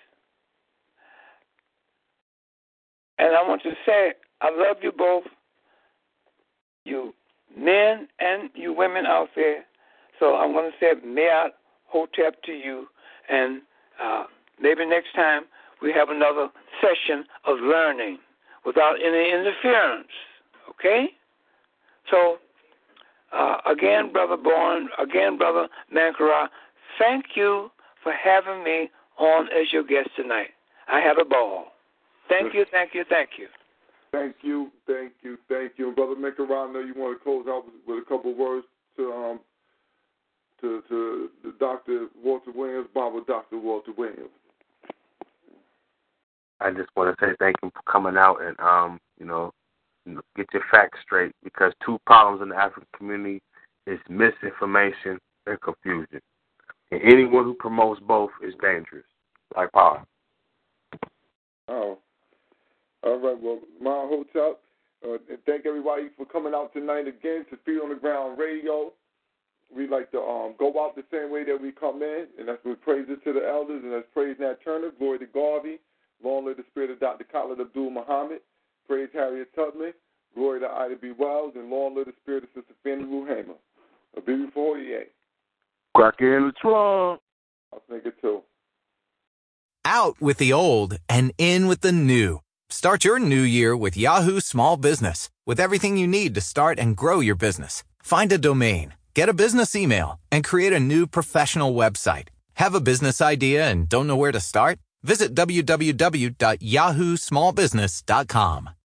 And I want to say I love you both, you men and you women out there. So I'm going to say Me'at Hotep to you, and uh, maybe next time we have another session of learning without any interference, okay? So, uh, again, Brother Bourne, again, Brother Mankara, thank you for having me on as your guest tonight. I had a ball. Thank you, thank you, thank you. Thank you, thank you, thank you. Brother Mankara, I know you want to close out with, with a couple words to um to to the Doctor Walter Williams, Bible Doctor Walter Williams. I just want to say thank you for coming out and, um, you know, get your facts straight, because two problems in the African community is misinformation and confusion. And anyone who promotes both is dangerous, like power. Oh. All right, well, my hotel, Uh, and thank everybody for coming out tonight again to Feet on the Ground Radio. We like to um, go out the same way that we come in, and that's with praises to the elders, and that's praise Nat Turner, glory to Garvey, long live the spirit of Doctor Khalid Abdul Muhammad, praise Harriet Tubman, glory to Ida B. Wells, and long live the spirit of Sister Fannie Lou Hamer. A baby for forty-eight. Crack in the trunk. I'll think it too. Out with the old and in with the new. Start your new year with Yahoo Small Business, with everything you need to start and grow your business. Find a domain, get a business email, and create a new professional website. Have a business idea and don't know where to start? Visit w w w dot yahoo small business dot com.